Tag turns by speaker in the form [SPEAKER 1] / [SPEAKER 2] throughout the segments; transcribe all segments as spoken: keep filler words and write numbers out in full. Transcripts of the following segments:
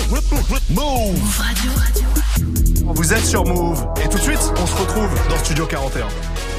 [SPEAKER 1] Move Radio. Vous êtes sur Move. Et tout de suite, on se retrouve dans Studio quarante et un.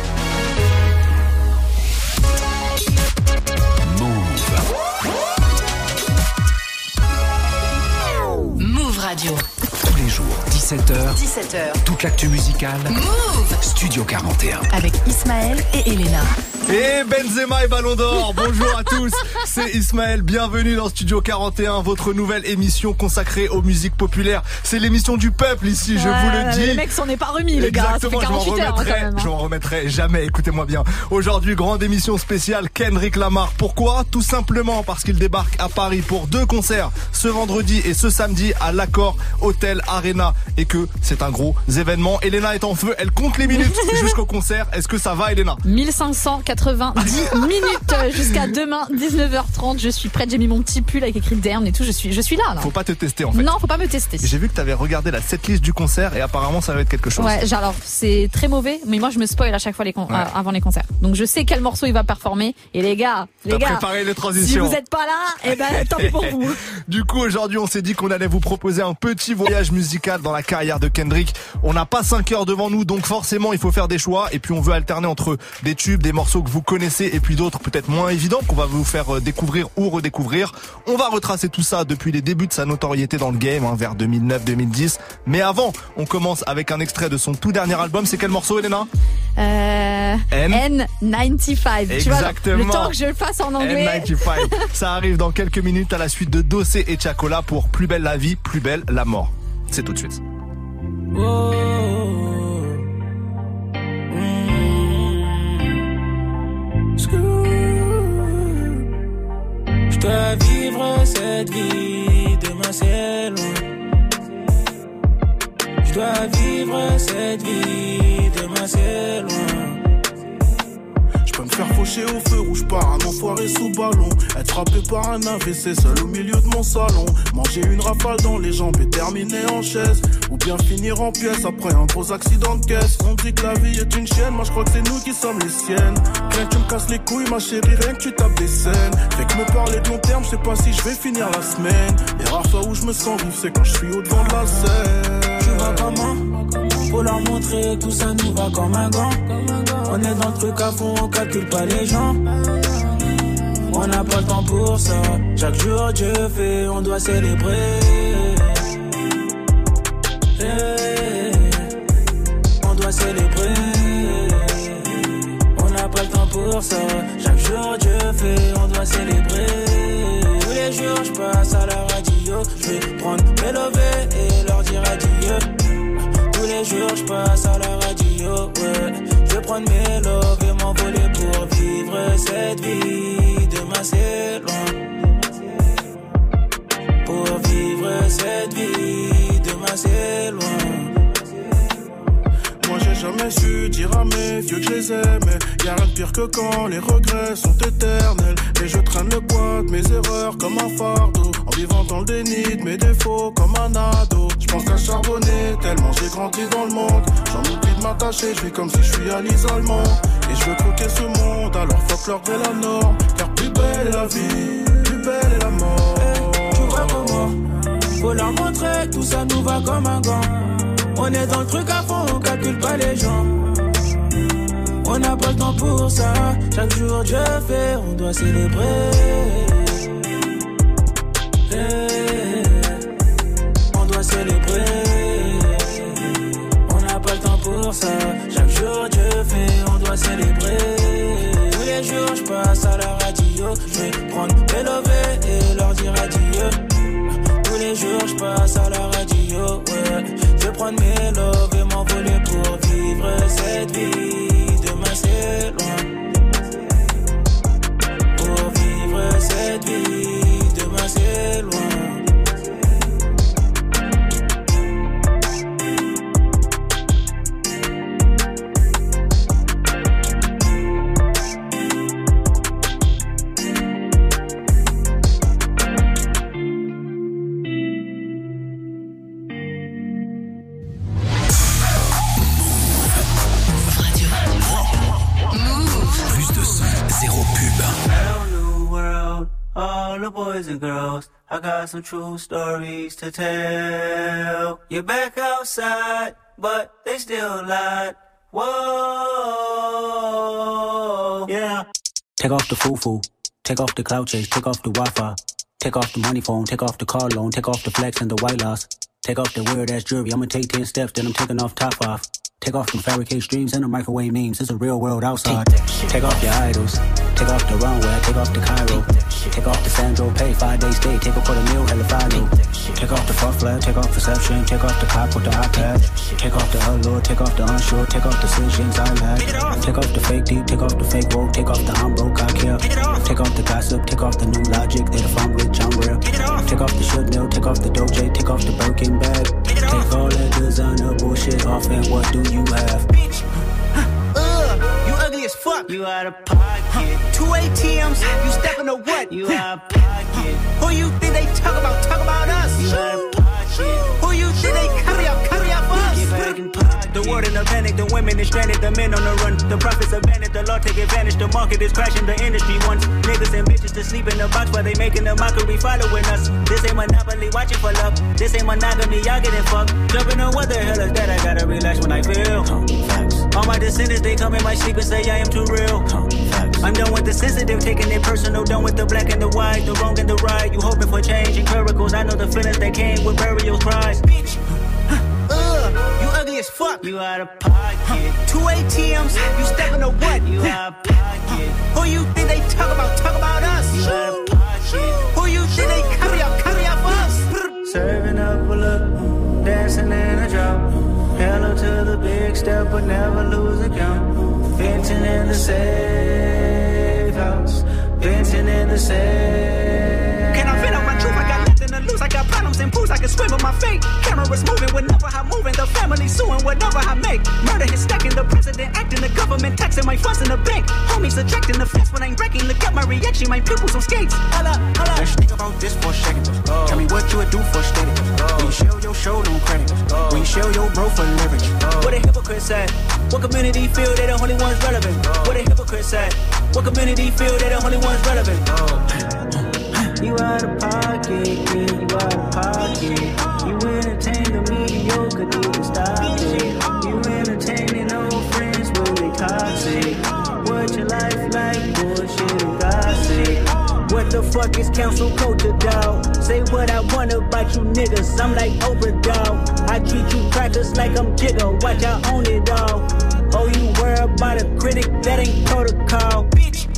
[SPEAKER 2] Move Radio.
[SPEAKER 3] Tous les jours, dix-sept heures.
[SPEAKER 2] dix-sept heures.
[SPEAKER 3] Toute l'actu musicale.
[SPEAKER 2] Move
[SPEAKER 3] Studio quarante et un.
[SPEAKER 2] Avec Ismaël et Elena.
[SPEAKER 1] Et Benzema et Ballon d'Or, bonjour à tous, c'est Ismaël, bienvenue dans Studio quarante et un, votre nouvelle émission consacrée aux musiques populaires. C'est l'émission du peuple ici, je
[SPEAKER 4] ouais,
[SPEAKER 1] vous le dis.
[SPEAKER 4] Les mecs s'en est pas remis les gars, ça fait quarante-huit heures hein, quand même. Hein.
[SPEAKER 1] Je m'en remettrai jamais, écoutez-moi bien. Aujourd'hui, grande émission spéciale Kendrick Lamar. Pourquoi ? Tout simplement parce qu'il débarque à Paris pour deux concerts, ce vendredi et ce samedi à l'Accor Hotel Arena. Et que c'est un gros événement. Elena est en feu, elle compte les minutes jusqu'au concert. Est-ce que ça va Elena ?
[SPEAKER 4] mille cinq cent quatre-vingt-dix minutes jusqu'à demain dix-neuf heures trente. Je suis prête, j'ai mis mon petit pull avec écrit Dern et tout. Je suis, je suis là, là.
[SPEAKER 1] Faut pas te tester en fait.
[SPEAKER 4] Non, faut pas me tester.
[SPEAKER 1] J'ai vu que t'avais regardé la setlist du concert et apparemment ça va être quelque chose.
[SPEAKER 4] Ouais, alors c'est très mauvais, mais moi je me spoil à chaque fois les con- ouais. euh, avant les concerts. Donc je sais quel morceau il va performer. Et les gars, les
[SPEAKER 1] T'as
[SPEAKER 4] gars,
[SPEAKER 1] préparé les transitions.
[SPEAKER 4] Si vous êtes pas là, eh ben tant pis pour vous.
[SPEAKER 1] Du coup aujourd'hui on s'est dit qu'on allait vous proposer un petit voyage musical dans la carrière de Kendrick. On n'a pas cinq heures devant nous, donc forcément il faut faire des choix. Et puis on veut alterner entre des tubes, des morceaux que vous connaissez et puis d'autres peut-être moins évidents qu'on va vous faire découvrir ou redécouvrir. On va retracer tout ça depuis les débuts de sa notoriété dans le game, hein, vers deux mille neuf deux mille dix. Mais avant, on commence avec un extrait de son tout dernier album. C'est quel morceau, Elena ?
[SPEAKER 4] Euh,
[SPEAKER 1] N
[SPEAKER 4] N quatre-vingt-quinze.
[SPEAKER 1] Exactement.
[SPEAKER 4] Tu vois, le temps que je le fasse en anglais.
[SPEAKER 1] N quatre-vingt-quinze. Ça arrive dans quelques minutes à la suite de Dossé et Chacola pour Plus belle la vie, plus belle la mort. C'est tout de suite.
[SPEAKER 5] Oh. Je dois vivre cette vie, demain c'est loin. Je dois vivre cette vie, demain c'est loin.
[SPEAKER 6] Je peux me faire faucher au feu rouge par un enfoiré sous ballon. Être frappé par un A V C seul au milieu de mon salon. Manger une rafale dans les jambes et terminer en chaise. Ou bien finir en pièces après un gros accident de caisse. On dit que la vie est une chienne, moi je crois que c'est nous qui sommes les siennes. Rien que tu me casses les couilles ma chérie, rien que tu tapes des scènes. Fait que me parler de long terme, je sais pas si je vais finir la semaine. Les rares fois où je me sens vivre, c'est quand je suis au devant de la scène.
[SPEAKER 5] Tu vas comment ? Faut leur montrer que tout ça nous va comme un gant. On est dans le truc à fond, on calcule pas les gens. On n'a pas le temps pour ça. Chaque jour Dieu fait, on doit célébrer. Hey, on doit célébrer. On n'a pas le temps pour ça. Chaque jour Dieu fait, on doit célébrer. Tous les jours je passe à la radio. Je vais prendre mes lovés et leur dire adieu. Tous les jours je passe à la radio, ouais. Je vais prendre mes loves et m'envoler pour vivre cette vie. Demain c'est loin. Pour vivre cette vie, demain c'est loin.
[SPEAKER 6] Moi j'ai jamais su dire à mes vieux que je les aimais. Y'a rien de pire que quand les regrets sont éternels. Et je traîne le poids de mes erreurs comme un fardeau. En vivant dans le déni de mes défauts comme un ado. Je pense qu'à charbonner tellement j'ai grandi dans le monde. J'en oublie de m'attacher, je vis comme si je suis à l'isolement. Et je veux croquer ce monde, alors fuck leur vraie la norme. Car plus belle est la vie, plus belle est la mort.
[SPEAKER 5] Hey, tu vois comment faut leur montrer que tout ça nous va comme un gant. On est dans le truc à fond, on calcule pas les gens. On n'a pas le temps pour ça. Chaque jour Dieu fait, on doit célébrer. Hey, on doit célébrer. On n'a pas le temps pour ça. Chaque jour Dieu fait, on doit célébrer. Tous les jours je passe à la radio. Je vais prendre mes lovés et leur dire adieu. Tous les jours je passe à la radio, ouais. Je vais prendre mes loves et m'envoler pour vivre cette vie. Demain c'est loin. Pour vivre cette boys and girls. I got some true stories to tell. You're back outside, but they still lied. Whoa, yeah.
[SPEAKER 7] Take off the foo-foo, take off the cloud chase, take off the Wi-Fi. Take off the money phone, take off the car loan, take off the flex and the white loss. Take off the weird ass jewelry, I'ma take ten steps, then I'm taking off top five. Take off them fabricate streams and the microwave memes, it's a real world outside. Take off your idols, take off the runway, take off the Cairo. Take off the Sandro pay, five days stay, take off for the meal, hella follow. Take off the fuck flag, take off perception, take off the cop with the iPad. Take off the allure, take off the unsure, take off decisions I lack. Take off the fake deep, take off the fake woke, take off the I'm broke, I care. Take off the gossip, take off the new logic, that if I'm rich, I'm real. Take off the should know, take off the doje, take off the Birkin bag. Take all that designer bullshit off and what do you have?
[SPEAKER 5] Ugh, you ugly as fuck. You out of pocket. Two A T Ms, you stepping to what? You out of pocket. Who you think they talk about? Talk about us. You out of pocket. Who you think they carry up? Carry up us. Get back in pocket. The world in a panic, the women is stranded, the men on the run. The profits abandoned, the law take advantage. The market is crashing, the industry wants niggas and bitches to sleep in the box while they making a mockery following us. This ain't monopoly, watching for love. This ain't monogamy, y'all getting fucked. Jumping on what the hell is that? I gotta relax when I feel. All my descendants, they come in my sleep and say I am too real. I'm done with the sensitive, taking it personal. Done with the black and the white, the wrong and the right. You hoping for change and miracles. I know the feelings that came with burial cries. Ugh, you ugly as fuck. You out of pocket. Two A T Ms, you stepping to what? You out of pocket. Who you think they talk about? Talk about us. You out of pocket. Who you think they carry up? Carry up us. Serving up a look, dancing in a drop. Hello to the big step, but never lose a count. Venting in the safe house. Venting in the safe. Can I vent out my truth? I got nothing to lose. I got problems and pools. I can swim with my fate. Cameras moving whenever I'm moving. The family suing whatever I make. Murder is stacking. The president acting. The government taxing my funds in the bank. Homies subtracting the fence when I'm breaking. Look at my reaction. My pupils on skates. Holla, holla.
[SPEAKER 7] Let's think about this for a second. Oh. Tell me what you would do for steady. Oh. When you show your show, no credit. Oh. When you show your bro for leverage.
[SPEAKER 5] Oh. What a hypocrite said. What community feel they the only ones relevant? Oh. What a hypocrite said. What community feel they the only ones relevant? Oh. You out of pocket, yeah, you out of pocket. You entertain the mediocre, need to stop it. You entertaining old friends when they toxic. What your life like, bullshit and gossip. What the fuck is council culture, dawg? Say what I want about you niggas, I'm like Oprah, dawg. I treat you crackers like I'm Jigga, watch I own it all. Oh, you worry about a critic, that ain't protocol, bitch.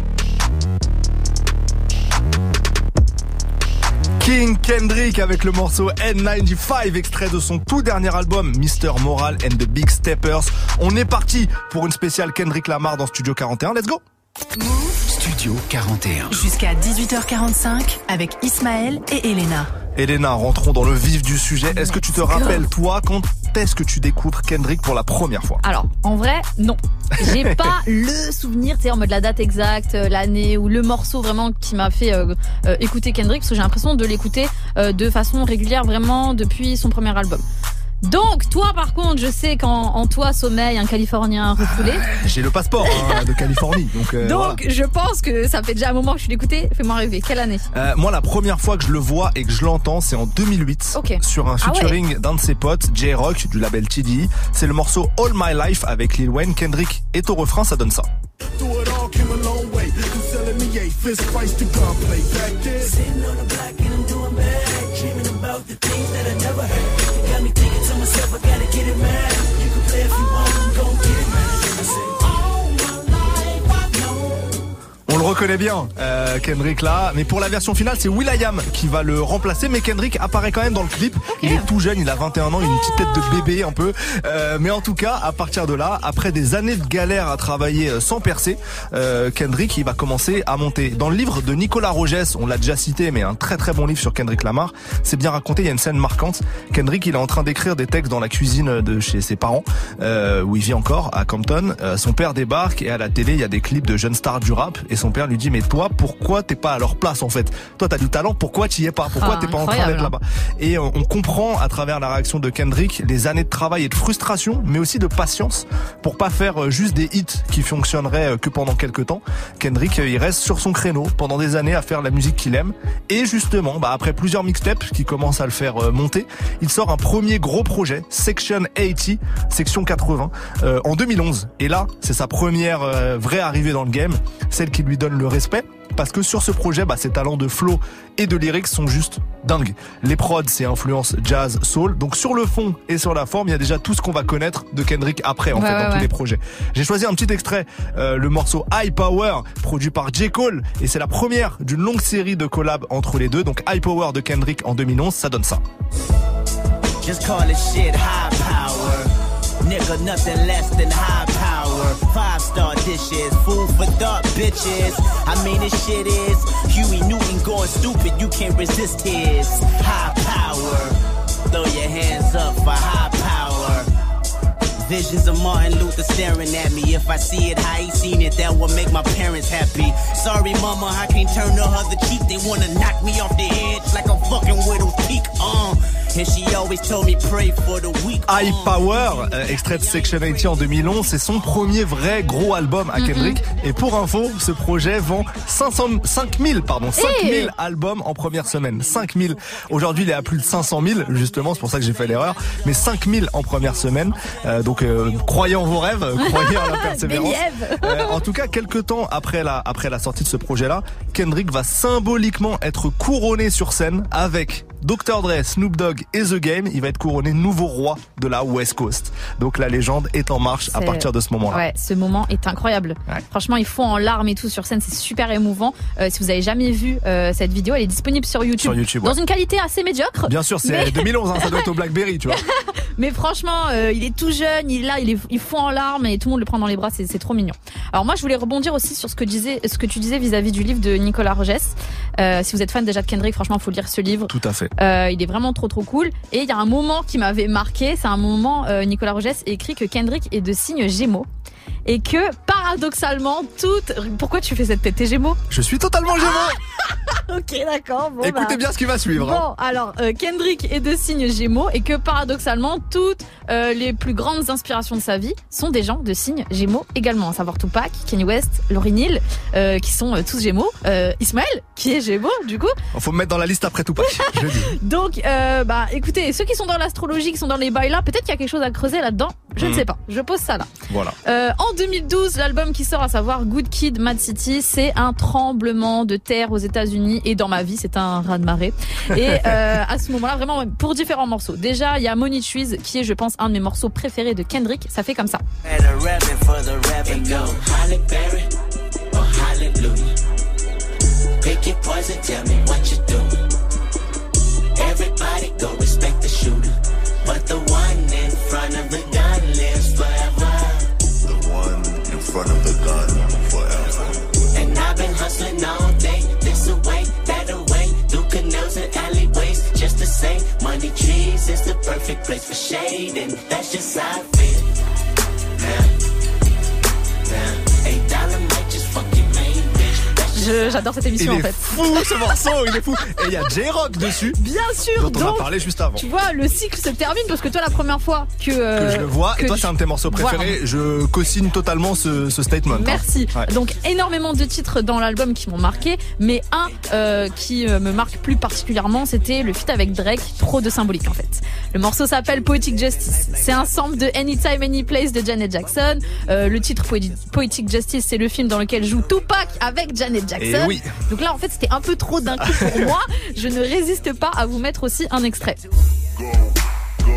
[SPEAKER 1] King Kendrick avec le morceau N quatre-vingt-quinze, extrait de son tout dernier album Mister Moral and the Big Steppers. On est parti pour une spéciale Kendrick Lamar dans Studio quarante et un, let's go.
[SPEAKER 3] Studio quarante et un.
[SPEAKER 2] Jusqu'à dix-huit heures quarante-cinq avec Ismaël et Elena.
[SPEAKER 1] Elena, rentrons dans le vif du sujet. Est-ce que tu te rappelles, toi, quand est-ce que tu découvres Kendrick pour la première fois?
[SPEAKER 4] Alors, en vrai, non. J'ai pas le souvenir, tu sais, en mode la date exacte, l'année ou le morceau vraiment qui m'a fait euh, euh, écouter Kendrick, parce que j'ai l'impression de l'écouter euh, de façon régulière vraiment depuis son premier album. Donc, toi, par contre, je sais qu'en en toi sommeille un Californien refoulé.
[SPEAKER 1] J'ai le passeport hein, de Californie. Donc, euh,
[SPEAKER 4] donc
[SPEAKER 1] voilà.
[SPEAKER 4] Je pense que ça fait déjà un moment que je l'écoutais. Fais-moi rêver. Quelle année?
[SPEAKER 1] euh, Moi, la première fois que je le vois et que je l'entends, c'est en deux mille huit.
[SPEAKER 4] Okay.
[SPEAKER 1] Sur un featuring ah ouais. d'un de ses potes, J-Rock, du label T D E. C'est le morceau All My Life avec Lil Wayne. Kendrick est au refrain, ça donne ça. On le reconnaît bien, euh, Kendrick là, mais pour la version finale, c'est will.i.am qui va le remplacer, mais Kendrick apparaît quand même dans le clip. Okay. Il est tout jeune, il a vingt et un ans, il a une petite tête de bébé un peu, euh, mais en tout cas, à partir de là, après des années de galère à travailler sans percer, euh, Kendrick il va commencer à monter. Dans le livre de Nicolas Rogès, on l'a déjà cité, mais un très très bon livre sur Kendrick Lamar, c'est bien raconté, il y a une scène marquante. Kendrick il est en train d'écrire des textes dans la cuisine de chez ses parents, euh, où il vit encore, à Compton. Euh, son père débarque et à la télé, il y a des clips de jeunes stars du rap, et son père lui dit mais toi pourquoi t'es pas à leur place en fait? Toi t'as du talent, pourquoi t'y es pas? Pourquoi
[SPEAKER 4] ah,
[SPEAKER 1] t'es pas en train d'être
[SPEAKER 4] hein.
[SPEAKER 1] là-bas? Et on, on comprend à travers la réaction de Kendrick les années de travail et de frustration, mais aussi de patience pour pas faire juste des hits qui fonctionneraient que pendant quelques temps. Kendrick il reste sur son créneau pendant des années à faire la musique qu'il aime et justement bah après plusieurs mixtapes qui commencent à le faire monter, il sort un premier gros projet, Section quatre-vingts, Section quatre-vingts, euh, en deux mille onze. Et là, c'est sa première euh, vraie arrivée dans le game, celle qui lui donne le respect. Parce que sur ce projet, bah, ses talents de flow et de lyrics sont juste dingues. Les prods, c'est influence jazz, soul. Donc sur le fond et sur la forme, il y a déjà tout ce qu'on va connaître de Kendrick après, en
[SPEAKER 4] ouais,
[SPEAKER 1] fait,
[SPEAKER 4] ouais,
[SPEAKER 1] dans
[SPEAKER 4] ouais.
[SPEAKER 1] tous les projets. J'ai choisi un petit extrait, euh, le morceau High Power, produit par J. Cole. Et c'est la première d'une longue série de collabs entre les deux. Donc High Power de Kendrick en deux mille onze, ça donne ça.
[SPEAKER 8] Just call it shit high power. Nigga, nothing less than high power. Five star dishes, food for thought, bitches. I mean, this shit is Huey Newton going stupid. You can't resist his high power. Throw your hands up for high power. Visions of Martin Luther staring at me. If I see it how he seen it, that will make my parents happy. Sorry, mama, I can't turn the other cheek. They wanna knock me off the edge like a fucking widow's peak. Uh. And she always told me pray for the weak.
[SPEAKER 1] High Power, euh, extrait de Section quatre-vingts en deux mille onze, c'est son premier vrai gros album à Kendrick. Mm-hmm. Et pour info, ce projet vend cinq cents, cinq mille, pardon, cinq mille hey albums en première semaine. cinq mille. Aujourd'hui, il est à plus de cinq cent mille, justement, c'est pour ça que j'ai fait l'erreur. Mais cinq mille en première semaine. Euh, donc, euh, croyez en vos rêves, croyez en la persévérance. euh, en tout cas, quelques temps après la, après la sortie de ce projet-là, Kendrick va symboliquement être couronné sur scène avec docteur Dre, Snoop Dogg et The Game. Il va être couronné nouveau roi de la West Coast. Donc la légende est en marche c'est... à partir de ce moment-là.
[SPEAKER 4] Ouais, ce moment est incroyable. Ouais. Franchement, il faut en larmes et tout sur scène, c'est super émouvant. Euh, si vous avez jamais vu euh, cette vidéo, elle est disponible sur YouTube,
[SPEAKER 1] sur YouTube
[SPEAKER 4] dans
[SPEAKER 1] ouais.
[SPEAKER 4] une qualité assez médiocre.
[SPEAKER 1] Bien sûr, c'est
[SPEAKER 4] mais...
[SPEAKER 1] deux mille onze, hein, ça doit être au BlackBerry, tu vois.
[SPEAKER 4] Mais franchement, euh, il est tout jeune, il est là, il, est, il fond en larmes et tout le monde le prend dans les bras, c'est, c'est trop mignon. Alors moi, je voulais rebondir aussi sur ce que, disais, ce que tu disais vis-à-vis du livre de Nicolas Rogès. Euh, si vous êtes fan déjà de Kendrick, franchement, il faut lire ce livre.
[SPEAKER 1] Tout à fait.
[SPEAKER 4] Euh, il est vraiment trop trop cool. Et il y a un moment qui m'avait marqué, c'est un moment, euh, Nicolas Rogès écrit que Kendrick est de signe Gémeaux. Et que, paradoxalement, toute... Pourquoi tu fais cette tête? T'es Gémeaux?
[SPEAKER 1] Je suis totalement Gémeaux.
[SPEAKER 4] Ah ok, d'accord. Bon,
[SPEAKER 1] écoutez
[SPEAKER 4] bah...
[SPEAKER 1] bien ce qui va suivre.
[SPEAKER 4] Bon,
[SPEAKER 1] hein.
[SPEAKER 4] alors, euh, Kendrick est de signe Gémeaux et que, paradoxalement, toutes euh, les plus grandes inspirations de sa vie sont des gens de signe Gémeaux également. À savoir Tupac, Kanye West, Lauryn Hill, euh, qui sont euh, tous Gémeaux. Euh, Ismaël, qui est Gémeaux, du coup.
[SPEAKER 1] Faut me mettre dans la liste après Tupac, je le dis.
[SPEAKER 4] Donc, euh, bah, écoutez, ceux qui sont dans l'astrologie, qui sont dans les bails là, peut-être qu'il y a quelque chose à creuser là-dedans. Je mmh. ne sais pas. Je pose ça là.
[SPEAKER 1] Voilà.
[SPEAKER 4] Euh, en deux mille douze, l'album qui sort, à savoir Good Kid, Mad City, c'est un tremblement de terre aux États-Unis et dans ma vie, c'est un raz-de-marée. Et euh, à ce moment-là, vraiment, pour différents morceaux. Déjà, il y a Money Trees, qui est, je pense, un de mes morceaux préférés de Kendrick. Ça fait comme ça.
[SPEAKER 9] Everybody go respect the shooter, but the one in front of the gun lives forever. The one in front of the gun forever. And I've been hustling all day, this away, that away, through canals and alleyways, just to say, Money Trees is the perfect place for shade, and that's just how I feel. Now, now, eight dollar might just fucking make bitch.
[SPEAKER 4] Je, j'adore cette émission
[SPEAKER 1] il
[SPEAKER 4] en fait.
[SPEAKER 1] Il est fou ce morceau, il est fou. Et il y a J-Rock dessus.
[SPEAKER 4] Bien sûr.
[SPEAKER 1] Dont on donc, a parlé juste avant.
[SPEAKER 4] Tu vois, le cycle se termine parce que toi, la première fois que euh,
[SPEAKER 1] que je le vois, et toi
[SPEAKER 4] tu...
[SPEAKER 1] c'est un de tes morceaux préférés. Voilà. Je co-signe totalement ce, ce statement.
[SPEAKER 4] Merci.
[SPEAKER 1] Hein. Ouais.
[SPEAKER 4] Donc énormément de titres dans l'album qui m'ont marqué, mais un euh, qui euh, me marque plus particulièrement, c'était le feat avec Drake, trop de symbolique en fait. Le morceau s'appelle Poetic Justice. C'est un sample de Anytime Anyplace de Janet Jackson. Euh, le titre Poetic Justice, c'est le film dans lequel joue Tupac avec Janet Jackson.
[SPEAKER 1] Et oui.
[SPEAKER 4] Donc là, en fait, c'était un peu trop d'un coup pour moi. Je ne résiste pas à vous mettre aussi un extrait.
[SPEAKER 8] Go, go.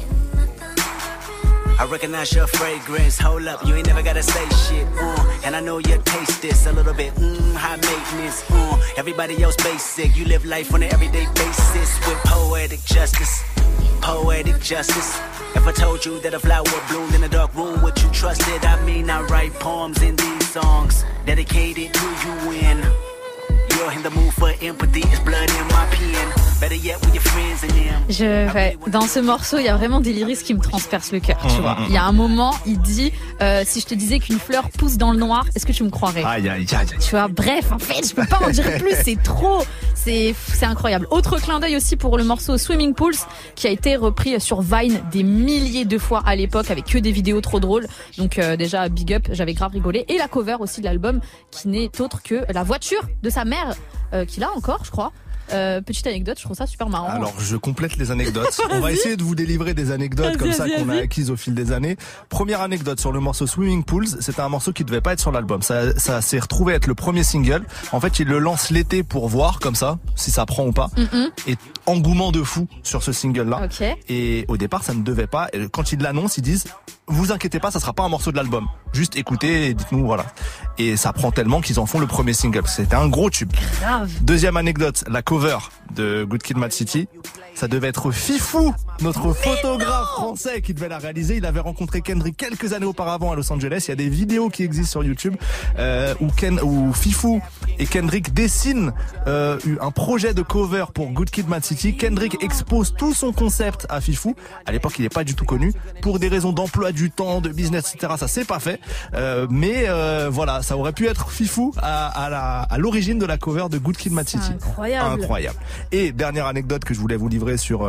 [SPEAKER 8] I recognize your fragrance. Hold up, you ain't never gotta say shit. Uh, and I know you taste this a little bit. Mmm, high maintenance. Uh, everybody else basic. You live life on an everyday basis with poetic justice. Poetic justice. If I told you that a flower bloomed in a dark room, would you trust it? I mean, I write poems in these songs dedicated to you when you're in the mood for empathy. It's blood in my pen. Better yet with your friends and them.
[SPEAKER 4] Je, ouais, dans ce morceau, il y a vraiment des lyrics qui me transpercent le cœur, tu vois. Il y a un moment, il dit euh, si je te disais qu'une fleur pousse dans le noir, est-ce que tu me croirais?
[SPEAKER 1] Aïe, aïe, aïe.
[SPEAKER 4] Tu vois, bref, en fait, je peux pas en dire plus, c'est trop, c'est, c'est incroyable. Autre clin d'œil aussi pour le morceau Swimming Pools, qui a été repris sur Vine des milliers de fois à l'époque, avec que des vidéos trop drôles. Donc euh, déjà, big up, j'avais grave rigolé. Et la cover aussi de l'album, qui n'est autre que la voiture de sa mère, euh, qu'il a encore, je crois. Euh, petite anecdote, je trouve ça super marrant.
[SPEAKER 1] Alors je complète les anecdotes. On va essayer de vous délivrer des anecdotes comme ça qu'on a acquises au fil des années. Première anecdote sur le morceau Swimming Pools, c'était un morceau qui devait pas être sur l'album. Ça, ça s'est retrouvé être le premier single. En fait, il le lance l'été pour voir comme ça si ça prend ou pas. Mm-mm. Et engouement de fou sur ce single-là.
[SPEAKER 4] Okay.
[SPEAKER 1] Et au départ, ça ne devait pas. Et quand ils l'annoncent, ils disent vous inquiétez pas, ça sera pas un morceau de l'album. Juste écoutez et dites-nous voilà. Et ça prend tellement qu'ils en font le premier single. C'était un gros tube.
[SPEAKER 4] Grave.
[SPEAKER 1] Deuxième anecdote, la cover de Good Kid, Mad City. Ça devait être Fifou, notre photographe français qui devait la réaliser. Il avait rencontré Kendrick quelques années auparavant à Los Angeles. Il y a des vidéos qui existent sur YouTube euh, où, Ken, où Fifou et Kendrick dessinent euh, un projet de cover pour Good Kid, Mad City. Kendrick expose tout son concept à Fifou. À l'époque, il n'est pas du tout connu. Pour des raisons d'emploi du temps, de business, et cetera, ça s'est pas fait. Euh, mais euh, voilà, ça aurait pu être Fifou à, à, la, à l'origine de la cover de Good Kid, Mad City.
[SPEAKER 4] Incroyable.
[SPEAKER 1] Incroyable. Et dernière anecdote que je voulais vous livrer sur... Euh,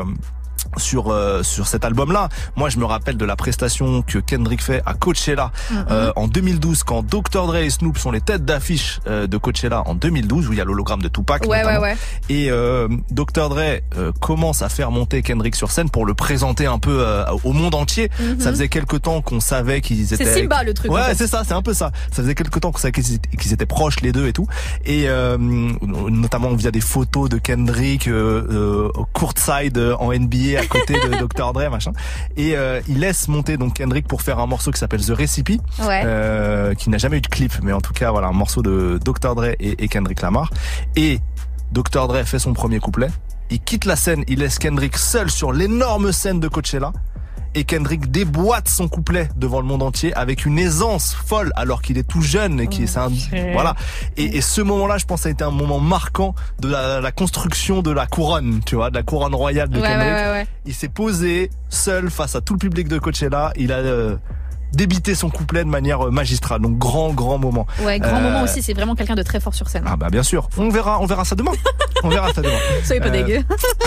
[SPEAKER 1] sur euh, sur cet album-là. Moi, je me rappelle de la prestation que Kendrick fait à Coachella mm-hmm. euh, en deux mille douze, quand docteur Dre et Snoop sont les têtes d'affiche euh, de Coachella en deux mille douze, où il y a l'hologramme de Tupac.
[SPEAKER 4] Ouais,
[SPEAKER 1] notamment.
[SPEAKER 4] ouais, ouais.
[SPEAKER 1] Et euh, docteur Dre euh, commence à faire monter Kendrick sur scène pour le présenter un peu euh, au monde entier. Mm-hmm. Ça faisait quelque temps qu'on savait qu'ils étaient...
[SPEAKER 4] C'est Simba le truc.
[SPEAKER 1] Ouais,
[SPEAKER 4] en fait.
[SPEAKER 1] c'est ça, c'est un peu ça. Ça faisait quelque temps qu'on savait qu'ils étaient, qu'ils étaient proches les deux et tout. Et euh, notamment via des photos de Kendrick euh, euh, courtside en N B A à côté de docteur Dre, machin. Et euh, il laisse monter donc Kendrick pour faire un morceau qui s'appelle The Recipe,
[SPEAKER 4] ouais.
[SPEAKER 1] euh, qui n'a jamais eu de clip, mais en tout cas voilà, un morceau de docteur Dre et, et Kendrick Lamar. Et docteur Dre fait son premier couplet, il quitte la scène, il laisse Kendrick seul sur l'énorme scène de Coachella. Et Kendrick déboîte son couplet devant le monde entier avec une aisance folle, alors qu'il est tout jeune et qui est un, voilà. Et, et ce moment-là, je pense, ça a été un moment marquant de la, la construction de la couronne, tu vois, de la couronne royale de
[SPEAKER 4] ouais,
[SPEAKER 1] Kendrick.
[SPEAKER 4] Ouais, ouais, ouais.
[SPEAKER 1] Il s'est posé seul face à tout le public de Coachella. Il a euh, débité son couplet de manière magistrale. Donc grand, grand moment.
[SPEAKER 4] Ouais, grand euh... moment aussi. C'est vraiment quelqu'un de très fort sur scène.
[SPEAKER 1] Ah bah bien sûr. On verra, on verra ça demain. On verra ça demain.
[SPEAKER 4] Soyez pas euh... dégueu.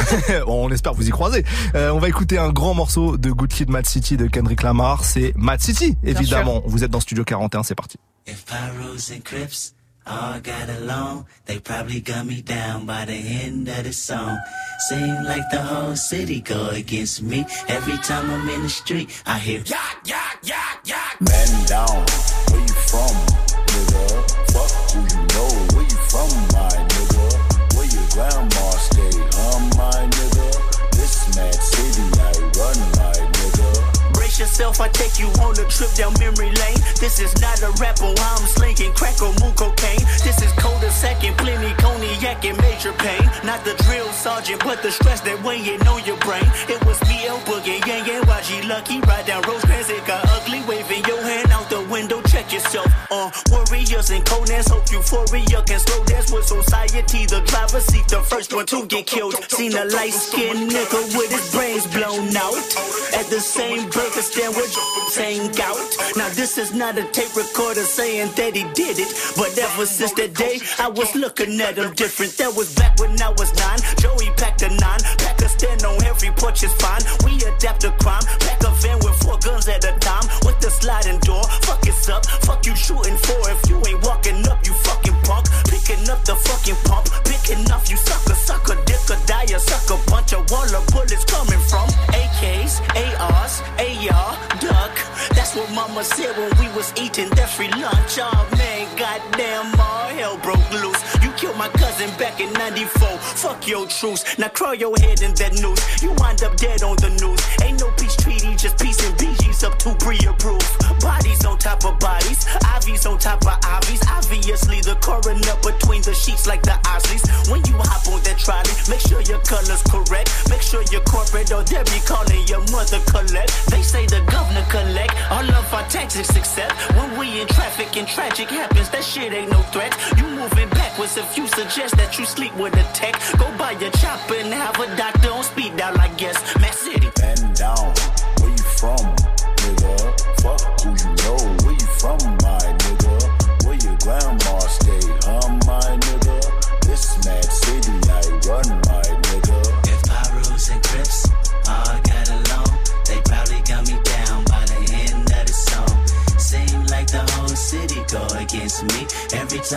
[SPEAKER 1] On espère vous y croiser. Euh, on va écouter un grand morceau de Good Kid, Mad City de Kendrick Lamar. C'est Mad City, évidemment. Vous êtes dans Studio quarante et un, c'est parti.
[SPEAKER 9] If Pyros and Crips all got along, they probably got me down by the end of the song. Seem like the whole city go against me. Every time I'm in the street, I hear yak, yak, yak, yak.
[SPEAKER 6] Man down, where you from, nigga? Fuck who you know, where you from, my nigga? Where your grandma stay, huh, my nigga? This mad city I run, my nigga.
[SPEAKER 8] Brace yourself, I take you on a trip down memory lane. This is not a rapper, I'm slinging crack or moon cocaine. This is cul-de-sac and plenty cognac and major pain. Not the drill sergeant, but the stress that weighing on your brain. It was B L Boogie, Yang Yang, Y G Lucky. Ride down Rosecrans, it got ugly. Waving your hand out the window, check yourself. Uh, warriors and Conan's, hope euphoria can slow dance with society. The driver seat, the first one to get killed. Seen a light-skinned nigga with his brains blown out. At the same burger stand with saying out. Now this is not a tape recorder saying that he did it, but ever since that day I was looking at him different. That was back when I was nine. Joey packed a nine, pack a stand on every porch is fine. We adapt to crime, pack a van with four guns at a time with the sliding door. Fuck it's up, fuck you shooting for. If you ain't walking up, you fucking punk. Picking up the fucking pump, picking up you sucker, sucker, dick or die, a sucker bunch of wall of bullets coming from A Ks, A Rs, A R, duck. That's what mama said when we was eating that free lunch. Oh man, goddamn, all hell broke loose. You killed my cousin back in ninety-four. Fuck your truce. Now crawl your head in that noose. You wind up dead on the news. Ain't no peace treaty, just peace and B Gs up to pre-approved. Bodies on top of bodies, I Vs on top of I Vs. Obviously the coroner between the sheets like the Osleys. When you hop on that trolley, make sure your color's correct. Make sure you're corporate or they'll be calling your mother Colette. They say the governor collect all of our taxes except when we in traffic and tragic happens. That shit ain't no threat. You moving backwards if you suggest that you sleep with a tech. Go buy your chopper and have a doctor on speed dial, I guess.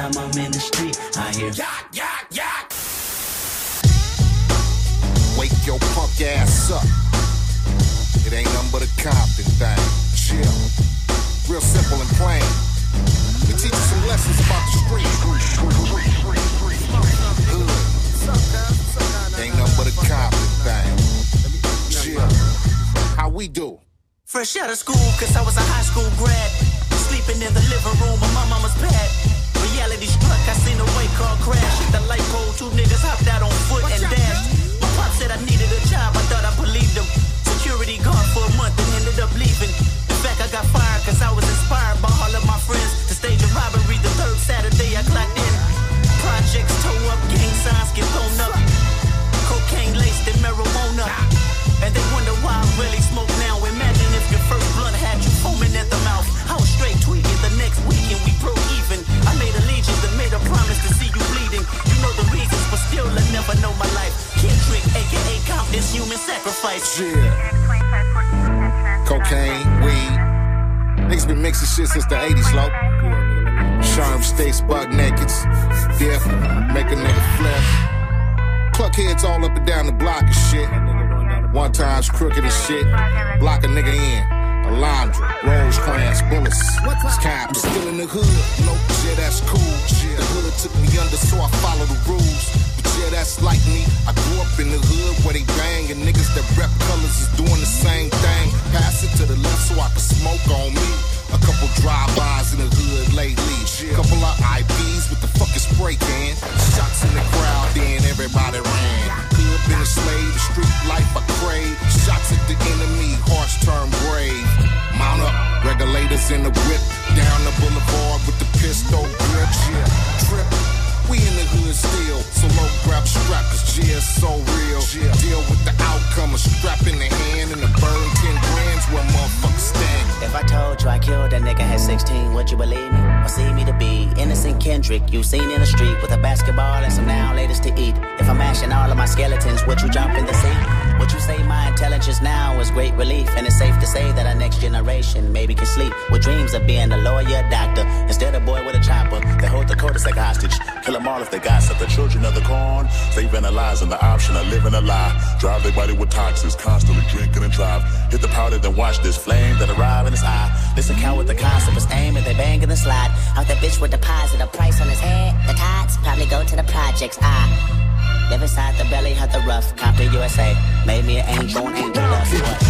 [SPEAKER 8] time I'm in the street, I hear yak, yak, yak.
[SPEAKER 10] Wake your punk ass up. It ain't nothing but a Compton thing. Chill. Real simple and plain. We teach you some lessons about the street. Hood. Ain't nothing but a Compton thing. Chill. How we do?
[SPEAKER 8] Fresh out of school, cause I was a high school grad. Sleeping in the living room of my mama's pad. Reality struck, I seen a white car crash. Hit the light pole, two niggas hopped out on foot and dashed. My pop said I needed a job, I thought I believed him. Security guard for a month and ended up leaving. In fact, I got fired cause I was inspired by all of my friends to stage a robbery the third Saturday I clocked in. Projects tow up, gang signs get thrown up. Cocaine laced in marijuana. And they wonder why I really smoke now. Imagine if your first blunt had you foaming at the mouth. I was straight tweaking the next weekend, we broke even. I made allegiance and made a promise to see you bleeding. You know the reasons, but still I never know my life. Kendrick, aka Compton's human sacrifice.
[SPEAKER 10] Yeah. Cocaine, weed. Niggas been mixing shit since the eighties, low. Sherm states, buck nakeds. Dip, make a nigga flip. Cluck heads all up and down the block and shit. One time's crooked as shit. Block a nigga in. Alondra, Rosecrans, bullets. Scam. I'm still in the hood. Nope, yeah, that's cool. The hood took me under, so I follow the rules. But yeah, that's like me. I grew up in the hood where they bang, and niggas that rep colors is doing the same thing. Pass it to the left so I can smoke on me. A couple drive-bys in the hood lately. Couple of I Bs with the fucking spray can. Shots in the crowd, then everybody ran. Hood been a slave, the street life I crave. Shots at the enemy, hearts turn brave. Mount up, regulators in the whip. Down the boulevard with the pistol grip. Yeah, trip. We in the hood still, so low grab strap, cause G is so real. Yeah. Deal with the outcome, a strap in the hand and a burn ten grams where motherfuckers stand.
[SPEAKER 8] If I told you I killed a nigga at sixteen, would you believe me? Or see me to be innocent Kendrick, you seen in the street with a basketball and some now latest to eat. If I'm mashing all of my skeletons, would you jump in the sea? Would you say my intelligence now is great relief? And it's safe to say that our next generation maybe can sleep with dreams of being a lawyer, doctor, instead of boy with a chopper. They hold the codice like hostage, kill them all if they gossip. The children of the corn, they vandalizing the option of living a lie. Drive their body with toxins, constantly drinking and drive. Hit the powder, then watch this flame that arrive in his eye. This account with the concept is aim and they bang in the slide. Out that bitch with deposit a price on his head. The tots probably go to the projects. I live inside the belly of the rough. Compton, U S A. Made me an angel and angel dust. What?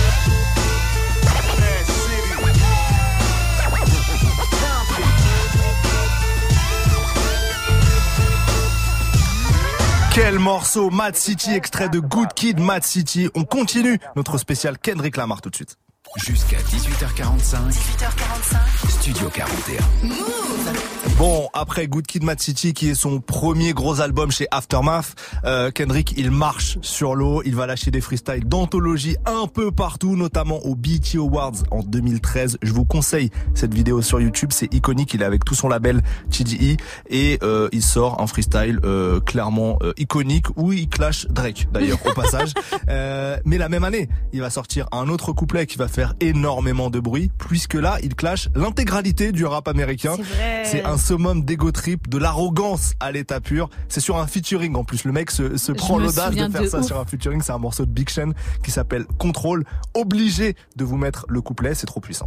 [SPEAKER 1] Quel morceau, Mad City, extrait de Good Kid, Mad City. On continue notre spécial Kendrick Lamar tout de suite.
[SPEAKER 3] Jusqu'à dix-huit heures quarante-cinq.
[SPEAKER 2] dix-huit heures quarante-cinq.
[SPEAKER 3] Studio quarante et un.
[SPEAKER 2] Move.
[SPEAKER 1] Bon, après Good Kid, Mad City, qui est son premier gros album chez Aftermath, euh, Kendrick, il marche sur l'eau. Il va lâcher des freestyles d'anthologie un peu partout, notamment aux B E T Awards en deux mille treize. Je vous conseille cette vidéo sur YouTube, c'est iconique. Il est avec tout son label T D E et euh, il sort un freestyle euh, clairement euh, iconique où il clash Drake, d'ailleurs, au passage. Euh, mais la même année, il va sortir un autre couplet qui va faire énormément de bruit, puisque là, il clash l'intégralité du rap américain.
[SPEAKER 4] C'est vrai.
[SPEAKER 1] C'est un summum d'ego trip, de l'arrogance à l'état pur. C'est sur un featuring en plus. Le mec se, se prend l'audace de faire
[SPEAKER 4] de
[SPEAKER 1] ça
[SPEAKER 4] ouf.
[SPEAKER 1] sur un featuring. C'est un morceau de Big Sean qui s'appelle Control. Obligé de vous mettre le couplet, c'est trop puissant.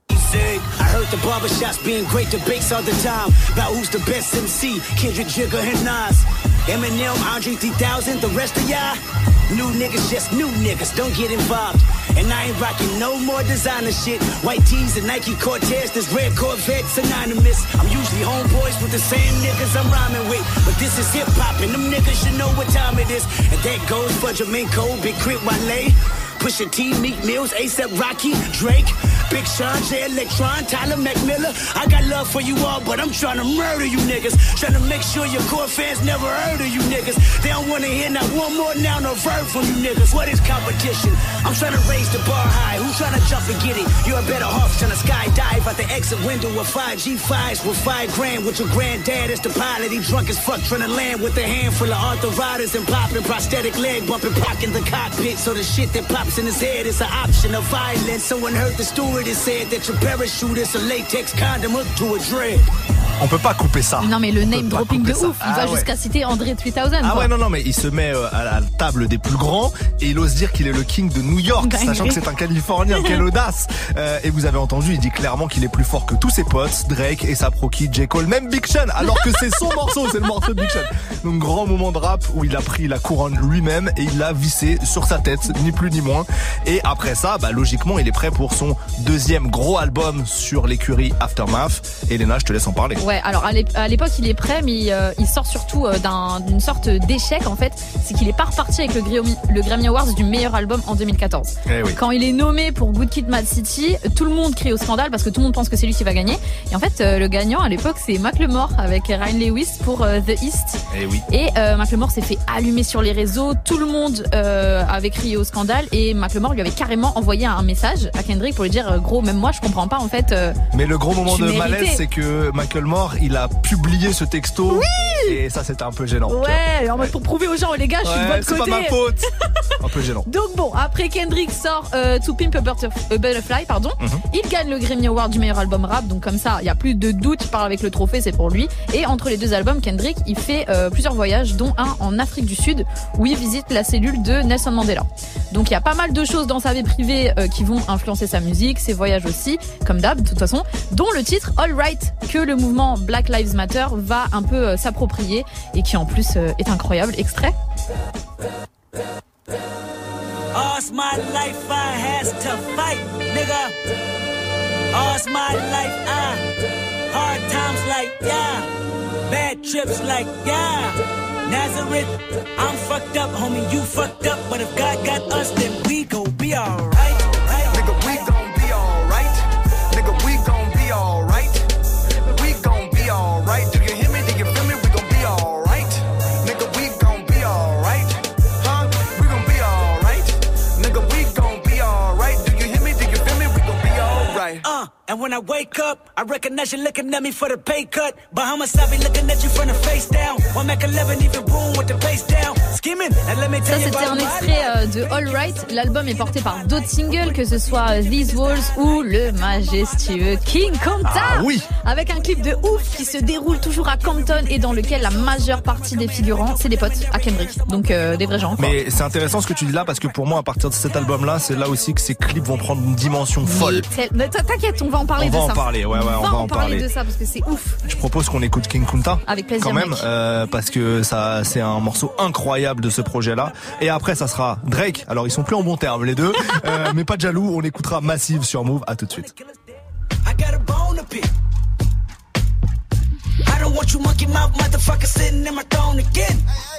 [SPEAKER 8] I heard the barbershops being great debates all the time about who's the best M C, Kendrick, Jigga, and Nas. Eminem, Andre three thousand, the rest of y'all new niggas, just new niggas, don't get involved. And I ain't rocking no more designer shit. White tees and Nike Cortez, this red Corvette synonymous. I'm usually homeboys with the same niggas I'm rhyming with, but this is hip hop and them niggas should know what time it is. And that goes for Jermaine, Big Crit, Wale, Pusha T, Meek Mills, A$AP Rocky, Drake, Big Sean, J Electron, Tyler McMillan. I got love for you all, but I'm trying to murder you niggas. Trying to make sure your core fans never heard of you niggas. They don't wanna hear not one more noun or verb from you niggas. What is competition? I'm trying to raise the bar high. Who's trying to jump and get it? You're a better off trying to skydive out the exit window with five G fives with five grand with your granddad as the pilot. He drunk as fuck trying to land with a handful of arthritis and popping prosthetic leg bumping, pocking the cockpit. So the shit that pops in his head is an option of violence. Someone heard the stewardess said that your parachute is a latex condom hooked to a dread.
[SPEAKER 1] On peut pas couper ça.
[SPEAKER 4] Non, mais le name dropping de
[SPEAKER 1] ça.
[SPEAKER 4] ouf. Il
[SPEAKER 1] ah
[SPEAKER 4] va
[SPEAKER 1] ouais.
[SPEAKER 4] jusqu'à citer André trois mille.
[SPEAKER 1] Ah
[SPEAKER 4] quoi.
[SPEAKER 1] ouais, non, non, mais il se met euh, à la table des plus grands et il ose dire qu'il est le king de New York,
[SPEAKER 4] Ben
[SPEAKER 1] sachant
[SPEAKER 4] oui.
[SPEAKER 1] que c'est un Californien. Quelle audace. Euh, Et vous avez entendu, il dit clairement qu'il est plus fort que tous ses potes, Drake et sa proquille J. Cole, même Big Sean, alors que c'est son morceau, c'est le morceau de Big Sean. Donc grand moment de rap où il a pris la couronne lui-même et il l'a vissé sur sa tête, ni plus ni moins. Et après ça, bah logiquement, il est prêt pour son deuxième gros album sur l'écurie Aftermath. Elena, je te laisse en parler.
[SPEAKER 4] Ouais, alors à l'ép- à l'époque il est prêt, mais euh, il sort surtout euh, d'un- d'une sorte d'échec en fait. C'est qu'il est pas reparti avec le Grammy, le Grammy Awards du meilleur album en deux mille quatorze.
[SPEAKER 1] Eh oui.
[SPEAKER 4] Quand il est nommé pour Good Kid, Mad City, tout le monde crie au scandale parce que tout le monde pense que c'est lui qui va gagner. Et en fait, euh, le gagnant à l'époque c'est Macklemore avec Ryan Lewis pour euh, The East.
[SPEAKER 1] Eh oui.
[SPEAKER 4] Et euh, Macklemore s'est fait allumer sur les réseaux. Tout le monde euh, avait crié au scandale et Macklemore lui avait carrément envoyé un message à Kendrick pour lui dire euh, gros, même moi je comprends pas en fait. Euh,
[SPEAKER 1] Mais le gros moment
[SPEAKER 4] Tu
[SPEAKER 1] de
[SPEAKER 4] méritais.
[SPEAKER 1] malaise, c'est que Macklemore, il a publié ce texto.
[SPEAKER 4] Oui.
[SPEAKER 1] Et ça, c'était un peu gênant. tu vois.
[SPEAKER 4] Ouais, en mode pour prouver aux gens, les gars, je suis de
[SPEAKER 1] Ouais,
[SPEAKER 4] votre
[SPEAKER 1] c'est
[SPEAKER 4] côté.
[SPEAKER 1] pas ma faute. Un peu gênant.
[SPEAKER 4] Donc bon, après Kendrick sort euh, To Pimp a Butterf- a Butterfly, pardon.
[SPEAKER 1] Mhm.
[SPEAKER 4] Il gagne le Grammy Award du meilleur album rap, donc comme ça, il y a plus de doute, il part avec le trophée, c'est pour lui. Et entre les deux albums, Kendrick, il fait euh, plusieurs voyages, dont un en Afrique du Sud, où il visite la cellule de Nelson Mandela. Donc il y a pas mal de choses dans sa vie privée euh, qui vont influencer sa musique, ses voyages aussi, comme d'hab, de toute façon, dont le titre All Right, que le mouvement Black Lives Matter va un peu euh, s'approprier, et qui en plus euh, est incroyable. Extrait.
[SPEAKER 8] All's my life I has to fight, nigga. All's my life I hard times like yeah, bad trips like yeah. Nazareth, I'm fucked up, homie, you fucked up, but if God got us, then we gon' be alright. Right?
[SPEAKER 11] Nigga, we gon' be alright. Nigga, we gon' be alright. We gon' be alright. Do you hear me? Do you feel me? We gon' be alright. Nigga, we gon' be alright. Huh? We gon' be alright. Nigga, we gon' be alright. Do you hear me? Do you feel me? We gon' be alright.
[SPEAKER 8] Uh, and when I wake up, I recognize you looking at me for the pay cut. Bahamas, I be looking at you from the face down. One Mac eleven, even boom with the bass down. Skimming, and let me
[SPEAKER 4] Ça
[SPEAKER 8] tell you
[SPEAKER 4] c'était
[SPEAKER 8] about
[SPEAKER 4] un
[SPEAKER 8] my
[SPEAKER 4] extrait euh, de All Right. L'album est porté par d'autres singles, que ce soit These Walls ou le majestueux King Compton.
[SPEAKER 1] Ah oui.
[SPEAKER 4] Avec un clip de ouf qui se déroule toujours à Compton et dans lequel la majeure partie des figurants c'est des potes à Kendrick. Donc euh, des vrais gens. Quoi.
[SPEAKER 1] Mais c'est intéressant ce que tu dis là parce que pour moi, à partir de cet album-là, c'est là aussi que ces clips vont prendre une dimension folle.
[SPEAKER 4] Mais tel- T'inquiète, on va en parler
[SPEAKER 1] On
[SPEAKER 4] de
[SPEAKER 1] va
[SPEAKER 4] ça.
[SPEAKER 1] en parler, ouais, ouais, on va en
[SPEAKER 4] parler
[SPEAKER 1] parler.
[SPEAKER 4] de ça parce que c'est ouf.
[SPEAKER 1] Je propose qu'on écoute King Kunta.
[SPEAKER 4] Avec plaisir,
[SPEAKER 1] Quand même,
[SPEAKER 4] mec.
[SPEAKER 1] euh, parce que ça, c'est un morceau incroyable de ce projet-là. Et après, ça sera Drake. Alors, ils sont plus en bon terme, les deux. euh, mais pas de jaloux. On écoutera Massive sur Move. À tout de suite.
[SPEAKER 8] I got a bone to pick. I don't want you monkey mouth motherfucker sitting in my throne again.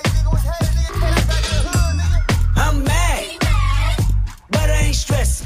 [SPEAKER 8] I'm mad, but I ain't stressing.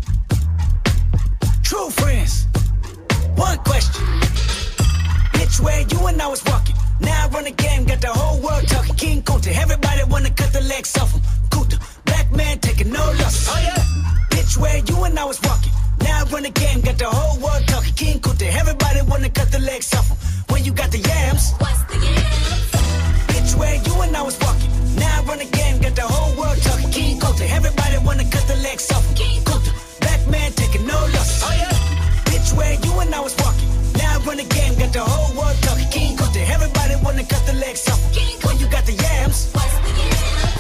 [SPEAKER 8] True friends, one question. Bitch, where you and I was walking. Now I run the game, got the whole world talking. King Kunta, everybody wanna cut the legs off him. Kunta, black man taking no losses. Oh yeah. Bitch, where you and I was walking. Now I run the game, got the whole world talking. King Kunta, everybody wanna cut the legs off him. When you got the yams. What's the yams? Bitch, where you and I was walking. Now I run the game, got the whole world talking. King Kunta, everybody wanna cut the legs off him. Kunta, black man taking no losses. Oh yeah. Bitch, where you and I was walking. Now I run the game, got the whole world talking. King Kunta, everybody wanna cut the legs off him. When you got the yams. What's the yams?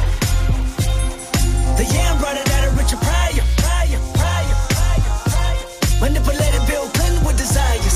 [SPEAKER 8] The yam brought it out of Richard Pryor. Pryor, Pryor, Pryor, Pryor. Manipulated Bill Clinton with desires.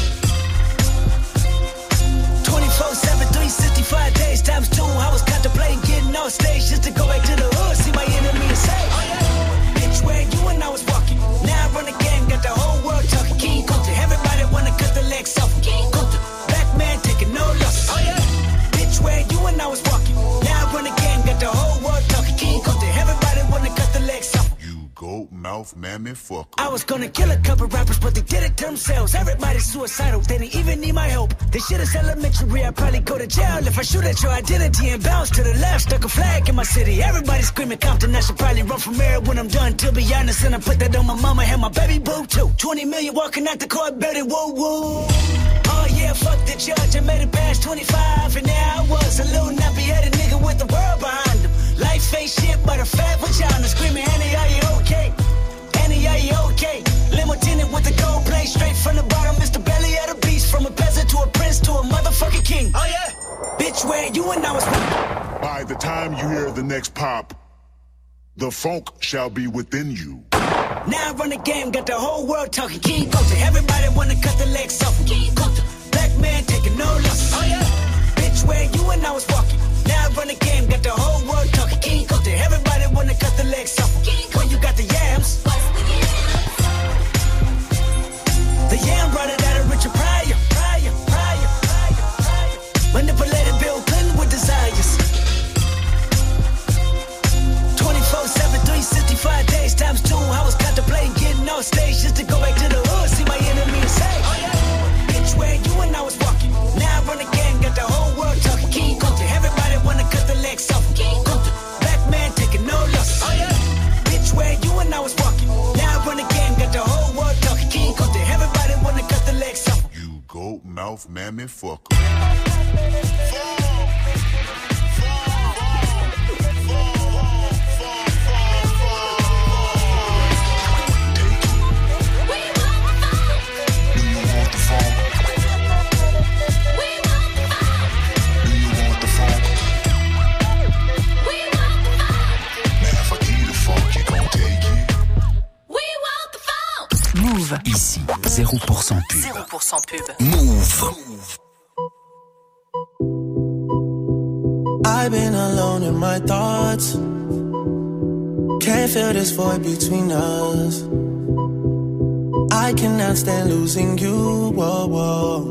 [SPEAKER 8] twenty-four seven, three sixty-five days times two. I was contemplating getting on stage just to go back to the hood, see my enemy and say, oh yeah. Bitch, where you and I was walking. Now I run the game, got the whole world talking. King Kunta, everybody wanna cut the legs off him. King Kunta, black man taking no losses. Oh yeah. Bitch, where you and I was walking. Now I run the game, got the whole world talking. King Kunta, everybody wanna cut the legs off him.
[SPEAKER 10] Goat mouth mammy fucker.
[SPEAKER 8] I was gonna kill a couple rappers, but they did it themselves. Everybody's suicidal, they didn't even need my help. This shit is elementary, I'd probably go to jail if I shoot at your identity and bounce to the left. Stuck a flag in my city, everybody screaming Compton. I should probably run from here when I'm done, to be honest. And I put that on my mama and my baby boo too. twenty million walking out the court, baby, whoa, whoa. Oh yeah, fuck the judge, I made it past twenty-five. And now I was a little nappy-headed nigga with the world behind him. Life ain't shit but a fat vagina. Screaming, Annie, are you okay? Annie, are you okay? Limo tinted with the gold plate straight from the bottom. Mister Belly of the beast, from a peasant friends to a motherfucking king. Oh yeah. Bitch, where you and I was.
[SPEAKER 12] By the time you hear the next pop, the funk shall be within you.
[SPEAKER 8] Now I run the game, got the whole world talking. King Coulter, everybody wanna cut the legs off. King Coulter, black man taking no losses. Oh yeah. Bitch, where you and I was walking. Now I run the game, got the whole world talking. King Coulter, everybody wanna cut the legs off. When you got the yams. The yam brought it out of Richard Pryor, Pryor, Pryor, Pryor, Pryor. Manipulated Bill Clinton with desires. twenty-four seven, three sixty-five days times two. I was contemplating getting on stage just to go back to the hood, see my enemy and say, oh yeah. Bitch, where you and I was walking. Now I run the game, got the whole world talking. King Coulter, everybody wanna cut the legs off. King Coulter, black man taking no losses. Oh yeah. Bitch, where you and I was walking. Now I run the game, got the whole world talking. King Coulter, everybody wanna cut the legs off.
[SPEAKER 12] You goat mouth mammy fucker.
[SPEAKER 3] Ici, zéro pour cent pub.
[SPEAKER 2] zéro pour cent pub.
[SPEAKER 3] Move.
[SPEAKER 5] I've been alone in my thoughts. Can't feel this void between us. I cannot stand losing you. Whoa, whoa.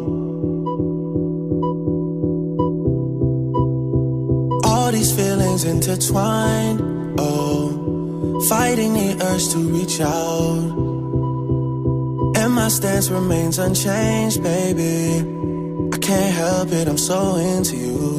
[SPEAKER 5] All these feelings intertwined. Oh, fighting the urge to reach out. And my stance remains unchanged, baby. I can't help it, I'm so into you.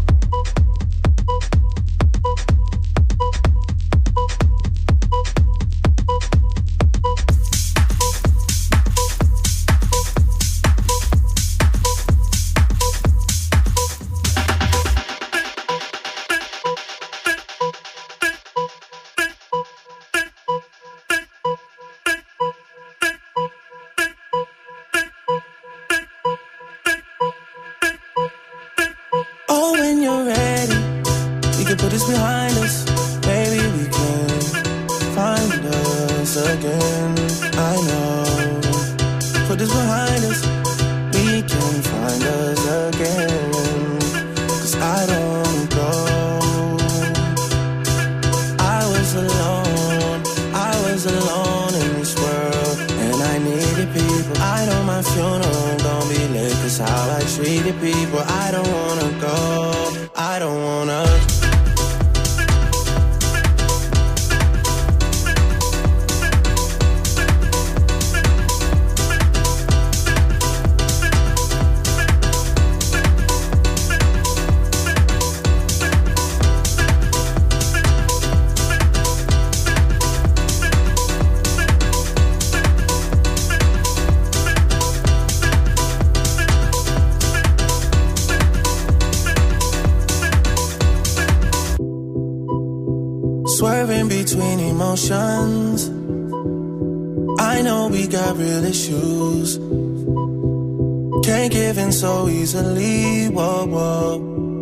[SPEAKER 5] Swerving between emotions. I know we got real issues. Can't give in so easily. Whoa, whoa.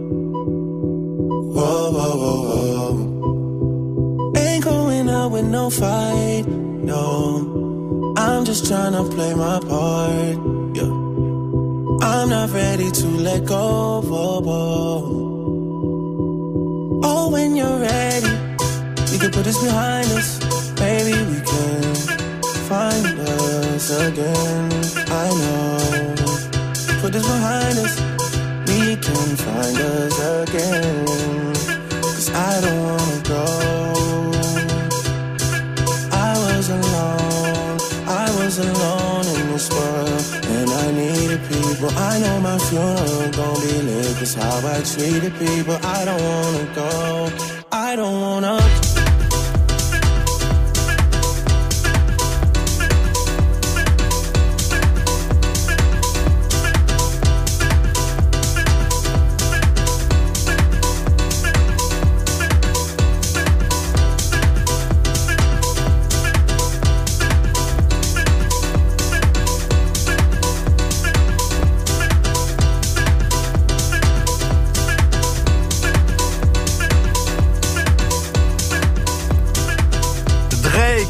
[SPEAKER 5] Whoa, whoa, whoa, whoa. Ain't going out with no fight. No, I'm just trying to play my part. Yeah. I'm not ready to let go. Whoa, whoa. Oh, when you're ready, we can put this behind us. Maybe we can find us again. I know. Put this behind us. We can find us again. Cause I don't wanna go. I was alone. I was alone in this world. And I needed people. I know my funeral gon' be lit. Cause how I treated people. I don't wanna go. I don't wanna.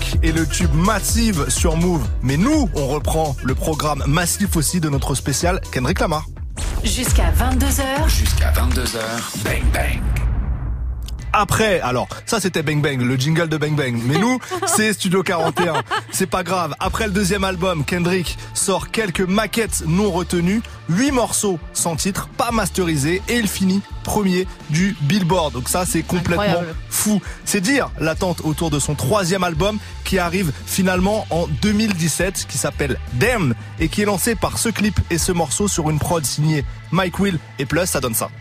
[SPEAKER 1] Kendrick et le tube Massive sur Move. Mais nous, on reprend le programme massif aussi de notre spécial Kendrick Lamar.
[SPEAKER 2] Jusqu'à vingt-deux heures.
[SPEAKER 3] Jusqu'à vingt-deux heures. Bang Bang.
[SPEAKER 1] Après, alors, ça c'était Bang Bang, le jingle de Bang Bang. Mais nous, c'est Studio quarante et un. C'est pas grave. Après le deuxième album, Kendrick sort quelques maquettes non retenues, huit morceaux sans titre, pas masterisés, et il finit premier du Billboard. Donc ça, c'est complètement
[SPEAKER 4] Incroyable.
[SPEAKER 1] fou. C'est dire l'attente autour de son troisième album qui arrive finalement en deux mille dix-sept, qui s'appelle Damn, et qui est lancé par ce clip et ce morceau sur une prod signée Mike Will, et plus, ça donne ça.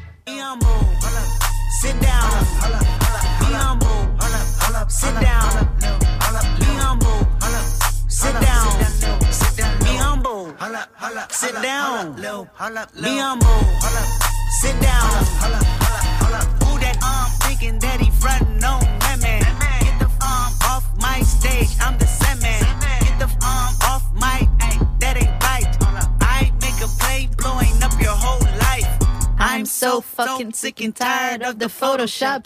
[SPEAKER 8] Sit down. Be humble. Sit down. Be humble. Sit down. Be humble. Sit down. Be humble. Sit down. Who that arm thinking that he frontin' on women? Get the arm off my stage. I'm the semen. Get the arm off my. That ain't right. I make a play blowing up your whole life.
[SPEAKER 4] I'm so fucking sick and tired of the Photoshop.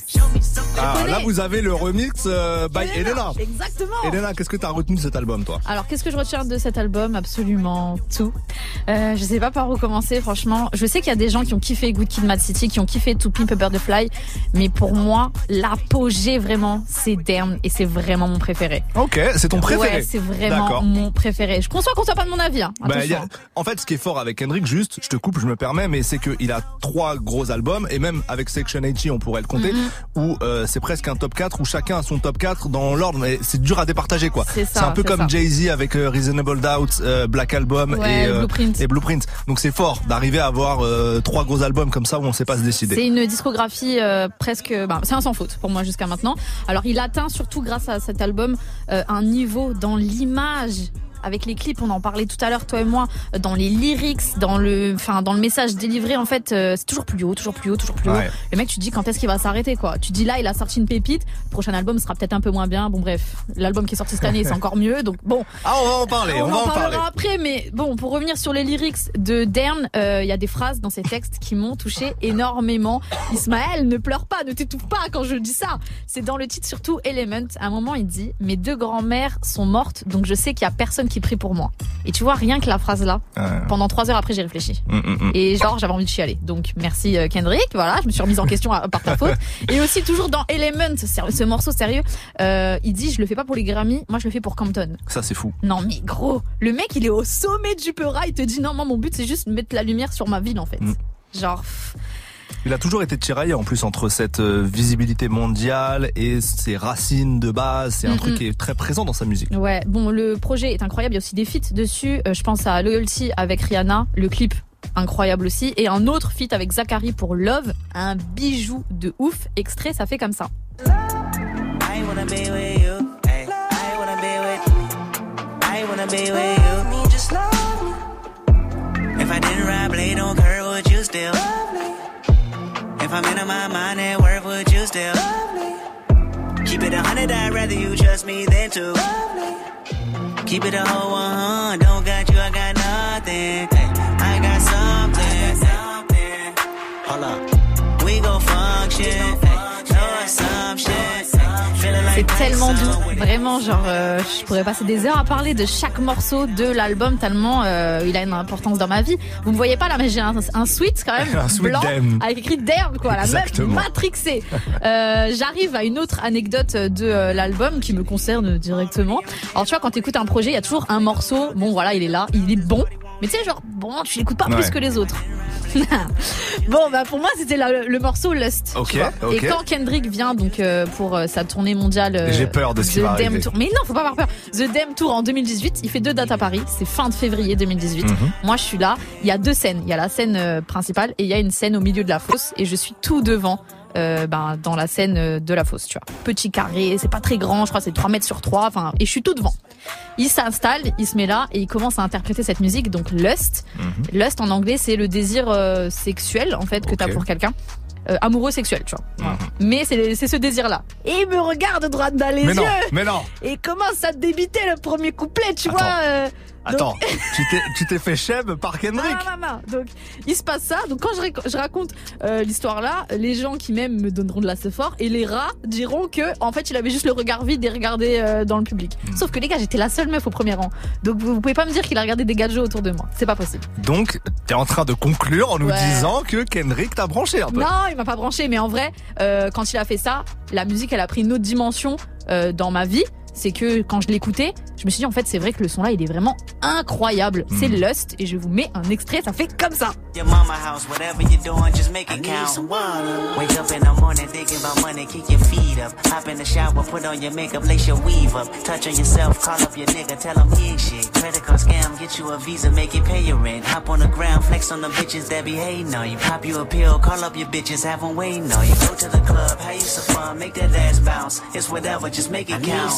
[SPEAKER 1] Ah, là, vous avez le remix euh, by Elena.
[SPEAKER 4] Exactement.
[SPEAKER 1] Elena, qu'est-ce que t'as retenu de cet album, toi?
[SPEAKER 4] Alors, qu'est-ce que je retiens de cet album? Absolument tout. Euh, je sais pas par où commencer, franchement. Je sais qu'il y a des gens qui ont kiffé Good Kid, Mad City, qui ont kiffé To Pimp a Butterfly, mais pour moi, l'apogée vraiment, c'est Damn, et c'est vraiment mon préféré.
[SPEAKER 1] Ok, c'est ton préféré.
[SPEAKER 4] Ouais, c'est vraiment
[SPEAKER 1] D'accord.
[SPEAKER 4] mon préféré. Je conçois qu'on soit pas de mon avis. Hein.
[SPEAKER 1] Bah, y a,
[SPEAKER 4] Attention.
[SPEAKER 1] en fait, ce qui est fort avec Kendrick, juste, je te coupe, je me permets, mais c'est qu'il a trois gros albums, et même avec Section quatre-vingts, on pourrait le compter,
[SPEAKER 4] Mm-hmm.
[SPEAKER 1] où euh, c'est presque un top quatre, où chacun a son top quatre dans l'ordre, mais c'est dur à départager, quoi.
[SPEAKER 4] C'est ça,
[SPEAKER 1] un peu
[SPEAKER 4] c'est
[SPEAKER 1] comme
[SPEAKER 4] ça.
[SPEAKER 1] Jay-Z avec euh, Reasonable Doubt, euh, Black Album
[SPEAKER 4] Ouais,
[SPEAKER 1] et, euh,
[SPEAKER 4] Blueprint.
[SPEAKER 1] et Blueprint. Donc c'est fort d'arriver à avoir euh, trois gros albums comme ça où on sait pas se décider.
[SPEAKER 4] C'est une discographie euh, presque, bah, c'est un sans faute pour moi jusqu'à maintenant. Alors il atteint surtout grâce à cet album euh, un niveau dans l'image. Avec les clips, on en parlait tout à l'heure, toi et moi, dans les lyrics, dans le, enfin, dans le message délivré, en fait, euh, c'est toujours plus haut, toujours plus haut, toujours plus
[SPEAKER 1] Ouais.
[SPEAKER 4] haut. Le mec, tu te dis quand est-ce qu'il va s'arrêter, quoi. Tu te dis là, il a sorti une pépite, le prochain album sera peut-être un peu moins bien. Bon, bref, l'album qui est sorti cette année, c'est encore mieux, donc bon.
[SPEAKER 1] Ah, on va en parler, on,
[SPEAKER 4] On,
[SPEAKER 1] va
[SPEAKER 4] en
[SPEAKER 1] en
[SPEAKER 4] parlera
[SPEAKER 1] parler.
[SPEAKER 4] après, mais bon, pour revenir sur les lyrics de Damn, il euh, y a des phrases dans ces textes qui m'ont touché énormément. Ismaël, ne pleure pas, ne t'étouffe pas quand je dis ça. C'est dans le titre surtout Element. À un moment, il dit « Mes deux grands-mères sont mortes, donc je sais qu'il y a personne qui prie pour moi. » Et tu vois, rien que la phrase là,
[SPEAKER 1] Ouais.
[SPEAKER 4] pendant trois heures après, j'ai réfléchi.
[SPEAKER 1] Mm, mm, mm.
[SPEAKER 4] Et genre, j'avais envie de chialer. Donc, merci euh, Kendrick. Voilà, je me suis remise en question à- par ta faute. Et aussi, toujours dans Element, ce, ce morceau sérieux, euh, il dit, je le fais pas pour les Grammy, moi je le fais pour Compton.
[SPEAKER 1] Ça, c'est fou.
[SPEAKER 4] Non, mais gros, le mec, il est au sommet du Peura, il te dit, non, moi, mon but, c'est juste de mettre la lumière sur ma ville, en fait.
[SPEAKER 1] Mm.
[SPEAKER 4] Genre, pff,
[SPEAKER 1] Il a toujours été tiraillé en plus entre cette euh, visibilité mondiale et ses racines de base. C'est un
[SPEAKER 4] Mm,
[SPEAKER 1] truc
[SPEAKER 4] mm.
[SPEAKER 1] qui est très présent dans sa musique.
[SPEAKER 4] ouais. Bon, le projet est incroyable, il y a aussi des feats dessus. Euh, je pense à Loyalty avec Rihanna, le clip. Incroyable aussi. Et un autre feat avec Zachary pour Love, un bijou de ouf. Extrait, ça fait comme ça.
[SPEAKER 8] I wanna be with you. Ay, I wanna be with. I wanna be with you. Me, just love me. If I didn't ride blade on curve, would you still? If I'm in my mind at work, would you still? Keep it a hundred, I'd rather you trust me than two. Keep it a whole one, don't got you, I got nothing. I got something. Hold up, we gon' function. No assumption.
[SPEAKER 4] C'est tellement doux, vraiment, genre, euh, je pourrais passer des heures à parler de chaque morceau de l'album tellement euh, il a une importance dans ma vie. Vous me voyez pas là, mais j'ai un, un sweat quand même
[SPEAKER 1] Un sweat
[SPEAKER 4] blanc
[SPEAKER 1] Damn.
[SPEAKER 4] avec écrit Damn, quoi, la meuf
[SPEAKER 1] Exactement.
[SPEAKER 4] matrixée. Euh, J'arrive à une autre anecdote de euh, l'album qui me concerne directement. Alors tu vois, quand t'écoutes un projet, il y a toujours un morceau, bon voilà, il est là, il est bon, mais tu sais, genre, bon, tu l'écoutes pas
[SPEAKER 1] Ouais.
[SPEAKER 4] plus que les autres. Bon, bah pour moi, c'était la- le morceau Lust.
[SPEAKER 1] Ok,
[SPEAKER 4] tu vois.
[SPEAKER 1] ok.
[SPEAKER 4] Et quand Kendrick vient donc euh, pour euh, sa tournée mondiale, euh,
[SPEAKER 1] J'ai peur de ce qui
[SPEAKER 4] The
[SPEAKER 1] va
[SPEAKER 4] Damn
[SPEAKER 1] arriver.
[SPEAKER 4] Tour. Mais non, faut pas avoir peur. The Damn Tour en deux mille dix-huit, il fait deux dates à Paris. C'est fin de février deux mille dix-huit.
[SPEAKER 1] Mhm.
[SPEAKER 4] Moi, je suis là. Il y a deux scènes. Il y a la scène euh, principale et il y a une scène au milieu de la fosse. Et je suis tout devant. Euh, ben, dans la scène euh, de la fosse, tu vois. Petit carré, c'est pas très grand, je crois que c'est trois mètres sur trois, enfin, et je suis tout devant. Il s'installe, il se met là et il commence à interpréter cette musique, donc Lust.
[SPEAKER 1] Mhm.
[SPEAKER 4] Lust en anglais, c'est le désir euh, sexuel, en fait, que
[SPEAKER 1] Ok.
[SPEAKER 4] t'as pour quelqu'un. Euh, amoureux sexuel, tu vois. Voilà. Mais c'est c'est ce désir-là. Et il me regarde droit dans les
[SPEAKER 1] Mais
[SPEAKER 4] yeux
[SPEAKER 1] non, mais non.
[SPEAKER 4] et commence à débiter le premier couplet, tu
[SPEAKER 1] Attends.
[SPEAKER 4] vois. euh,
[SPEAKER 1] Attends,
[SPEAKER 4] Donc...
[SPEAKER 1] tu t'es tu t'es fait chèvre par Kendrick.
[SPEAKER 4] Non, non, non. Donc il se passe ça. Donc quand je, rac- je raconte euh, l'histoire là, les gens qui m'aiment me donneront de la fort et les rats diront que en fait il avait juste le regard vide et regardait euh, dans le public. Mmh. Sauf que les gars, j'étais la seule meuf au premier rang. Donc vous, vous pouvez pas me dire qu'il a regardé des gadgets autour de moi. C'est pas possible.
[SPEAKER 1] Donc t'es en train de conclure en nous
[SPEAKER 4] ouais.
[SPEAKER 1] disant que Kendrick t'a branché un peu.
[SPEAKER 4] Non, il m'a pas branché. Mais en vrai, euh, quand il a fait ça, la musique elle a pris une autre dimension euh, dans ma vie. C'est que quand je l'écoutais, je me suis dit en fait c'est vrai que le son là il est vraiment incroyable. Mm. C'est Lust et je vous mets un extrait, ça fait comme ça.
[SPEAKER 8] Your mama house, whatever you're doing, just make it count. Wake up in the morning thinking about money, kick your feet up. Hop in the shower, put on your makeup, lace your weave up. Touch on yourself, call up your nigga, tell him he ain't shit. Credit card scam, get you a visa, make it pay your rent. Hop on the ground, flex on the bitches that be hating on you. Pop you a pill, call up your bitches, have them waiting on you. Go to the club, have you some fun, make that ass bounce. It's whatever, just make it count.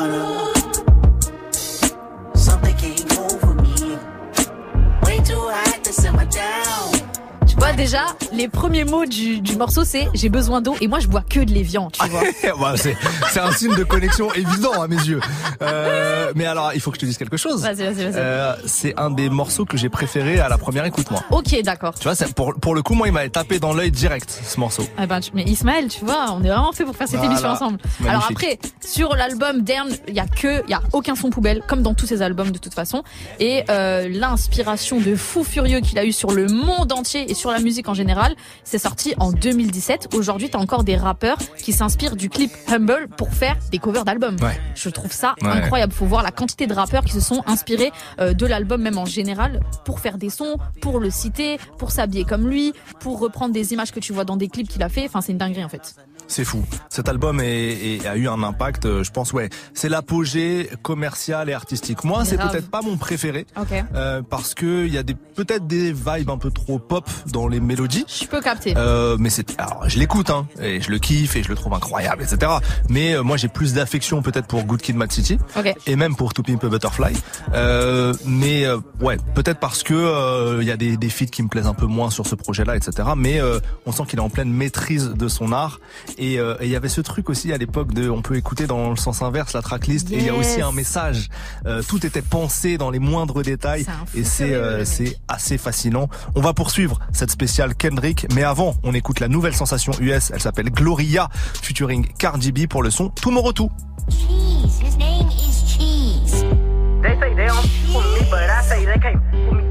[SPEAKER 8] Something came over me. Way too hot to simmer down.
[SPEAKER 4] Tu vois déjà, les premiers mots du, du morceau c'est j'ai besoin d'eau et moi je bois que de l'évian, tu vois.
[SPEAKER 1] bah, c'est, c'est un signe de connexion évident à mes yeux. Euh, mais alors, il faut que je te dise quelque chose.
[SPEAKER 4] Vas-y, vas-y, vas-y.
[SPEAKER 1] Euh, c'est un des morceaux que j'ai préféré à la première écoute, moi.
[SPEAKER 4] Ok, d'accord.
[SPEAKER 1] Tu vois, c'est, pour, pour le coup, moi, il m'avait tapé dans l'œil direct, ce morceau.
[SPEAKER 4] Eh ben, tu, mais Ismaël, tu vois, on est vraiment fait pour faire cette voilà. émission ensemble. Magnifique. Alors après, sur l'album Damn, il y a que, il y a aucun son poubelle, comme dans tous ses albums de toute façon. Et euh, l'inspiration de fou furieux qu'il a eu sur le monde entier et sur la musique en général, c'est sorti en deux mille dix-sept. Aujourd'hui, t'as encore des rappeurs qui s'inspirent du clip Humble pour faire des covers d'albums. Ouais. Je trouve ça ouais. incroyable. Faut voir la quantité de rappeurs qui se sont inspirés euh, de l'album, même en général, pour faire des sons, pour le citer, pour s'habiller comme lui, pour reprendre des images que tu vois dans des clips qu'il a fait. Enfin, c'est une dinguerie en fait.
[SPEAKER 1] C'est fou. Cet album est, est, a eu un impact, je pense, ouais. C'est l'apogée commercial et artistique. Moi, c'est, c'est peut-être pas mon préféré.
[SPEAKER 4] Okay.
[SPEAKER 1] Euh, parce que il y a des, peut-être des vibes un peu trop pop dans les mélodies.
[SPEAKER 4] Je peux capter.
[SPEAKER 1] Euh, mais c'est, alors, je l'écoute, hein. Et je le kiffe et je le trouve incroyable, et cetera. Mais, euh, moi, j'ai plus d'affection peut-être pour Good Kid, Mad City.
[SPEAKER 4] Okay.
[SPEAKER 1] Et même pour To Pimp a Butterfly. Euh, mais, euh, ouais, peut-être parce que, euh, il y a des, des feats qui me plaisent un peu moins sur ce projet-là, et cetera. Mais, euh, on sent qu'il est en pleine maîtrise de son art. Et il euh, y avait ce truc aussi à l'époque de, on peut écouter dans le sens inverse la tracklist yes. et il y a aussi un message. Euh, tout était pensé dans les moindres détails c'est et c'est euh, c'est assez fascinant. On va poursuivre cette spéciale Kendrick, mais avant, on écoute la nouvelle sensation U S. Elle s'appelle Gloria, featuring Cardi B pour le son Tomorrow two.
[SPEAKER 13] Cheese, his name is Cheese.
[SPEAKER 14] They say they don't f with me, but I say they can't f with me.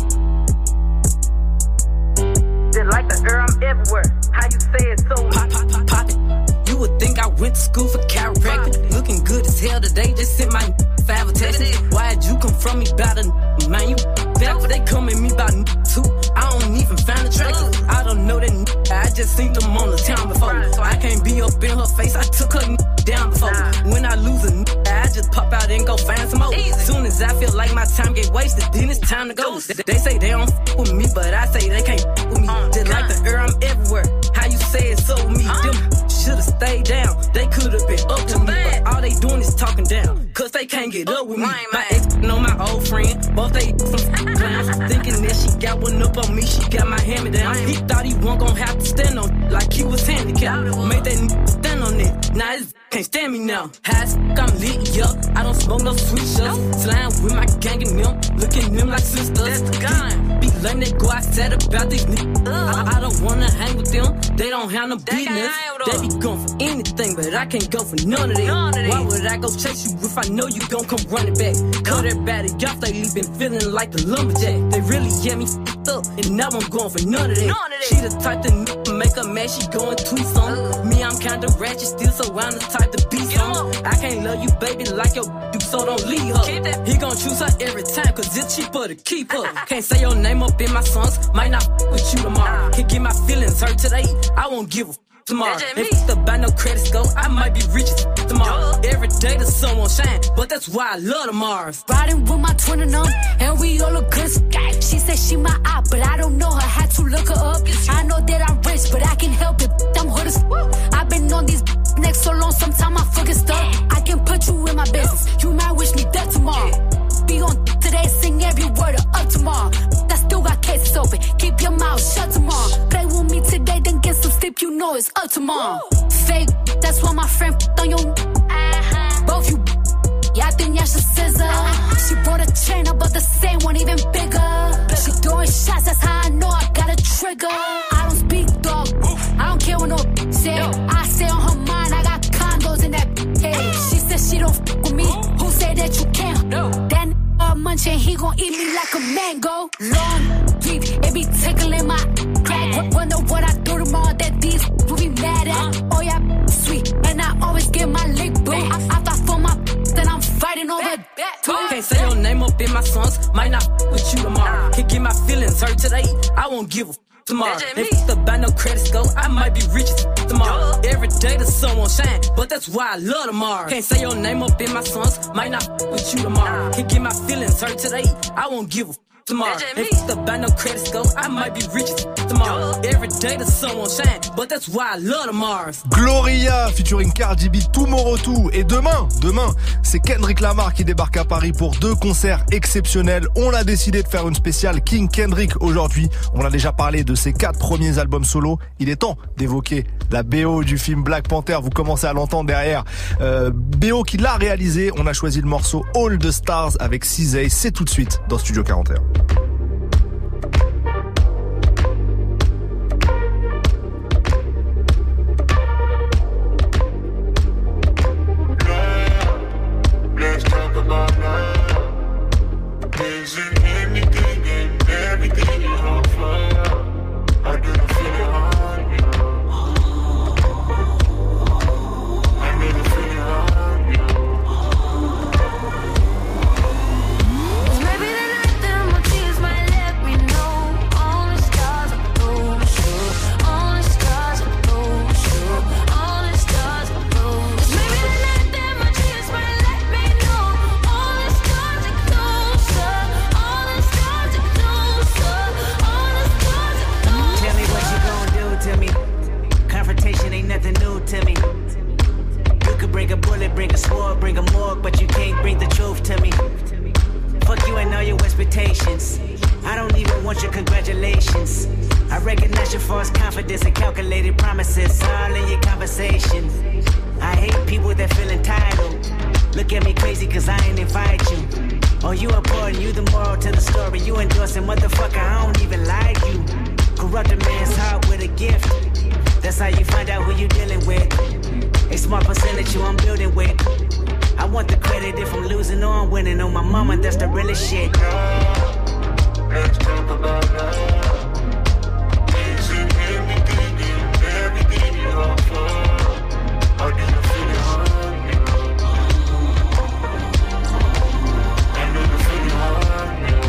[SPEAKER 14] Just like the air, I'm everywhere. How you say it so pop, pop, pop, pop it. You would think I went to school for chiropractic. Looking good as hell today, just sent my five text. Why'd you come from me about a man? You back, they come at me about too. I don't even find attractive. I don't know that I just seen them on the town before. I can't be up in her face, I took her down before. When I lose a I just pop out and go find some more. Soon as I feel like my time get wasted, then it's time to go. They say they don't f with me, but I say they can't f with me. Just like the air, I'm everywhere. How you say it so with me? Them should've stayed down. They could've been up to me, but all they doing is talking down. Cause they can't get up with me. My ex know my old friend, both they some clowns. Thinking that she got one up on me, she got my hand me down. He thought he wasn't gonna have to stand on like he was handicapped. Made that stand on it. Now his can't stand me now. High as I'm lit, yup. I don't smoke no sweet shots. Slime with my gang and them, looking at them like sisters. That's the gun. Be letting they go outside about these niggas. I, I don't wanna hang with them. They don't have no business. They be going for anything, but I can't go for none of it. Why would I go chase you if I know you gon' come running back? Cut everybody off, they been feeling like the lumberjack. They really get me f***ed up, and now I'm going for none of that. She the type to n- make her mad, she going tweets on. Me, I'm kinda ratchet still, so I'm the type to be some. I can't love you, baby, like your you, so don't leave her. He gon' choose her every time, cause it's cheaper to keep her. Can't say your name up in my songs, might not f- with you tomorrow. Can't get my feelings hurt today, I won't give a f- tomorrow. If it's about no credit score, I might be rich as f- tomorrow. Every day the sun won't shine, but that's why I love tomorrow.
[SPEAKER 13] Riding with my twin and them, and we all look good. She said she my eye, but I don't know her, had to look her up. I know that I'm rich, but I can help it, I'm hood as f- I've been on these next so long, sometimes I forget stuff. I can put you in my business, you might wish me dead tomorrow. Be on today, sing every word of up tomorrow. I still got cases open, keep your mouth shut tomorrow. Play with me today, then get some sleep, you know it's up tomorrow. Fake, that's why my friend f***ed on your uh-huh. Both you, yeah, I think y'all should scissor. Uh-huh. She brought a chain up, but don't f with me. Who said that you can't? No. That n- uh, munching, he gon' eat me like a mango. Long deep, it be tickling my crack. Wonder what I do tomorrow that these will be mad at. Oh yeah, sweet, and I always get my lick boo. I, I fight for my then I'm fighting over that.
[SPEAKER 14] Can't say your name up in my songs, might not f- with you tomorrow. Can't get my feelings hurt today, I won't give a f- tomorrow. If it's about no credit score, I might be rich as f- tomorrow. Every day the sun won't shine, but that's why I love tomorrow. Can't say your name up in my songs, might not f- with you tomorrow. Can't get my feelings hurt today, I won't give a f- tomorrow. If it's about no credit score, I might be rich as f- tomorrow. Every day the sun won't shine, but that's why I love tomorrow.
[SPEAKER 1] Gloria featuring Cardi B, Tomorrow two. Et demain, demain, c'est Kendrick Lamar qui débarque à Paris pour deux concerts exceptionnels. On a décidé de faire une spéciale King Kendrick aujourd'hui. On a déjà parlé de ses quatre premiers albums solo. Il est temps d'évoquer la B O du film Black Panther. Vous commencez à l'entendre derrière. Euh, B O qui l'a réalisé. On a choisi le morceau All the Stars avec Cizay. C'est tout de suite dans Studio quarante et un.
[SPEAKER 12] Let's talk about love. Is it anything and everything you on fire? I didn't feel it on you. I didn't feel it on you.
[SPEAKER 13] Maybe the night that my tears might let me know. All the stars are those, sure. All the stars are those, sure. All the stars are those. Maybe the night that my tears might let me know. All the stars are closer. All the stars are closer. All the stars are closer.
[SPEAKER 8] Tell me what you gon' do to me. Confrontation ain't nothing new to me. You could bring a bullet, bring a sword, bring a morgue, but you can't bring the truth to me. Fuck you and all your expectations. I don't even want your congratulations. I recognize your false confidence and calculated promises all in your conversation. I hate people that feel entitled. Look at me crazy cause I ain't invite you. Oh, you important, you the moral to the story. You endorsing, motherfucker, I don't even like you. Corrupt a man's heart with a gift. That's how you find out who you dealing with. A small percentage you I'm building with. I want the credit if I'm losing or I'm winning. On my mama, that's the realest shit.
[SPEAKER 12] Let's talk about love. Is it anything and everything you on fire? I didn't feel it on you. I didn't feel it on you.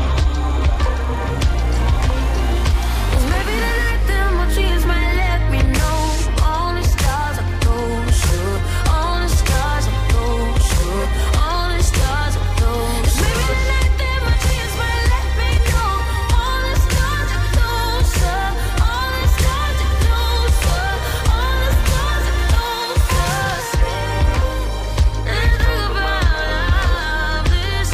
[SPEAKER 13] Maybe the night that my tears might let me know. All the stars are those, sure. All the stars are those, sure. All the stars are those. Maybe the night that my tears might let me know. All the stars are closer. All the stars are closer. All the stars are closer. Let's talk about this.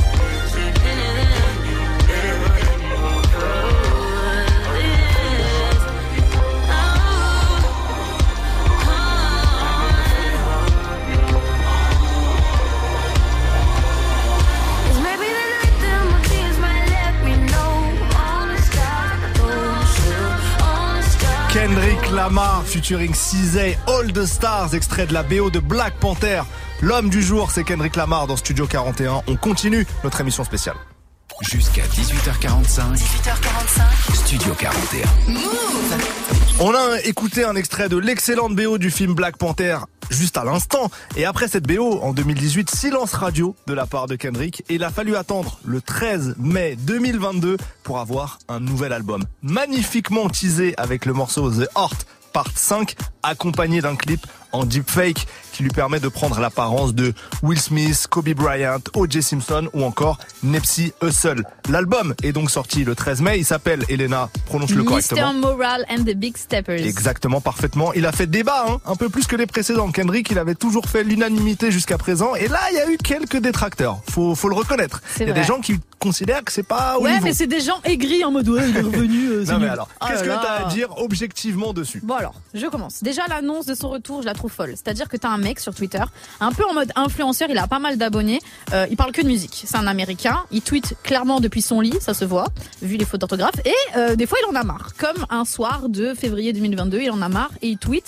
[SPEAKER 13] Maybe the night that my tears might let me know. All the stars are those, sure. All the stars.
[SPEAKER 1] Kendrick Lamar featuring Cizay, All the Stars, extrait de la B O de Black Panther. L'homme du jour, c'est Kendrick Lamar dans Studio quarante et un. On continue notre émission spéciale.
[SPEAKER 3] Jusqu'à dix-huit heures quarante-cinq.
[SPEAKER 2] dix-huit heures quarante-cinq.
[SPEAKER 3] Studio quarante et un.
[SPEAKER 2] Move.
[SPEAKER 1] On a écouté un extrait de l'excellente B O du film Black Panther juste à l'instant. Et après cette B O, en deux mille dix-huit, silence radio de la part de Kendrick. Et il a fallu attendre le treize mai deux mille vingt-deux pour avoir un nouvel album. Magnifiquement teasé avec le morceau The Heart Part cinq, accompagné d'un clip en deepfake qui lui permet de prendre l'apparence de Will Smith, Kobe Bryant, O J Simpson ou encore Nipsey Hussle. L'album est donc sorti le treize mai. Il s'appelle, Elena, prononce-le correctement.
[SPEAKER 4] mister Moral and the Big Steppers.
[SPEAKER 1] Exactement, parfaitement. Il a fait débat, hein, un peu plus que les précédents. Kendrick, il avait toujours fait l'unanimité jusqu'à présent. Et là, il y a eu quelques détracteurs. Faut, faut le reconnaître.
[SPEAKER 4] C'est
[SPEAKER 1] il y a
[SPEAKER 4] vrai.
[SPEAKER 1] des gens qui considèrent que c'est pas au
[SPEAKER 4] Ouais,
[SPEAKER 1] niveau.
[SPEAKER 4] mais c'est des gens aigris en mode ouais, il est revenu. Euh, c'est
[SPEAKER 1] Non mais
[SPEAKER 4] nul.
[SPEAKER 1] alors,
[SPEAKER 4] Oh
[SPEAKER 1] qu'est-ce
[SPEAKER 4] là
[SPEAKER 1] que
[SPEAKER 4] là.
[SPEAKER 1] t'as à dire objectivement dessus?
[SPEAKER 4] Bon alors, je commence. Déjà l'annonce de son retour, je la trouve folle. C'est-à-dire que t'as un mec sur Twitter, un peu en mode influenceur, il a pas mal d'abonnés, euh, il parle que de musique. C'est un Américain, il tweet clairement depuis son lit, ça se voit, vu les fautes d'orthographe, et euh, des fois il en a marre. Comme un soir de février deux mille vingt-deux, il en a marre et il tweet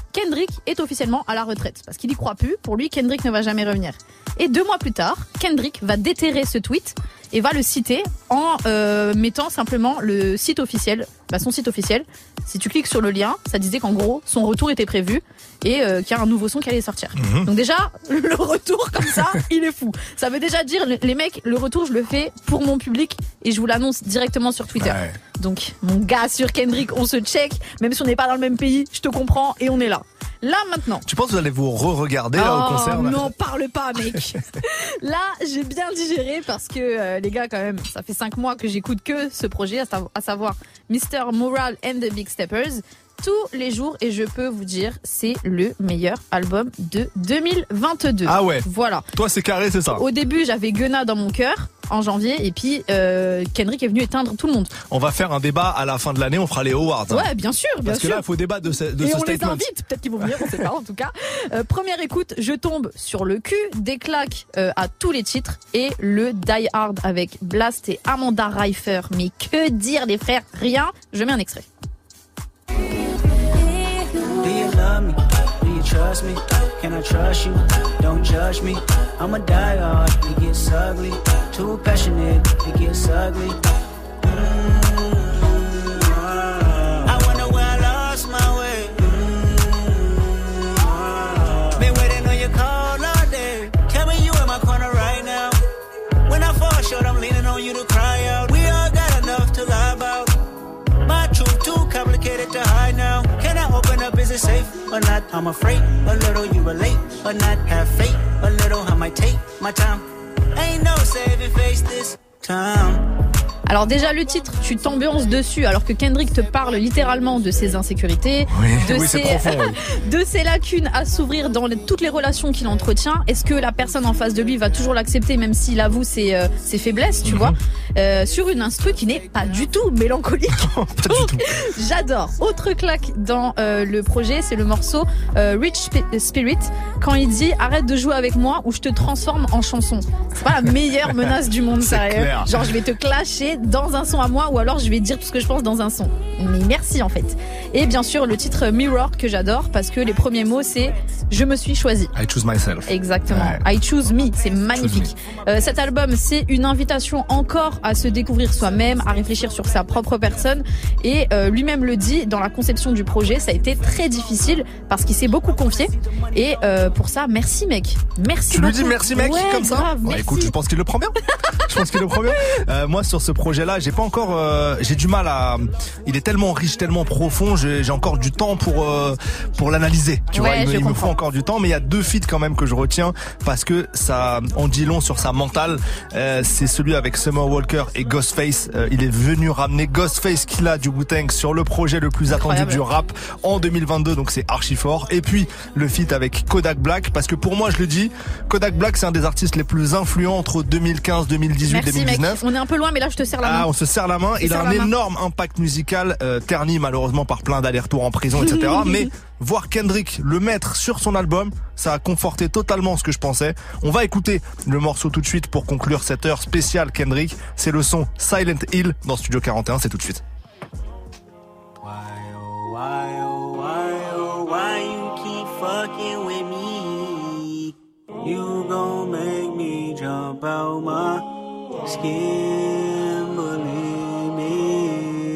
[SPEAKER 4] Kendrick est officiellement à la retraite parce qu'il y croit plus. Pour lui, Kendrick ne va jamais revenir. Et deux mois plus tard, Kendrick va déterrer ce tweet et va le citer en euh, mettant simplement le site officiel, bah son site officiel. Si tu cliques sur le lien, ça disait qu'en gros, son retour était prévu et euh, qu'il y a un nouveau son qui allait sortir. Mmh. Donc déjà, le retour comme ça, il est fou. Ça veut déjà dire, les mecs, le retour, je le fais pour mon public et je vous l'annonce directement sur Twitter. Ouais. Donc, mon gars sur Kendrick, on se check. Même si on n'est pas dans le même pays, je te comprends et on est là. Là, maintenant.
[SPEAKER 1] Tu penses que vous allez vous re-regarder
[SPEAKER 4] oh,
[SPEAKER 1] là, au concert?
[SPEAKER 4] Non, parle pas, mec. Là, j'ai bien digéré parce que, euh, les gars, quand même, ça fait cinq mois que j'écoute que ce projet, à, sa- à savoir mister Moral and the Big Steppers, tous les jours, et je peux vous dire, c'est le meilleur album de deux mille vingt-deux.
[SPEAKER 1] Ah ouais.
[SPEAKER 4] Voilà.
[SPEAKER 1] Toi, c'est carré, c'est ça.
[SPEAKER 4] Au début, j'avais Gunna dans mon cœur en janvier, et puis euh, Kendrick est venu éteindre tout le monde.
[SPEAKER 1] On va faire un débat à la fin de l'année, on fera les awards. Hein.
[SPEAKER 4] Ouais, bien sûr, bien
[SPEAKER 1] Parce
[SPEAKER 4] sûr.
[SPEAKER 1] que là, il faut débattre de ce, de
[SPEAKER 4] et
[SPEAKER 1] ce
[SPEAKER 4] on
[SPEAKER 1] statement.
[SPEAKER 4] les invite, peut-être qu'ils vont venir, on sait pas en tout cas. Euh, première écoute, je tombe sur le cul, des claques euh, à tous les titres, et le Die Hard avec Blast et Amanda Reifer. Mais que dire les frères, rien, je mets un extrait.
[SPEAKER 8] Do you love me? Do you trust me? Can I trust you? Don't judge me. I'm a diehard. It gets ugly. Too passionate. It gets ugly. Mm-hmm. I wonder where I lost my way. Mm-hmm. Been waiting on your call all day. Tell me you in my corner right now. When I fall short, I'm leaning on you to cry out. We all got enough to lie about. My truth too complicated to hide now. Can I open up? Is it safe or not? I'm afraid a little you relate or not. Have faith a little. I might take my time. Ain't no saving face this time.
[SPEAKER 4] Alors déjà le titre, tu t'ambiances dessus alors que Kendrick te parle littéralement de ses insécurités,
[SPEAKER 1] oui,
[SPEAKER 4] de,
[SPEAKER 1] oui,
[SPEAKER 4] ses,
[SPEAKER 1] profond, oui.
[SPEAKER 4] de ses lacunes à s'ouvrir dans les, toutes les relations qu'il entretient. Est-ce que la personne en face de lui va toujours l'accepter même s'il avoue ses, euh, ses faiblesses, tu mm-hmm. vois, euh, sur une instru qui n'est pas du tout mélancolique.
[SPEAKER 1] pas
[SPEAKER 4] Donc,
[SPEAKER 1] du tout.
[SPEAKER 4] J'adore. Autre claque dans euh, le projet, c'est le morceau euh, Rich Spirit quand il dit arrête de jouer avec moi ou je te transforme en chanson. C'est pas la meilleure menace du monde, sérieux.
[SPEAKER 1] Clair.
[SPEAKER 4] Genre je vais te clasher dans un son à moi ou alors je vais dire tout ce que je pense dans un son. Mais merci en fait. Et bien sûr le titre Mirror que j'adore parce que les premiers mots c'est je me suis choisi.
[SPEAKER 1] I choose myself.
[SPEAKER 4] Exactement.
[SPEAKER 1] Ouais.
[SPEAKER 4] I choose me, c'est magnifique. Euh, cet album c'est une invitation encore à se découvrir soi-même, à réfléchir sur sa propre personne et euh, lui-même le dit dans la conception du projet, ça a été très difficile parce qu'il s'est beaucoup confié et euh, pour ça merci mec. Merci
[SPEAKER 1] Tu
[SPEAKER 4] beaucoup.
[SPEAKER 1] lui dis merci mec
[SPEAKER 4] ouais,
[SPEAKER 1] comme ça
[SPEAKER 4] grave,
[SPEAKER 1] ouais,
[SPEAKER 4] merci.
[SPEAKER 1] Écoute, je pense qu'il le prend bien. Je pense qu'il le prend bien. Euh, moi sur ce projet-là, j'ai pas encore, euh, j'ai du mal à. Il est tellement riche, tellement profond. J'ai, j'ai encore du temps pour euh, pour l'analyser. Tu
[SPEAKER 4] ouais,
[SPEAKER 1] vois, il, me, il me faut
[SPEAKER 4] comprends.
[SPEAKER 1] encore du temps. Mais il y a deux feats quand même que je retiens parce que ça en dit long sur sa mentale. Euh, c'est celui avec Summer Walker et Ghostface. Euh, il est venu ramener Ghostface Killah du Wu-Tang sur le projet le plus attendu
[SPEAKER 4] Incroyable.
[SPEAKER 1] du rap en deux mille vingt-deux. Donc c'est archi fort. Et puis le feat avec Kodak Black parce que pour moi, je le dis, Kodak Black c'est un des artistes les plus influents entre deux mille quinze, deux mille dix-huit,
[SPEAKER 4] Merci
[SPEAKER 1] deux mille dix-neuf.
[SPEAKER 4] mec. On est un peu loin mais là je te serre la main.
[SPEAKER 1] Ah, on se serre la main.
[SPEAKER 4] Je
[SPEAKER 1] Il a
[SPEAKER 4] serre
[SPEAKER 1] un
[SPEAKER 4] la main.
[SPEAKER 1] énorme impact musical, euh, terni malheureusement par plein d'allers-retours en prison, et cetera. Mais voir Kendrick le mettre sur son album, ça a conforté totalement ce que je pensais. On va écouter le morceau tout de suite pour conclure cette heure spéciale Kendrick. C'est le son Silent Hill dans Studio quarante et un, c'est tout de suite.
[SPEAKER 8] Why oh why oh why oh why you keep fucking with me? You gon' make me jump out my skin, believe me.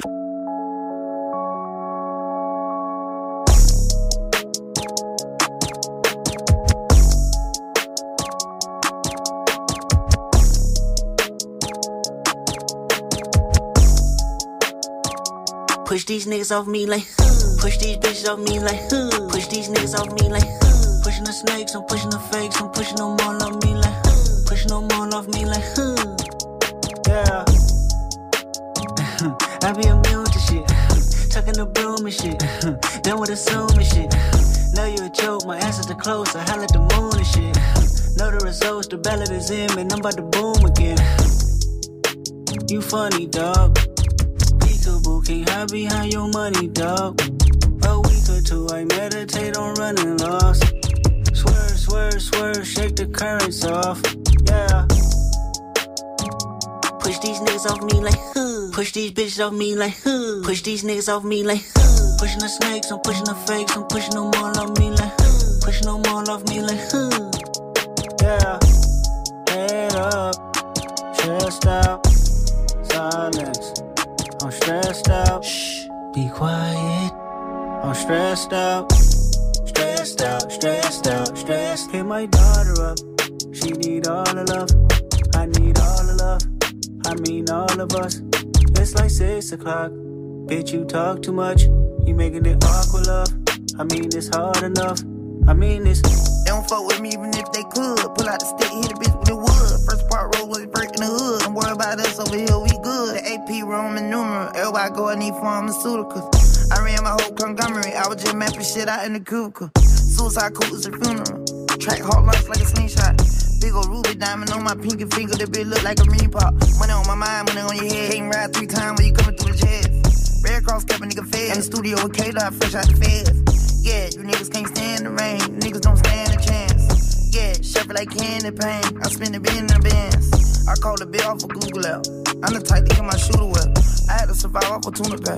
[SPEAKER 8] Push these niggas off me like, huh. Push these bitches off me like, huh. Push these niggas off me like, huh. Pushing the snakes, I'm pushing the fakes, I'm pushing them all off me like, huh. Pushing them all off me like, huh. Yeah. I be immune to shit, tucking the broom and shit, done with assuming shit. Know you a joke, my answers are close, I holler at the moon and shit. Know the results, the ballot is in, man, I'm about to boom again. You funny, dog. Peekaboo, can't hide behind your money, dog. A week or two, I meditate on running lost. Swerve, swerve, swerve, shake the currents off. Yeah. Push these niggas off me like, huh. Push these bitches off me like, huh. Push these niggas off me like, huh. Pushing the snakes, I'm pushing the fakes, I'm pushing them all off me like, pushing them all off me like, yeah. Head up, chest out, silence. I'm stressed out. Shh, be quiet. I'm stressed out, stressed out, stressed out, stressed. Hit my daughter up. She need all the love. I need all the love. I mean all of us. It's like six o'clock. Bitch, you talk too much. You making it awkward, love. I mean it's hard enough. I mean this.
[SPEAKER 15] They don't fuck with me even if they could. Pull out the stick, hit a bitch with the wood. First part roll was breaking the hood. Don't worry about us over here, we good. The A P Roman numeral. Everybody go, I need pharmaceuticals. I ran my whole conglomerate. I was just mapping shit out in the cubicle. Suicide cool is a funeral. Track hard lunch like a slingshot. Big ol' ruby diamond on my pinky finger. The bitch look like a ring pop. Money on my mind, money on your head. Can't ride three times when you coming through the chest. Red Cross kept a nigga fed. In the studio with K-Dot, fresh out the feds. Yeah, you niggas can't stand the rain. Niggas don't stand a chance. Yeah, chef like candy paint. I spend the bin in the bands. I call the bill off of Google out. I'm the type to get my shooter well. I had to survive off a tuna pack.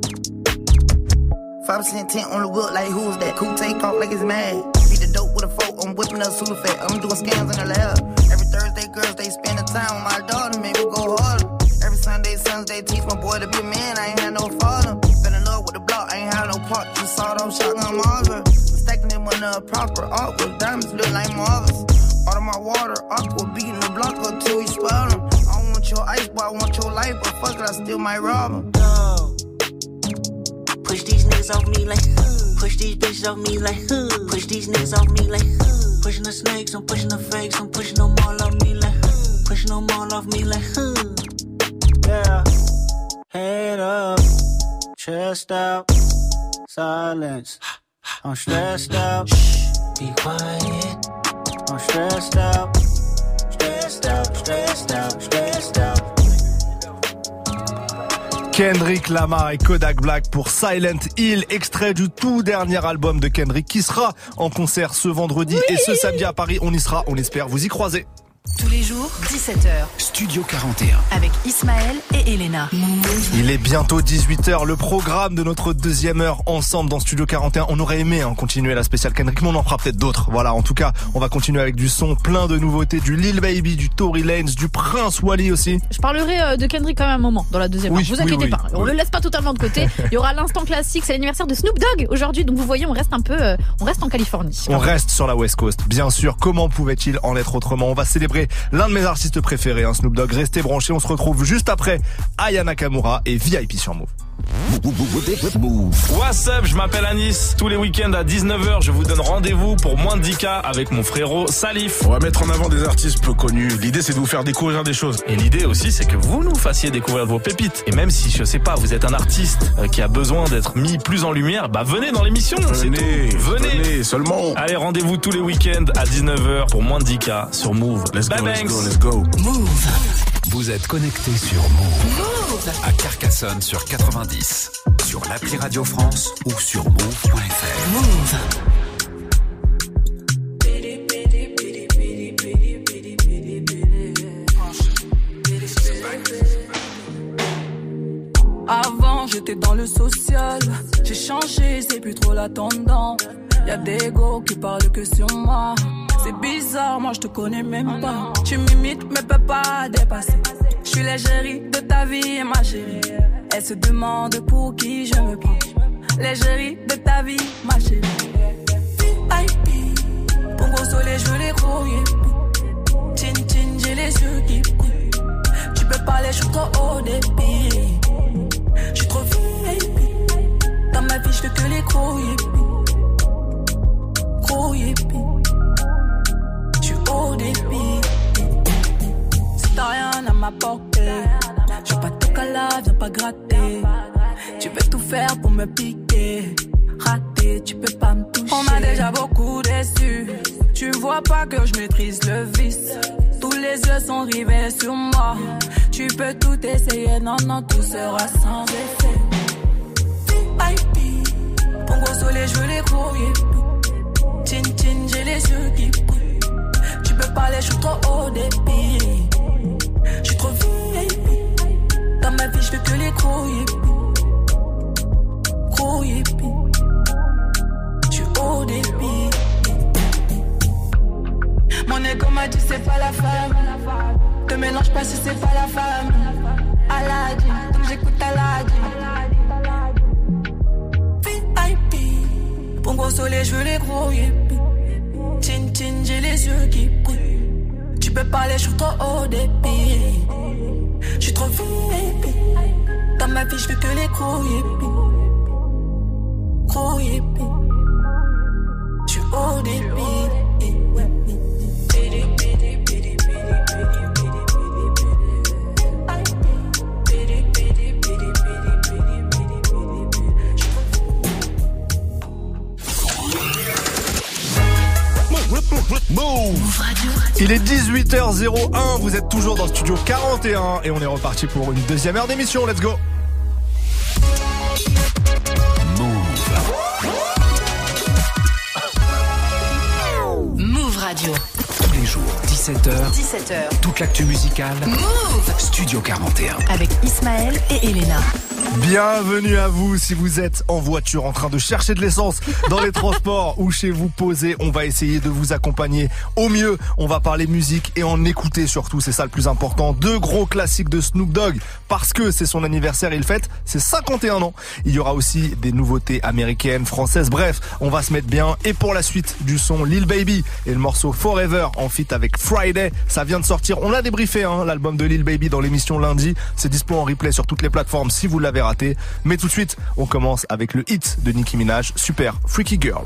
[SPEAKER 15] five percent tint on the whip, like who's that? Cool take off like it's mad. Beat the dope with a fork, I'm whipping up Sudafed. I'm doing scams in the lab. Every Thursday, girls, they spend the time with my daughter, make me go harder. Every Sunday, Sunday, teach my boy to be a man, I ain't had no father. Fell in love with the block, I ain't had no part. You saw them shotgun Marvin. Stacking them on the proper artwork, diamonds look like Marvels. Out of my water, aqua, beating the block up till you spoil them. I don't want your ice, but I want your life, but fuck it, I still might rob them.
[SPEAKER 8] Push these niggas off me like, push these bitches off me like, push these niggas off me like, pushing the snakes, I'm pushing the fakes, I'm pushing them all off me like, pushing them all off me like, yeah. Head up, chest out, silence. I'm stressed out, shh, be quiet. I'm stressed out, stressed out, stressed out, stressed out.
[SPEAKER 1] Kendrick Lamar et Kodak Black pour Silent Hill, extrait du tout dernier album de Kendrick qui sera en concert ce vendredi oui et ce samedi à Paris. On y sera, on espère vous y croiser.
[SPEAKER 2] Tous les jours, dix-sept heures.
[SPEAKER 3] Studio quarante et un.
[SPEAKER 2] Avec Ismaël et Elena.
[SPEAKER 1] Il est bientôt dix-huit heures. Le programme de notre deuxième heure ensemble dans Studio quarante et un. On aurait aimé hein, continuer la spéciale Kendrick, mais on en fera peut-être d'autres. Voilà, en tout cas, on va continuer avec du son, plein de nouveautés, du Lil Baby, du Tory Lanez, du Prince Wally aussi.
[SPEAKER 4] Je parlerai de Kendrick quand même un moment dans la deuxième
[SPEAKER 1] oui,
[SPEAKER 4] heure. Vous
[SPEAKER 1] oui,
[SPEAKER 4] inquiétez
[SPEAKER 1] oui,
[SPEAKER 4] pas.
[SPEAKER 1] oui.
[SPEAKER 4] On le laisse pas totalement de côté. Il y aura l'instant classique. C'est l'anniversaire de Snoop Dogg aujourd'hui. Donc vous voyez, on reste un peu, euh, on reste en Californie.
[SPEAKER 1] On reste sur la West Coast. Bien sûr. Comment pouvait-il en être autrement? On va célébrer l'un de mes artistes préférés, hein, Snoop Dogg. Restez branchés, on se retrouve juste après Aya Nakamura et V I P sur Move.
[SPEAKER 16] What's up, je m'appelle Anis. Tous les week-ends à dix-neuf heures, je vous donne rendez-vous pour moins de dix K avec mon frérot Salif.
[SPEAKER 17] On va mettre en avant des artistes peu connus. L'idée, c'est de vous faire découvrir des choses.
[SPEAKER 16] Et l'idée aussi, c'est que vous nous fassiez découvrir vos pépites. Et même si, je sais pas, vous êtes un artiste qui a besoin d'être mis plus en lumière, bah venez dans l'émission.
[SPEAKER 17] Venez,
[SPEAKER 16] venez,
[SPEAKER 17] venez seulement.
[SPEAKER 16] Allez, rendez-vous tous les week-ends à dix-neuf heures pour moins de dix K sur Move.
[SPEAKER 17] Let's
[SPEAKER 16] Bye
[SPEAKER 17] go,
[SPEAKER 16] banks.
[SPEAKER 17] let's go, let's go.
[SPEAKER 2] Move.
[SPEAKER 3] Vous êtes connectés sur Move.
[SPEAKER 2] Move.
[SPEAKER 3] À Carcassonne sur quatre-vingt-dix. Sur l'appli Radio France ou sur move point f r.
[SPEAKER 2] Move.
[SPEAKER 18] Avant j'étais dans le social, j'ai changé, c'est plus trop la tendance. Y'a des go qui parlent que sur moi. C'est bizarre, moi je te connais même pas. Tu m'imites mais peux pas dépasser. Je suis l'égérie de ta vie, ma chérie. Elle se demande pour qui je me prends. L'égérie de ta vie, ma chérie. V I P, Pongo soleil, je veux les grouiller. Chin chin, j'ai les yeux qui brillent. Tu peux parler, je suis trop haut débit. Je suis trop V I P. Dans ma vie, je veux que les gros yippies. Gros yippies. Je suis haut débit. Si t'as rien à m'apporter, je veux pas te caler, viens pas gratter. Tu veux tout faire pour me piquer. Raté, tu peux pas me toucher. On m'a déjà beaucoup déçu. Tu vois pas que je maîtrise le vice. Tous les yeux sont rivés sur moi. Tu peux tout essayer, non, non, tout sera sans effet. V I P, Pongo soleil, je veux les grouiller. Chin chin, j'ai les yeux qui brillent. Tu peux parler, je suis trop haut débit. Je suis trop V I P. Dans ma vie, je veux que les gros yippies. gros hippie. J'suis au débit. Mon égo m'a dit c'est pas la femme. Te mélange pas si c'est pas la femme. Aladin, donc j'écoute Aladin. V I P, pour gros soleil je veux les gros hippies. Tin tin j'ai les yeux qui brillent. Tu peux parler, je suis trop haut débit. J'suis trop V I P. Dans ma vie je veux que les gros hippies. Gros hippies. J'suis haut débit.
[SPEAKER 1] Move Radio. Il est dix-huit heures zéro un, vous êtes toujours dans le studio quarante et un et on est reparti pour une deuxième heure d'émission, let's go.
[SPEAKER 2] Move. Move Radio.
[SPEAKER 3] Tous les jours, dix-sept heures.
[SPEAKER 2] dix-sept heures.
[SPEAKER 3] Toute l'actu musicale.
[SPEAKER 2] Move.
[SPEAKER 3] Studio quarante et un.
[SPEAKER 2] Avec Ismaël et Elena.
[SPEAKER 1] Bienvenue à vous si vous êtes en voiture en train de chercher de l'essence dans les transports ou chez vous posé. On va essayer de vous accompagner au mieux. On va parler musique et en écouter surtout, c'est ça le plus important. Deux gros classiques de Snoop Dogg parce que c'est son anniversaire, il fête ses cinquante et un ans. Il y aura aussi des nouveautés américaines, françaises, bref, on va se mettre bien. Et pour la suite du son, Lil Baby et le morceau Forever en feat avec Friday, ça vient de sortir. On l'a débriefé, hein, l'album de Lil Baby dans l'émission lundi. C'est dispo en replay sur toutes les plateformes si vous l'avez raté. Mais tout de suite, on commence avec le hit de Nicki Minaj, Super Freaky Girl.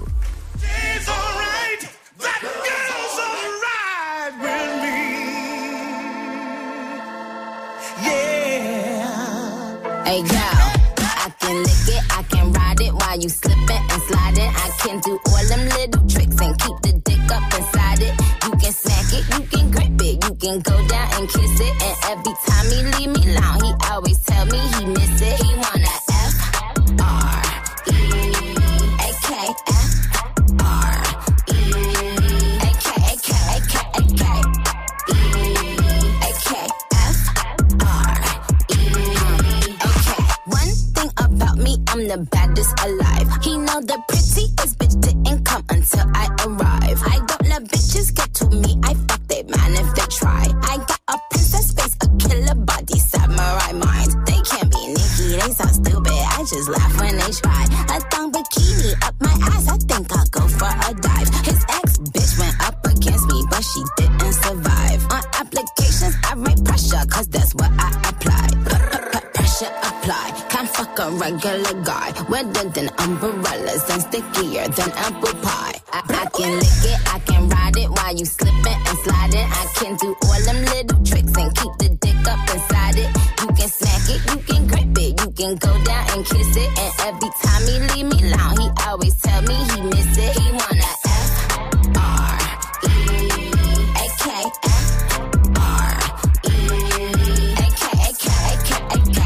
[SPEAKER 19] Hey girl, I can lick it, I can ride it while you slipping and sliding. I can do all them little tricks and keep the dick up inside it. You can smack it, you can grip it, you can go down and kiss it. And every time he leave me alone, he always tell me he miss it. He wanna F R E A K F R E A K A K A K A K E A K F R E. Okay, one thing about me, I'm the baddest alive. He know the prettiest bitch didn't come until I arrive. I don't let bitches get to me, I fuck they man if they try. I got a princess face, a killer body, samurai mind. They can't be Nicki, they so stupid, I just laugh when they try. A thong bikini up my ass, I think I'll go for a dive. His ex bitch went up against me, but she didn't survive. On applications, I write pressure, cause that's what I apply. Pressure apply, can't fuck a regular guy. Wetter than umbrellas and stickier than apple pie. I, I can lick it, I can ride it while you slipping and sliding. I can do all them little tricks and keep the dick up inside it. You can smack it, you can grip it, you can go down and kiss it. And every time he leave me alone, he always tell me he miss it. He wanna F R E A K F R E A K A K A K A K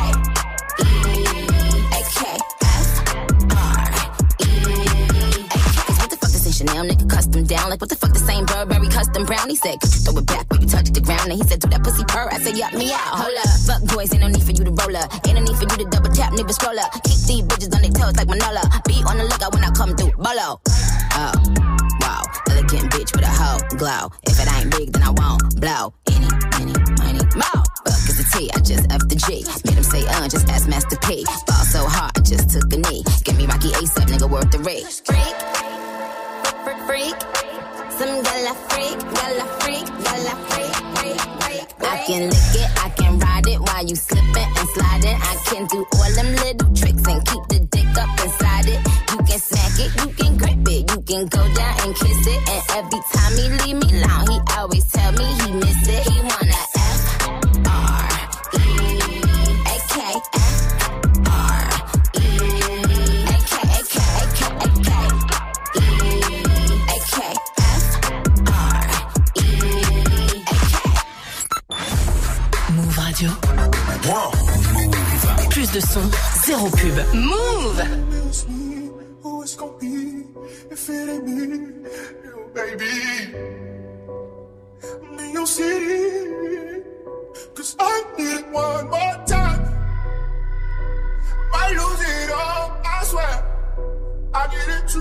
[SPEAKER 19] E A K F R E A K. Cause what the fuck this ain't Chanel, nigga custom down. Like what the fuck this ain't Burberry custom brown. He said, could you throw it back when you touch the ground? And he said, do that pussy purr. I said, yup me out. Hold up, fuck boys, ain't no need for you to roll up. Ain't no need for you to double tap, nigga scroll up. Keep these bitches on their toes like Manola. Be on the lookout when I come through, bolo. Oh, wow, elegant bitch with a hoe glow. If it ain't big, then I won't blow. Any, any, money, mo. Fuck is the T, I just F the G. Made him say, uh, just ask Master P. Ball so hard, I just took a knee. Get me Rocky ASAP, nigga, worth the rate. Freak, freak, freak. Some gala freak, gala freak, gala freak, freak, freak. I can lick it, I can ride it while you slipping and sliding. I can do all them little tricks and keep the dick up inside it. You can smack it, you can grip it, you can go down and kiss it. And every time he leave me alone, he always tell me he miss it. He wanna F R E A K F R E A K A K A K A K E A K F R E A K.
[SPEAKER 2] Move Radio.
[SPEAKER 3] Wow. Move.
[SPEAKER 2] Plus de son, zéro pub. Move.
[SPEAKER 12] Who it's gonna be if it ain't me, you baby. I'm in your city, cause I need it one more time. Might lose it all, I swear.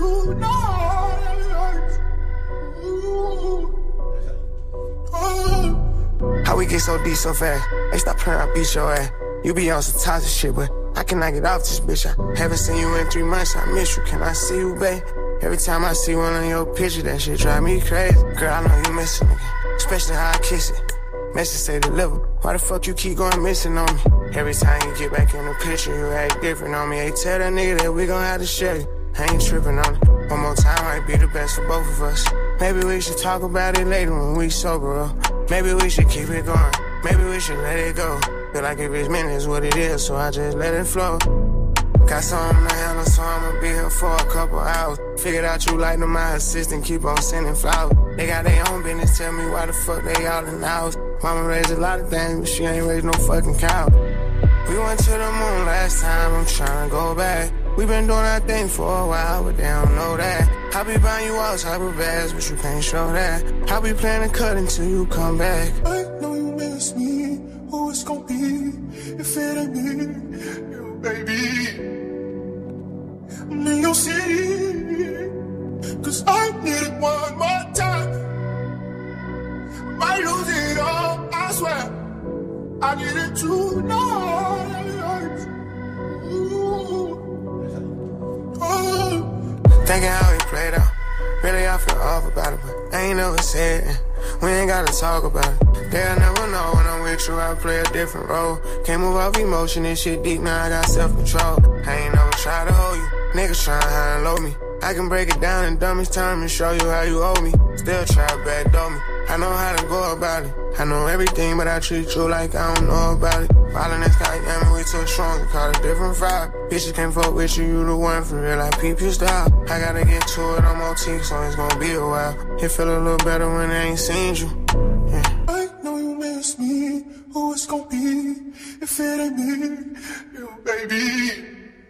[SPEAKER 6] tonight. Ooh. Oh.
[SPEAKER 11] How we get so deep so fast? Hey, stop playing, I beat your ass. You be on some toxic shit, but I cannot get off this bitch. I haven't seen you in three months, I miss you. Can I see you, babe? Every time I see one of your pictures, that shit drive me crazy. Girl, I know you missing me, especially how I kiss it. Message say deliver. Why the fuck you keep going missing on me? Every time you get back in the picture, you act different on me. Hey, tell that nigga that we gon' have to share it. I ain't tripping on it. One more time might be the best for both of us. Maybe we should talk about it later when we sober up. Maybe we should keep it going. Maybe we should let it go. Feel like if it's meant, it's what it is, so I just let it flow. Got something to handle, so I'ma be here for a couple hours. Figured out you like them, my assistant, keep on sending flowers. They got their own business, tell me why the fuck they all in the house. Mama raised a lot of things, but she ain't raised no fucking cow. We went to the moon last time, I'm tryna go back. We been doing our thing for a while, but they don't know that. I be buying you all type of bags, but you can't show that. I be playing the cut until you come back.
[SPEAKER 6] I know you miss me, who it's gon' be if it ain't me, you baby. I'm in your city, cause I need it one more time. Might lose it all, I swear. I need it tonight. Ooh. Oh.
[SPEAKER 11] Thinking how we played out. Really, I feel off about it, but I ain't never said it. We ain't gotta talk about it. They'll never know when I'm with you, I play a different role. Can't move off emotion, this shit deep, now I got self-control. I ain't never try to hold you. Niggas tryna high and low me. I can break it down in dumbest time and show you how you owe me. Still try to backdoor me. I know how to go about it. I know everything, but I treat you like I don't know about it. Falling in sky, yeah, man, we too strong to call it different vibe. Bitches can't fuck with you, you the one for real, I peep your style. I gotta get to it, I'm on T, so it's gonna be a while. It feel a little better when I ain't seen you. Yeah.
[SPEAKER 6] I know you miss me, who it's gon' be if it ain't me, you baby.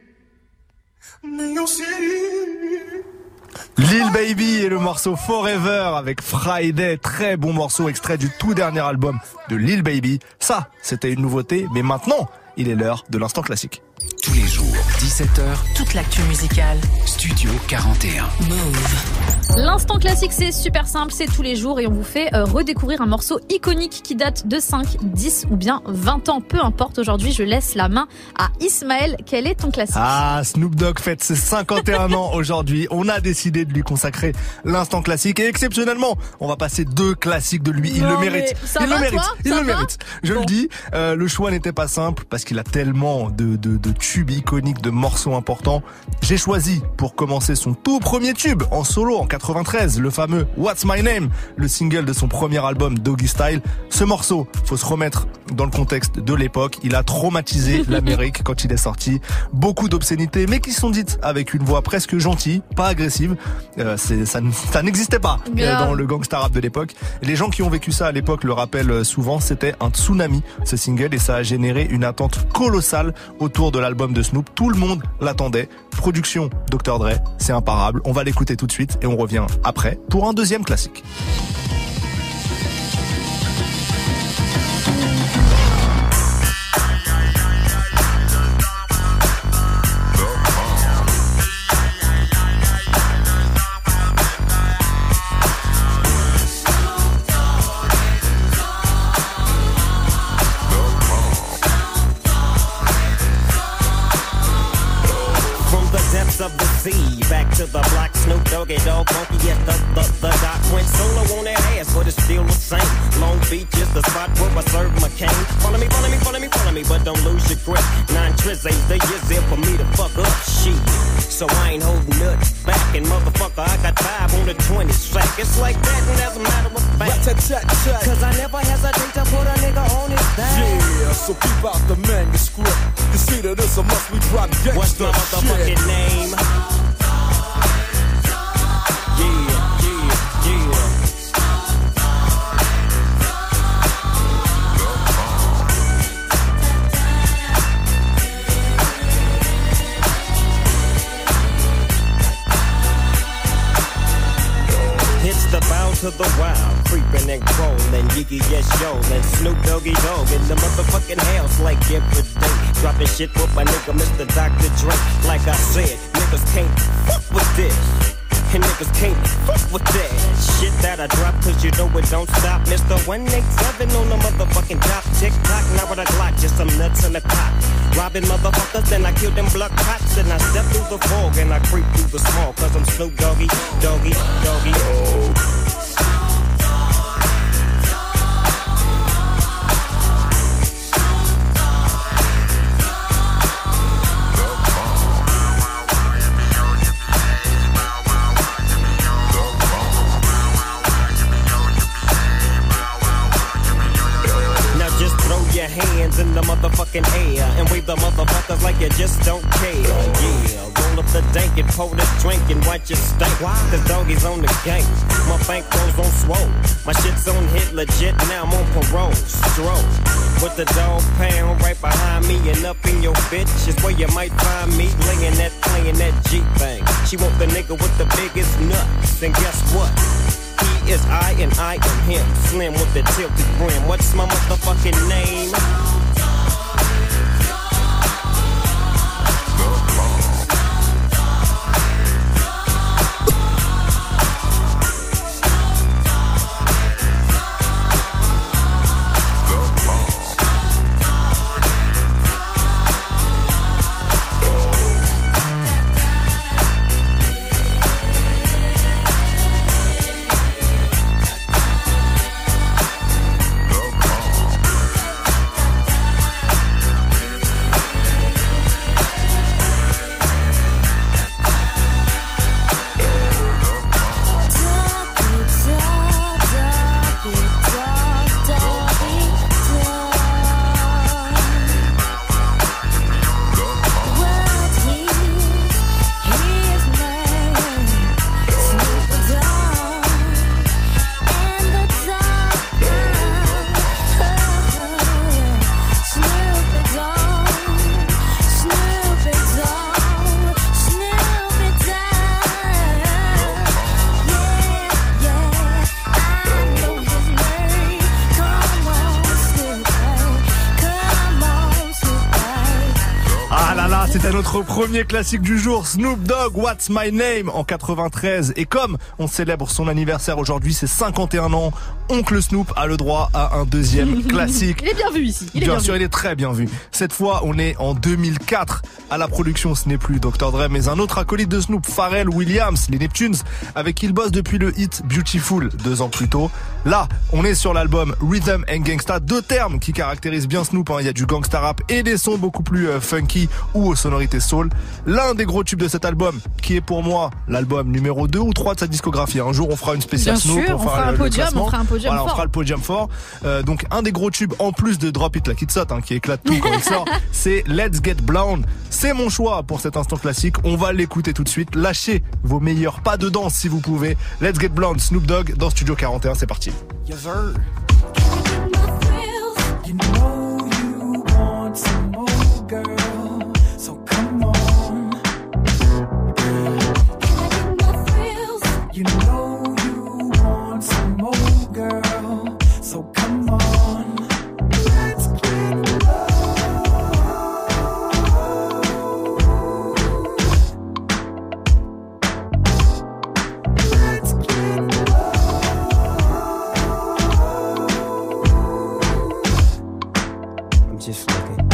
[SPEAKER 6] I'm in your city.
[SPEAKER 1] Lil Baby et le morceau Forever avec Friday, très bon morceau extrait du tout dernier album de Lil Baby. Ça, c'était une nouveauté, mais maintenant, il est l'heure de l'instant classique.
[SPEAKER 3] Tous les jours, dix-sept heures,
[SPEAKER 2] toute l'actu musicale.
[SPEAKER 3] Studio quarante et un.
[SPEAKER 2] Move.
[SPEAKER 4] L'instant classique, c'est super simple, c'est tous les jours et on vous fait euh, redécouvrir un morceau iconique qui date de cinq, dix ou bien vingt ans. Peu importe, aujourd'hui, je laisse la main à Ismaël. Quel est ton classique ?
[SPEAKER 1] Ah, Snoop Dogg fête ses cinquante et un ans aujourd'hui. On a décidé de lui consacrer l'instant classique et exceptionnellement, on va passer deux classiques de lui. Il
[SPEAKER 4] non,
[SPEAKER 1] le mérite.
[SPEAKER 4] Ça
[SPEAKER 1] il
[SPEAKER 4] va,
[SPEAKER 1] le mérite.
[SPEAKER 4] Toi
[SPEAKER 1] il
[SPEAKER 4] ça
[SPEAKER 1] le
[SPEAKER 4] va
[SPEAKER 1] mérite. Je bon. le dis, euh, le choix n'était pas simple parce qu'il a tellement de, de, de tubes iconiques, de morceaux importants. J'ai choisi pour commencer son tout premier tube en solo en quatre-vingt-treize, le fameux What's My Name, le single de son premier album Doggy Style. Ce morceau, faut se remettre dans le contexte de l'époque. Il a traumatisé l'Amérique quand il est sorti. Beaucoup d'obscénités, mais qui sont dites avec une voix presque gentille, pas agressive. Euh, c'est, ça, ça n'existait pas euh, dans le gangsta rap de l'époque. Les gens qui ont vécu ça à l'époque le rappellent souvent. C'était un tsunami, ce single, et ça a généré une attente colossale autour de l'album de Snoop. Tout le monde l'attendait. Production docteur Dre, c'est imparable. On va l'écouter tout de suite et on revient après pour un deuxième classique.
[SPEAKER 20] Of the sea, back to the block, Snoop Doggy Dogg, funky, yes, the, the, the doc went solo on that ass, but it's still the same. Long Beach is the spot where I serve my cane. Follow me, follow me, follow me, follow me, but don't lose your grip. Nine tris ain't the years there for me to fuck up shit. So I ain't holding nuts back, and motherfucker, I got five on the twenty sack. It's like that, and as a matter of fact, cause I never hesitate to put a nigga on his back.
[SPEAKER 21] Yeah, so keep out the manuscript. You see that it's a must we drop gangsta.
[SPEAKER 20] What's my motherfucking
[SPEAKER 21] shit.
[SPEAKER 20] name? Yeah, yeah, yeah. It's the bound to the wild, creeping and crawling, Yiggy yes yo, and Snoop Doggy Dogg in the motherfucking house like every day. Dropping shit with my nigga Mister Doctor Dre. Like I said, niggas can't fuck with this. and niggas can't fuck with that shit that I drop, cause you know it don't stop. Mister one eighty-seven on the motherfucking top. Tick tock, now with a Glock, just some nuts in the cock. Robbing motherfuckers, then I kill them blood cops. And I step through the fog and I creep through the smog, cause I'm Snoop Doggy, Doggy, Doggy, oh. Hands in the motherfucking air and wave the motherfuckers like you just don't care. Yeah, roll up the dank and pour the drink and watch it stink. Cause doggies on the gang. My bankroll's on swole. My shit's on hit legit, now I'm on parole. Stroll with the dog pound right behind me and up in your bitch is where you might find me laying that, playing that G thing. She want the nigga with the biggest nuts, and guess what? He is I and I am him. Slim with the tilted brim. What's my motherfucking name?
[SPEAKER 1] C'était notre premier classique du jour, Snoop Dogg, What's My Name, en quatre-vingt-treize. Et comme on célèbre son anniversaire aujourd'hui, c'est cinquante et un ans, Oncle Snoop a le droit à un deuxième classique.
[SPEAKER 4] Il est bien vu ici. Il est
[SPEAKER 1] bien,
[SPEAKER 4] bien
[SPEAKER 1] sûr,
[SPEAKER 4] vu.
[SPEAKER 1] il est très bien vu. Cette fois, on est en deux mille quatre. À la production, ce n'est plus docteur Dre, mais un autre acolyte de Snoop, Pharrell Williams, les Neptunes, avec qui il bosse depuis le hit Beautiful, deux ans plus tôt. Là, on est sur l'album Rhythm and Gangsta, deux termes qui caractérisent bien Snoop, hein. Il y a du gangsta rap et des sons beaucoup plus euh, funky ou aux sonorités soul. L'un des gros tubes de cet album, qui est pour moi l'album numéro deux ou trois de sa discographie. Un jour, on fera une spéciale
[SPEAKER 4] Bien
[SPEAKER 1] Snoop,
[SPEAKER 4] sûr,
[SPEAKER 1] on
[SPEAKER 4] on
[SPEAKER 1] fera,
[SPEAKER 4] fera un
[SPEAKER 1] le,
[SPEAKER 4] podium,
[SPEAKER 1] le
[SPEAKER 4] on fera un podium
[SPEAKER 1] voilà,
[SPEAKER 4] fort.
[SPEAKER 1] on fera le podium fort. Euh, donc, un des gros tubes, en plus de Drop It Like It's Hot, hein, qui éclate tout quand il sort, c'est Let's Get Blonde. C'est mon choix pour cet instant classique. On va l'écouter tout de suite. Lâchez vos meilleurs pas de danse si vous pouvez. Let's Get Blonde, Snoop Dogg dans Studio quarante et un, c'est parti.
[SPEAKER 5] Yes, sir. You know you want some more, girl. So come on. You know you want some more, girl. So come on. Let's get low. Let's get low.
[SPEAKER 20] Just looking.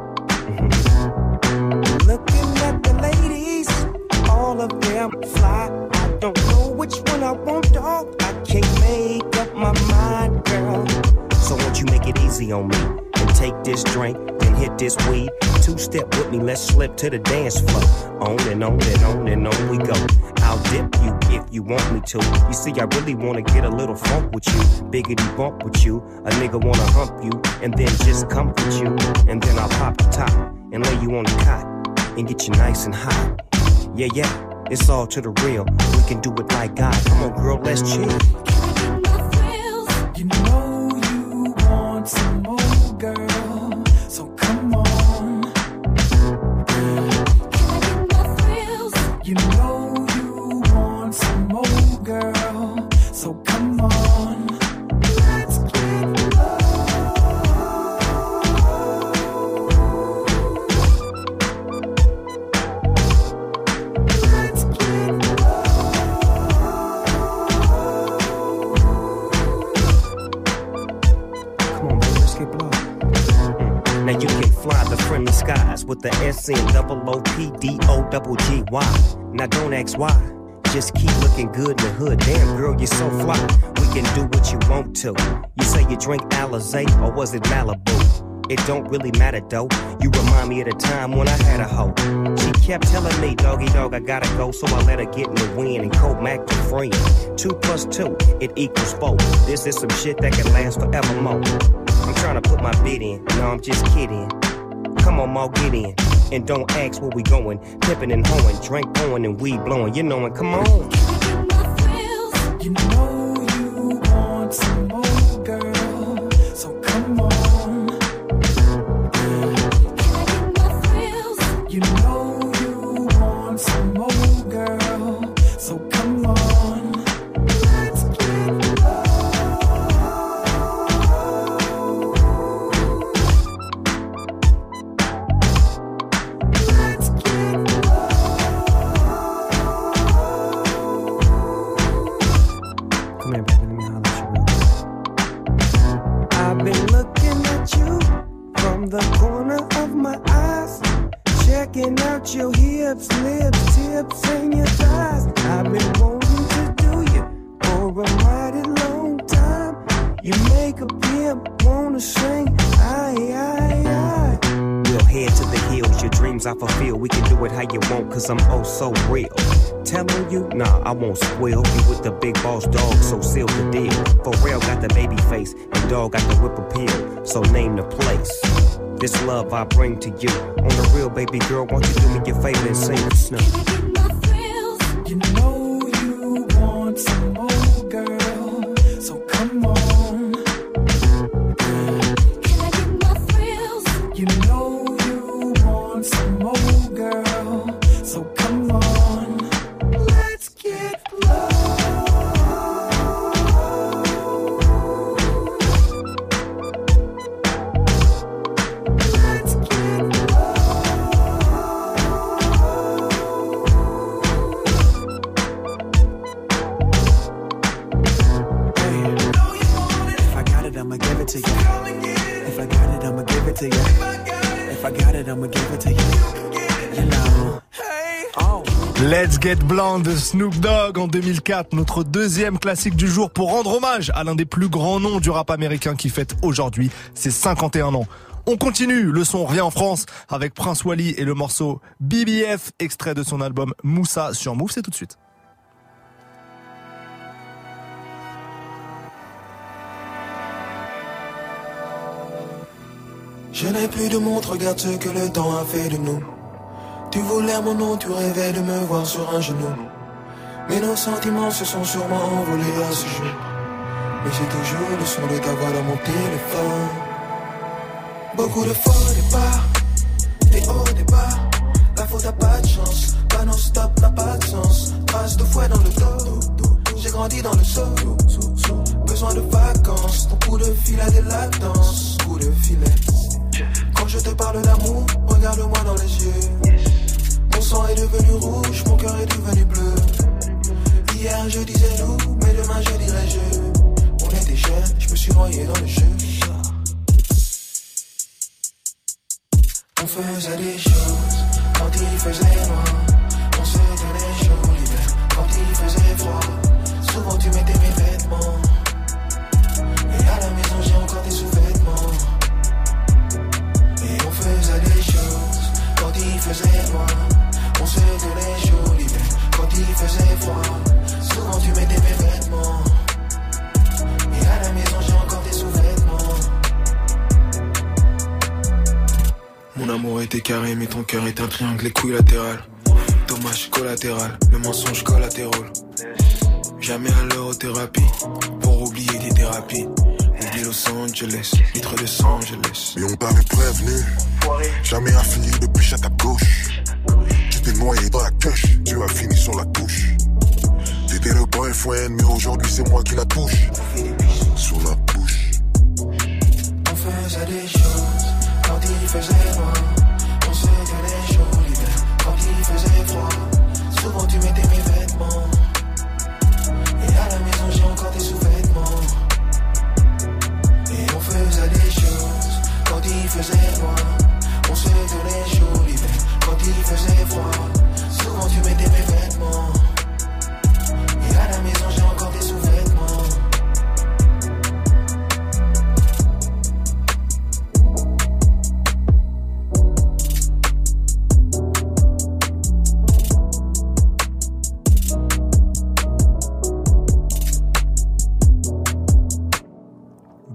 [SPEAKER 20] Mm-hmm. Looking at the ladies, all of them fly. I don't know which one I want, dog. I can't make up my mind, girl. So won't you make it easy on me and take this drink, then hit this weed. Two step with me, let's slip to the dance floor. On and on and on and on we go. I'll dip you if you want me to. You see, I really wanna get a little funk with you, biggity bump with you. A nigga wanna hump you and then just comfort you, and then I'll pop the top and lay you on the cot and get you nice and hot. Yeah, yeah, it's all to the real. We can do it like God. Come on, girl, let's chill.
[SPEAKER 5] You know you want some more, girl. So come on. You know you want some more, girl. So come on. Let's get low. Let's get low.
[SPEAKER 20] Country blow. Now you can fly the friendly skies with the S N double O P D O double G Y. Now don't ask why, just keep looking good in the hood. Damn girl, you're so fly, we can do what you want to. You say you drink Alizé or was it Malibu? It don't really matter though, you remind me of the time when I had a hoe. She kept telling me, doggy dog, I gotta go, so I let her get in the wind and co-mac to friend. Two plus two, it equals four. This is some shit that can last forevermore. I'm trying to put my bid in, no I'm just kidding. Come on, Mo, get in, and don't ask where we going. Pippin' and hoeing, drink pouring and weed blowing, you knowin', come on.
[SPEAKER 5] You know you want some more, girl, so come on. You know you want some more, girl, so come on. Let's get low. Let's get low.
[SPEAKER 20] Come here, baby, let me holler at you real quick. I've been looking at you from the corner of my eyes, checking out your hips, lips, tips, and your thighs. I've been wanting to do you for a mighty long time. You make a pimp wanna sing, aye, aye, aye. We'll head to the hills, your dreams I fulfill. We can do it how you want, cause I'm oh so real. Telling you, nah, I won't spoil you with the big boss dog, so seal the deal. Pharrell got the baby face, and dog got the whip appeal, so name the place. This love I bring to you. On the real, baby girl, won't you do me your favor and sing the snow?
[SPEAKER 5] You know you want some more, girl, so come on. Can I get my thrills? You know you want some more, girl, so come on. Let's get low.
[SPEAKER 7] To you. If I got it, I'ma give it to you. If I got it, I'ma give it to you. You know. Oh.
[SPEAKER 1] Let's Get Blonde de Snoop Dogg en deux mille quatre, notre deuxième classique du jour pour rendre hommage à l'un des plus grands noms du rap américain qui fête aujourd'hui ses cinquante et un ans. On continue, le son revient en France avec Prince Wally et le morceau B B F, extrait de son album Moussa sur Move, c'est tout de suite.
[SPEAKER 5] Je n'ai plus de montre, regarde ce que le temps a fait de nous. Tu voulais mon nom, tu rêvais de me voir sur un genou. Mais nos sentiments se sont sûrement envolés à ce jour. Mais j'ai toujours le son de ta voix dans mon téléphone. Beaucoup de faux départs, des hauts départs. La faute a pas de chance, pas non-stop n'a pas de sens. Trace de fouet dans le dos, j'ai grandi dans le seau. Besoin de vacances, ton coup de fil a des latences. Coup de filet. Quand je te parle d'amour, regarde-moi dans les yeux. Mon sang est devenu rouge, mon cœur est devenu bleu. Hier je disais nous, mais demain je dirais je. On était jeunes, je me suis noyé dans le jeu. On faisait des choses quand il faisait noir. On se tenait chaud l'hiver quand il faisait froid. Souvent tu mettais mes vêtements. Et à la maison j'ai encore des sous-vêtements. Et on faisait des choses quand il faisait noir. On se tenait chaud l'hiver quand il faisait froid. Souvent tu mettais mes vêtements. Et à la maison j'ai encore des sous-vêtements. Mon amour était carré mais ton cœur est un triangle équilatéral. Dommage collatéral, le mensonge collatéral. Jamais à l'eurothérapie pour oublier des thérapies. Oublie Los Angeles, litre de Los Angeles.
[SPEAKER 22] Mais on t'avait prévenu, jamais affilié de biche à ta gauche. Tu t'es noyé dans la queuche, tu as fini sur la touche. T'étais le boyfriend, mais aujourd'hui c'est moi qui la touche. Sur la bouche.
[SPEAKER 5] On faisait des choses quand il faisait noir. On se tenait chaud l'hiver quand il faisait froid. Souvent tu mettais mes vêtements. Et à la maison j'ai encore des sous-vêtements. Et on faisait des choses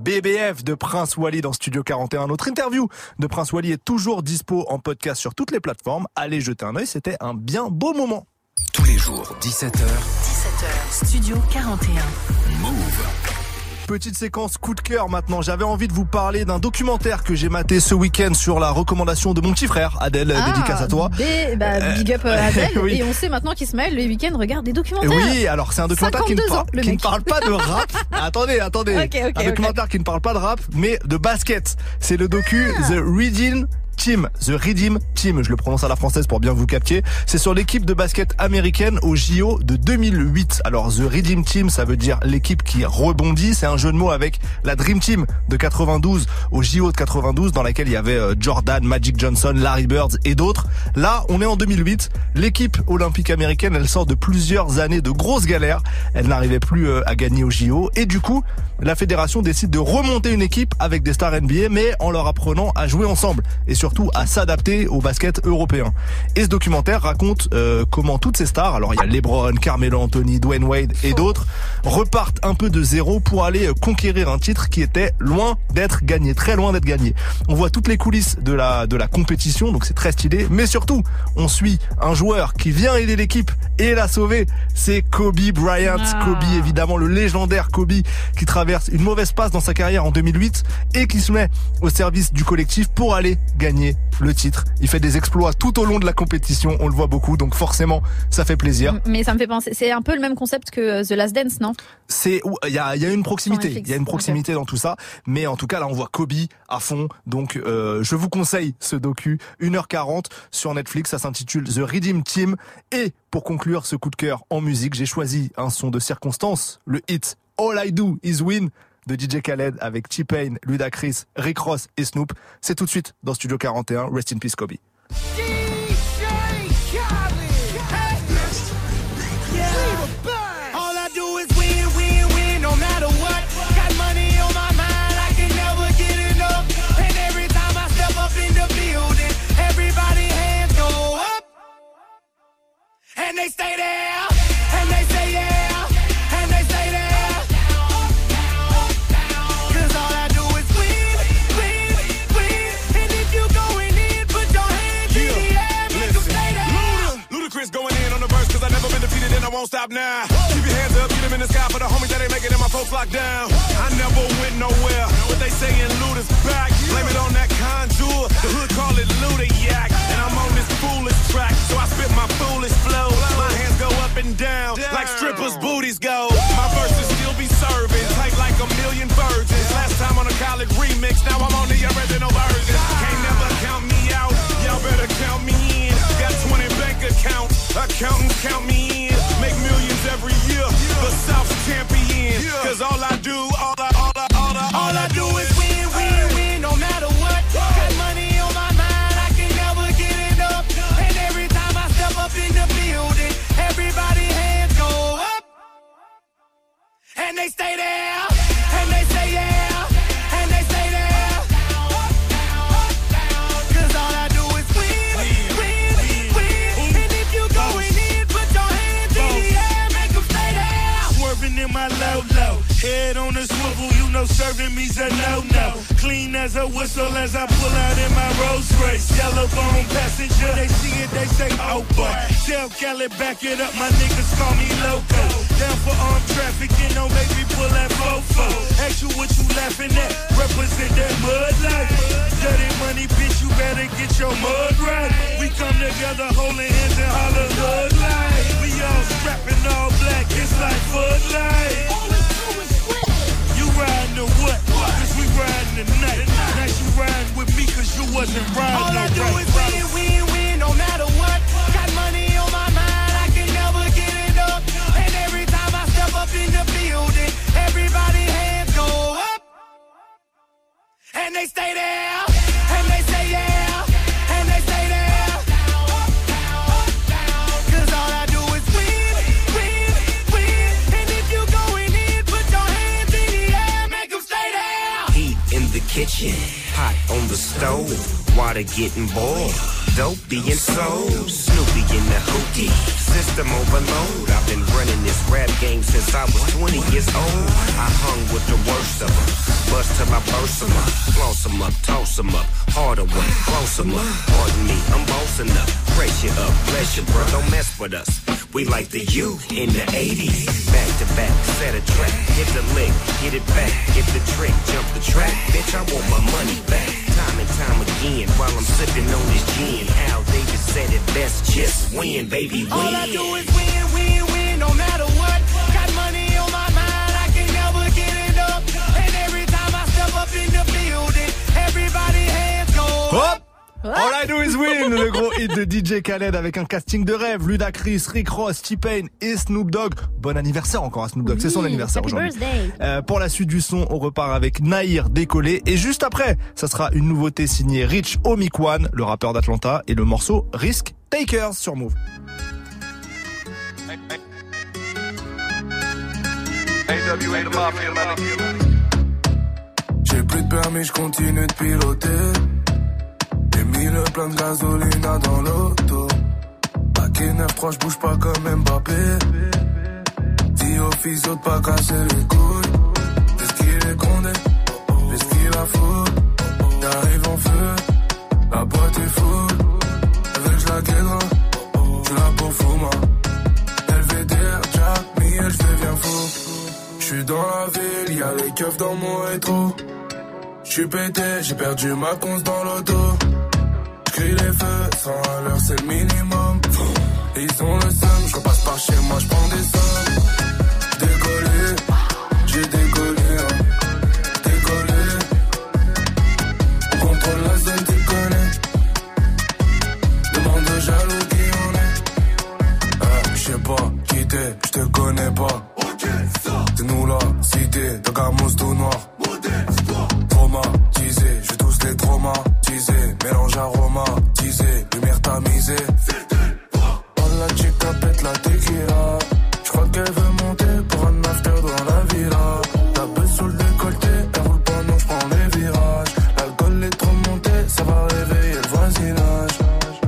[SPEAKER 1] B B F de Prince Wally dans Studio quarante et un. Notre interview de Prince Wally est toujours dispo en podcast sur toutes les plateformes. Allez jeter un œil, c'était un bien beau moment.
[SPEAKER 3] Tous les jours, dix-sept heures.
[SPEAKER 2] dix-sept heures, Studio quarante et un.
[SPEAKER 3] Move.
[SPEAKER 1] Petite séquence coup de cœur maintenant. J'avais envie de vous parler d'un documentaire que j'ai maté ce week-end sur la recommandation de mon petit frère, Adèle,
[SPEAKER 4] Ah,
[SPEAKER 1] dédicace à toi.
[SPEAKER 4] B- bah, big up euh, Adèle.
[SPEAKER 1] Oui.
[SPEAKER 4] Et on sait maintenant qu'Ismaël, le week-end, regarde des documentaires.
[SPEAKER 1] Oui, alors c'est un documentaire qui ne,
[SPEAKER 4] cinquante-deux
[SPEAKER 1] par-
[SPEAKER 4] ans, le
[SPEAKER 1] qui ne
[SPEAKER 4] mec.
[SPEAKER 1] parle pas de rap. attendez, attendez.
[SPEAKER 4] Ok, ok,
[SPEAKER 1] un documentaire
[SPEAKER 4] ok.
[SPEAKER 1] qui ne parle pas de rap, mais de basket. C'est le docu
[SPEAKER 4] Ah.
[SPEAKER 1] The Redeem Team, The Redeem Team, je le prononce à la française pour bien vous capter. C'est sur l'équipe de basket américaine au J O de deux mille huit. Alors The Redeem Team, ça veut dire l'équipe qui rebondit. C'est un jeu de mots avec la Dream Team de quatre-vingt-douze au J O de quatre-vingt-douze, dans laquelle il y avait euh, Jordan, Magic Johnson, Larry Bird et d'autres. Là, on est en deux mille huit. L'équipe olympique américaine, elle sort de plusieurs années de grosses galères. Elle n'arrivait plus euh, à gagner au J O. Et du coup, la fédération décide de remonter une équipe avec des stars N B A, mais en leur apprenant à jouer ensemble. Et surtout à s'adapter au basket européen. Et ce documentaire raconte euh, comment toutes ces stars, alors il y a LeBron, Carmelo Anthony, Dwayne Wade et d'autres, repartent un peu de zéro pour aller conquérir un titre qui était loin d'être gagné, très loin d'être gagné. On voit toutes les coulisses de la de la compétition, donc c'est très stylé, mais surtout, on suit un joueur qui vient aider l'équipe et la sauver, c'est Kobe Bryant.
[SPEAKER 4] Ah.
[SPEAKER 1] Kobe, évidemment, le légendaire Kobe qui traverse une mauvaise passe dans sa carrière en deux mille huit et qui se met au service du collectif pour aller gagner le titre. Il fait des exploits tout au long de la compétition, on le voit beaucoup, donc forcément ça fait plaisir.
[SPEAKER 4] Mais ça me fait penser, c'est un peu le même concept que The Last Dance, non?
[SPEAKER 1] C'est, il y a, il y a une proximité,
[SPEAKER 4] Netflix.
[SPEAKER 1] il y a une proximité
[SPEAKER 4] Okay.
[SPEAKER 1] dans tout ça, mais en tout cas là on voit Kobe à fond, donc euh, je vous conseille ce docu, une heure quarante sur Netflix, ça s'intitule The Redeem Team. Et pour conclure ce coup de cœur en musique, j'ai choisi un son de circonstance, le hit All I Do Is Win de D J Khaled avec T-Pain, Ludacris, Rick Ross et Snoop. C'est tout de suite dans Studio quarante et un. Rest in peace Kobe.
[SPEAKER 5] All I do is win, win, win, no matter what. Got money on my mind, I can never get enough. And every time I step up in the building, everybody hands go up. And they stay there, and they say yeah, and they stay there. Cause all I do is win, win, win. And if you going in, put your hands in the air, make them stay there.
[SPEAKER 21] Ludacris going in on the verse, cause I never been defeated and I won't stop now. Keep your hands up, get them in the sky for the homies that ain't making it, my folks locked down. I never went nowhere, but they saying Luda's back. Blame it on that contour, the hood call it Ludayak. And I'm on this foolish track, so I spit my foolish flow. My hands go up and down, like strippers' booties go. My verses still be serving, tight like a million virgins. Last time on a college remix, now I'm on the original version. Can't never count me out, y'all better count me in. Got twenty bank accounts, accountants count me in. Make millions every year, the South's champion. Cause all I do, all I, all I, all I,
[SPEAKER 5] All I do is win, win, win, no matter what. Got money on my mind, I can never get enough. And every time I step up in the building, everybody hands go up. And they stay there, and they say yeah, and they stay there. Cause all I do is win, win, win. And if you going in, put your hands in the air, make them stay there.
[SPEAKER 9] Swerving in my low low, head on the swivel, you know serving me's a no no. Clean as a whistle as I pull out in my Rolls Royce. Yellow bone passenger, they see it, they say oh boy. Tell Cali back it up, my niggas call me loco. Down for armed trafficking, no baby pull that fofo. Ask you what you laughing at, represent that mud life. Dirty money, bitch, you better get your mud right. We come together holding hands and holler hood life. We all strapping all black, it's like Bud Light. You riding or what? Cause we riding tonight. Now you riding with me cause you wasn't riding.
[SPEAKER 5] All I do
[SPEAKER 9] right,
[SPEAKER 5] is win, win, win, no matter what. Got money on my mind, I can never get enough. And every time I step up in the building, everybody hands go up. And they stay there, and they say yeah, and they stay there. Cause all I do is win, win, win. And if you going in, put your hands in the air, make them stay there.
[SPEAKER 10] Heat in the kitchen, hot on the stove, water getting boiled, dope being sold, Snoopy in the hootie, system overload. I've been running this rap game since I was twenty years old. I hung with the worst of them, bust to reverse them up, floss them up, toss them up, harder work, close them up. Pardon me, I'm bossing up, brace you up, bless you, bro, don't mess with us. We like the U in the eighties. Back to back, set a track, hit the lick, get it back, get the trick, jump the track. Bitch, I want my money back. Time and time again, while I'm sipping on this gin. Al Davis said it best, just win, baby, win.
[SPEAKER 5] All I do is win, win, win, no matter what. Got money on my mind, I can never get it up. And every time I step up in the building, everybody hands go
[SPEAKER 1] Hop! All I do is win, le gros hit de D J Khaled avec un casting de rêve. Ludacris, Rick Ross, T-Pain et Snoop Dogg. Bon anniversaire encore à Snoop Dogg, oui, c'est son anniversaire aujourd'hui. Euh, pour la suite du son, on repart avec Nahir, Décollé. Et juste après, ça sera une nouveauté signée Rich Omikwan, le rappeur d'Atlanta, et le morceau Risk Takers sur Move.
[SPEAKER 6] J'ai plus de permis, je continue de piloter. J'ai mis le plein de gasoline dans l'auto. Bac et neuf trois, j'bouge pas comme Mbappé. Dis au physio de pas casser les couilles. Est-ce qu'il est condé? Est-ce qu'il a fou? J'arrive en feu, la boîte est full. Avec j'la guédra, j'suis là pour Fouma. L V D R, Jack, Miel, j'deviens fou. J'suis dans la ville, y'a les keufs dans mon rétro. J'suis pété, j'ai perdu ma conce dans l'auto. J'crie les feux, cent à l'heure c'est le minimum. Ils ont le seum, j'repasse par chez moi, j'prends des sommes. Décollé, j'ai décollé, hein. Décollé. On contrôle la zone, tu connais. Demande aux jaloux qui on est. Ah, j'sais pas, qui t'es, j'te connais pas. C'est nous la cité, de Gamos tout noir. Traumatisé, je tous les traumatisés. Mélange aromatisé, lumière tamisée. Oh la chica pète la tequila. J'crois qu'elle veut monter pour un after dans la villa. La beuh sous le décolleté, elle roule pas, non j'prends les virages. L'alcool est trop monté, ça va réveiller le voisinage.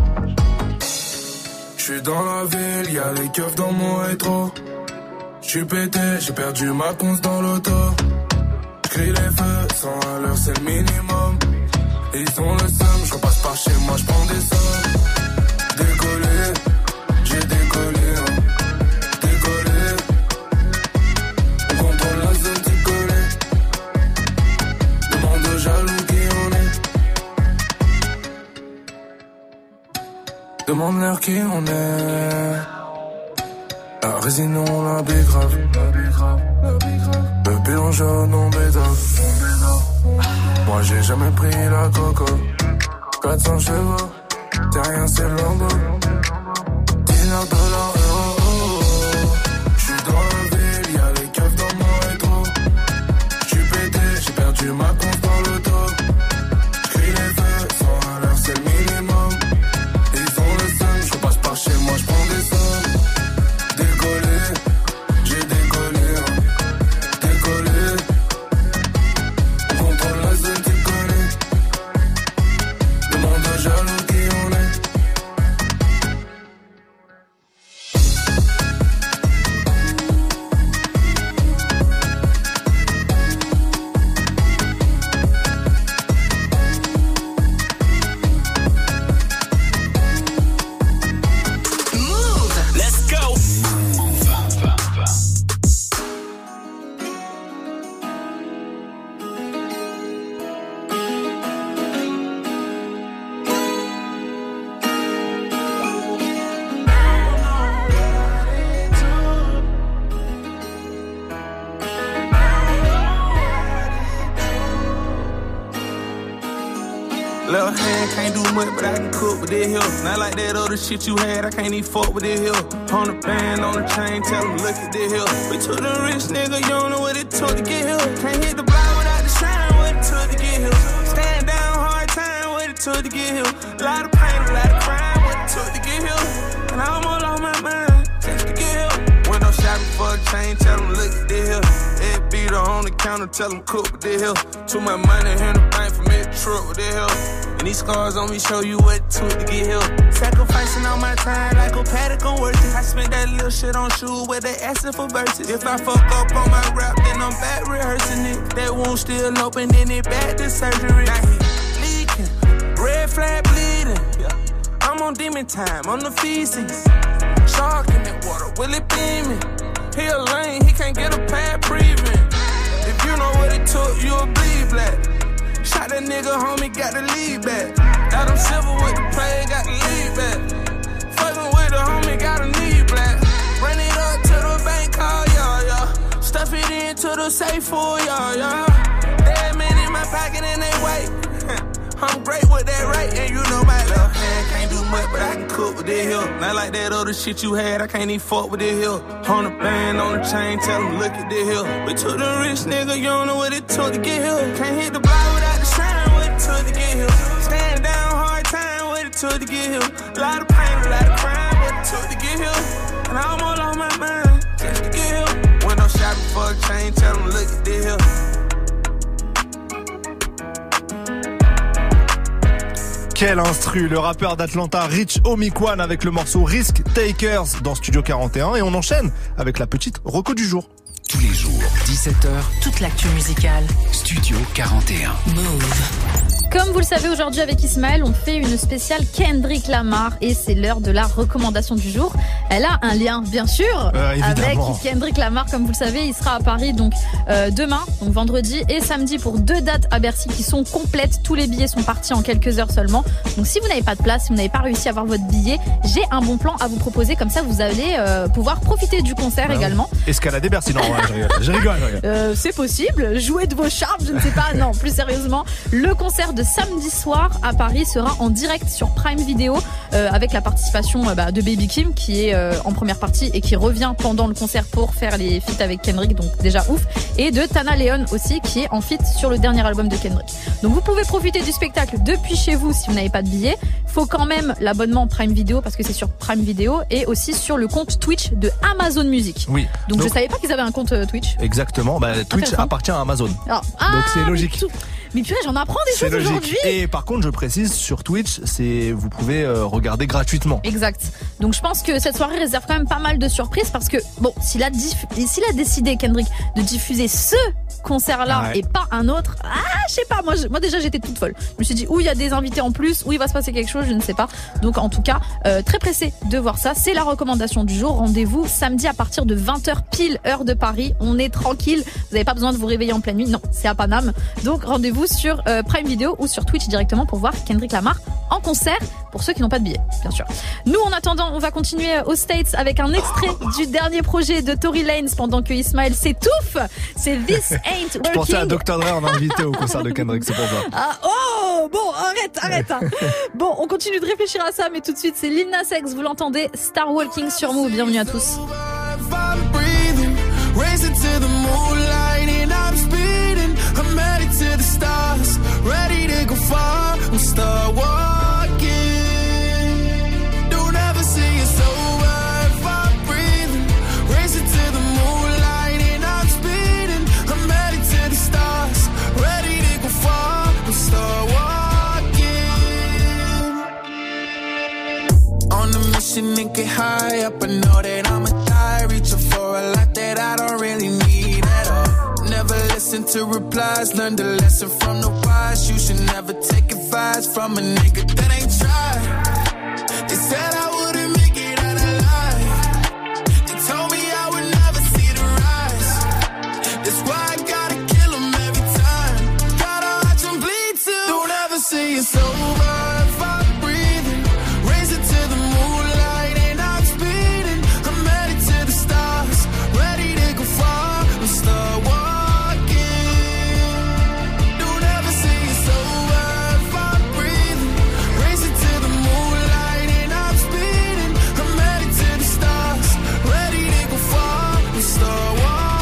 [SPEAKER 6] J'suis dans la ville, y'a les keufs dans mon rétro. J'suis pété, j'ai perdu ma conce dans l'auto. J'crie les feux, cent à l'heure c'est le minimum. Ils ont le seum, j'repasse par chez moi, j'prends des sommes. Décollé, j'ai décollé, hein. Décollé. On contrôle la zone, tu connais. Demande aux jaloux qui on est. Demande-leur qui on est. La résine, on la bégrave. Le bilan jaune en bédard. Moi j'ai jamais pris la coco. quatre cents chevaux, t'es rien c'est Lambo. Dinar, dollars, euros. J'suis dans la ville, y'a les keufs dans mon rétro. J'suis pété, j'ai perdu ma conce dans l'auto. J'crie les feux, cent à l'heure c'est le minimum. Ils ont le seum, j'repasse par chez moi, j'prends des sommes. Décollé, j'ai décollé, hein. Décollé. On contrôle la zone, tu connais. Demande aux jaloux qui on est.
[SPEAKER 5] Let's go.
[SPEAKER 13] Left hand can't do much, but I can cook with this here. Not like that other shit you had, I can't even fuck with this here. On the band, on the chain, tell them look at this here. We took the rich nigga, you don't know what it took to get here. Can't hit the block without the shine, what it took to get here. Stand down, hard time, what it took to get here. A lot of pain, a lot of crime, what it took to get here. And I almost lost my mind, just to get here. Window shopping for a chain, tell them look at this here. Head beater on the counter, tell them cook with the hill. Too much money in the bank for me to trip with the hill. And these scars on me show you what it took to get here. Sacrificing all my time like a paddock on worth it. I spent that little shit on shoes where they asking for verses. If I fuck up on my rap, then I'm back rehearsing it. That wound still open, then it back to surgery. Now he leaking, red flag bleeding. Yeah. I'm on demon time, on the feces. Shark in that water, will it beaming? He a lane, he can't get a pad breathing. If you know what it took, you'll bleed black. Shot that nigga, homie, got the lead back. Adam Silver with the play, got the lead back. Fucking with the homie, got a knee black. Run it up to the bank, call y'all, y'all. Stuff it into the safe for y'all, y'all. Dead men in my pocket and they wait. I'm great with that rate, and you know my left hand can't do much, but I can cook with this here. Not like that other shit you had, I can't even fuck with this here. On the band, on the chain, tell them look at this here. We took the rich nigga, you don't know what it took to get here. Can't hit the block without the shine, what it took to get here. Stand down, hard time, what it took to get here. A lot of pain, a lot of crime, what it took to get here. And I'm all on my mind, just to get here. Window shopping for a chain, tell them look at this here.
[SPEAKER 1] Quel instru, le rappeur d'Atlanta Rich Homie avec le morceau Risk Takers dans Studio quarante et un, et on enchaîne avec la petite reco du jour.
[SPEAKER 3] Tous les jours, dix-sept heures,
[SPEAKER 2] toute l'actu musicale.
[SPEAKER 3] Studio quarante et un.
[SPEAKER 2] Move.
[SPEAKER 4] Comme vous le savez, aujourd'hui avec Ismaël, on fait une spéciale Kendrick Lamar et c'est l'heure de la recommandation du jour. Elle a un lien, bien sûr,
[SPEAKER 1] euh,
[SPEAKER 4] avec Kendrick Lamar. Comme vous le savez, il sera à Paris donc euh, demain, donc vendredi et samedi pour deux dates à Bercy qui sont complètes. Tous les billets sont partis en quelques heures seulement. Donc si vous n'avez pas de place, si vous n'avez pas réussi à avoir votre billet, j'ai un bon plan à vous proposer. Comme ça, vous allez euh, pouvoir profiter du concert bah également.
[SPEAKER 1] Oui. Escalader Bercy, non, ouais, je rigole. Je rigole, je rigole.
[SPEAKER 4] Euh, c'est possible. Jouer de vos charmes, je ne sais pas. Non, plus sérieusement, le concert de samedi soir à Paris sera en direct sur Prime Video euh, avec la participation euh, bah, de Baby Kim qui est euh, en première partie et qui revient pendant le concert pour faire les feats avec Kendrick, donc déjà ouf, et de Tana Leon aussi qui est en feat sur le dernier album de Kendrick. Donc vous pouvez profiter du spectacle depuis chez vous si vous n'avez pas de billet. Faut quand même l'abonnement Prime Video parce que c'est sur Prime Video et aussi sur le compte Twitch de Amazon Music.
[SPEAKER 1] Oui.
[SPEAKER 4] Donc, donc je savais pas qu'ils avaient un compte Twitch.
[SPEAKER 1] Exactement. Bah, Twitch appartient à Amazon.
[SPEAKER 4] Alors, ah,
[SPEAKER 1] donc c'est logique.
[SPEAKER 4] Mais purée, j'en apprends des
[SPEAKER 1] c'est
[SPEAKER 4] choses
[SPEAKER 1] logique.
[SPEAKER 4] Aujourd'hui.
[SPEAKER 1] Et par contre, je précise, sur Twitch, c'est vous pouvez euh, regarder gratuitement.
[SPEAKER 4] Exact. Donc je pense que cette soirée réserve quand même pas mal de surprises parce que bon, s'il a, diff... s'il a décidé, Kendrick, de diffuser ce concert-là ouais. et pas un autre, ah, je sais pas, moi, je... moi déjà j'étais toute folle. Je me suis dit, où il y a des invités en plus, où il va se passer quelque chose, je ne sais pas. Donc en tout cas, euh, très pressé de voir ça. C'est la recommandation du jour. Rendez-vous samedi à partir de vingt heures pile, heure de Paris. On est tranquille. Vous n'avez pas besoin de vous réveiller en pleine nuit. Non, c'est à Paname. Donc rendez-vous sur euh, Prime Video ou sur Twitch directement pour voir Kendrick Lamar en concert pour ceux qui n'ont pas de billets, bien sûr. Nous, en attendant, on va continuer aux States avec un extrait du dernier projet de Tory Lanez pendant que Ismaël s'étouffe. C'est This Ain't Working.
[SPEAKER 1] Je pensais à docteur Dre en invité au concert de Kendrick, c'est pour ça.
[SPEAKER 4] Ah, oh, bon, arrête, arrête. Hein. Bon, on continue de réfléchir à ça, mais tout de suite, c'est Lil Nas X, vous l'entendez, Star Walking sur Move. Bienvenue à tous.
[SPEAKER 14] Racing to the moonlight and I'm speeding. I'm headed to the stars, ready to go far. I'm start walking. Don't ever see it's over if I'm breathing. Racing to the moonlight and I'm speeding. I'm headed to the stars, ready to go far. I'm start walking. On a mission and get high up. I know that I'ma die, reaching for a lot that I don't really need at all. Never listen to replies, learn the lesson from the wise. You should never take advice from a nigga that ain't tried. They said I wouldn't make it out alive. They told me I would never see the rise. That's why I gotta kill them every time. Gotta watch them bleed too. Don't ever say it's over if I'm breathing. Racing to the moonlight and I'm speeding. I'm headed to the stars, ready to go far. I'm start walking. Don't ever say it's over if I'm breathing. Racing to the moonlight and I'm speeding. I'm headed to the stars, ready to go far. I'm start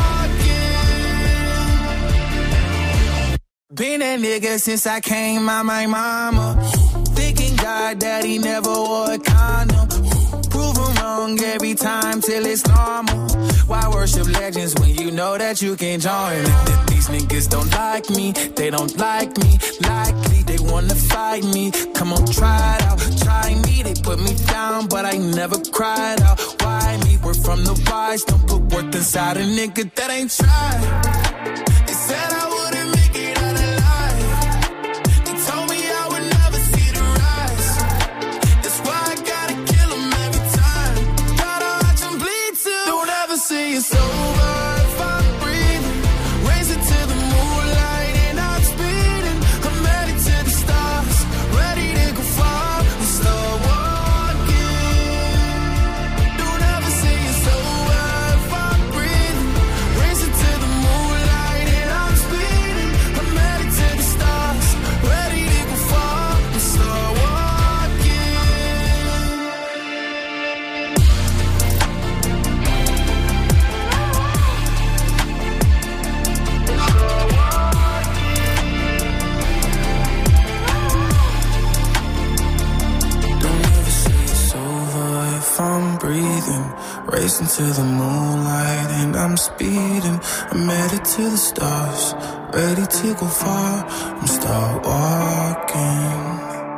[SPEAKER 14] walking. Been that nigga since I came out my mama. Thinking God that he never wore a condom. prove them wrong every time till it's normal. Why worship legends when you know that you can't join them? These niggas don't like me, they don't like me. Likely they wanna fight me. Come on, try it out, try me. They put me down, but I never cried out. Why me? We're from the wise, don't put worth inside a nigga that ain't tried. They said I wouldn't make it out alive. They told me I would never see the rise. That's why I gotta kill them every time. Gotta watch them bleed too. Don't ever say it's over if I'm breathing. Raise it to the moonlight and I'm speeding. I'm headed to the stars, ready to go far and start walking. Don't ever say it's over if I'm breathing. Raise it to the moonlight and I'm speeding. I'm headed to the stars, ready to go far and start walking. Don't ever say it's over if I'm breathing. Racing to the moonlight and I'm speeding. I'm headed to the stars, ready to go far. I'm start walking.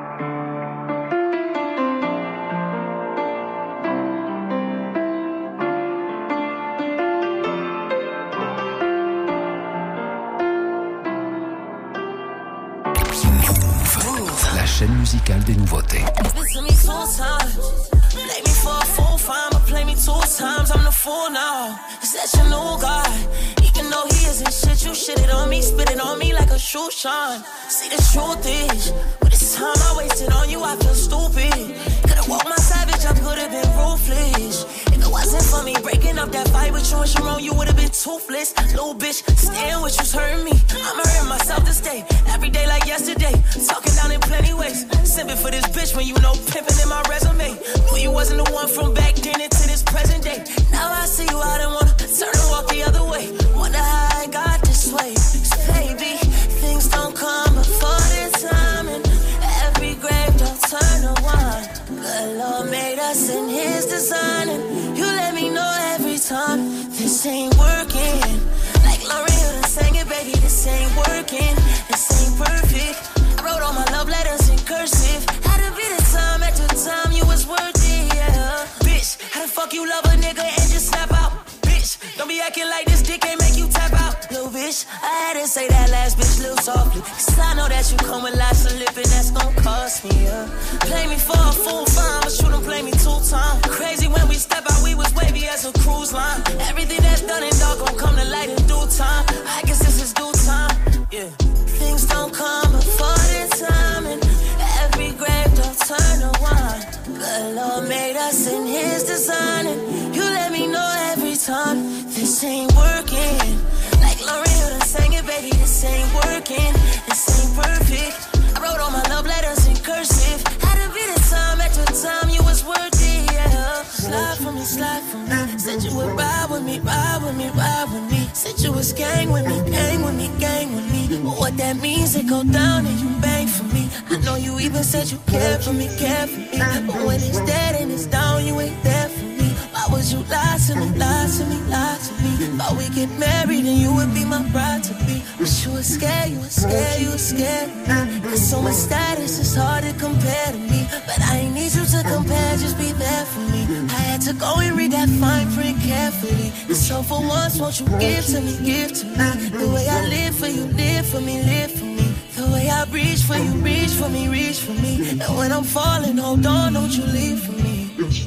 [SPEAKER 3] Move, la chaîne musicale des nouveautés.
[SPEAKER 8] Listen me two times. Play me for a fool, fine, but play me two times. I'm the fool now. Is that your new guy? Even though he isn't shit, you shit it on me, spit it on me like a shoe shine. See, the truth is, with this time I wasted on you, I feel stupid. Could've walked my savage, I could've been ruthless. If it wasn't for me breaking up that fight with you and Sharon, you would've been toothless. Little bitch, staying with you's hurting me. I'm hurting myself this day, every day like yesterday. Talking down in plenty ways. Simping for this bitch when you know pimping in my resume. Knew you wasn't the one from back then into this present day. Now I see you, I don't wanna turn and walk the other way. Wonder how I got this way. 'Cause baby, things don't come before their time, and every grave don't turn to wine. Good Lord made us in His design, and you let me know every time this ain't working. Like Lauryn Hill done sang it, baby, this ain't working. This ain't perfect. I wrote all my love letters in cursive. Had to be the time at the time you was worth it, yeah. Bitch, how the fuck you love a nigga and just snap out? Bitch, don't be acting like this dick ain't make you tap out. Little bitch, I had to say that last bitch little softly. Cause I know that you come with lots of lip and that's gon' cost me, yeah. Play me for a fool, fine, but you done play me two times. Crazy when we step out, we was wavy as a cruise line. Everything that's done and dog gon' come to light in due time. I guess this is due time, yeah. Things don't come before their time, and every grave don't turn to wine. Good Lord made us in His design, and you let me know every time this ain't working. Like Lauryn Hill done sang it, baby, this ain't working. This ain't perfect. I wrote all my love letters in cursive. Had to be the time at the time you was worth it, yeah. Slide for me, slide for me. Said you would ride with me, ride with me, ride with me. Said you was gang with me, gang with me, gang with me. But what that means, it go down and you bang for me. I know you even said you care for me, care for me. But when it's dead and it's down, you ain't there for me. Why would you lie to me, lie to me, lie to me? Thought we get married and you would be my bride to be. But you was scared, you was scared, you was scared. Got so much status, it's hard to compare to me. But I ain't need you to compare, just be there for me. I had to go and read that fine print carefully. And so for once, won't you give to me, give to me. The way I live for you, live for me, live for me. The way I reach for you, reach for me, reach for me. And when I'm falling, hold on, don't you leave for me.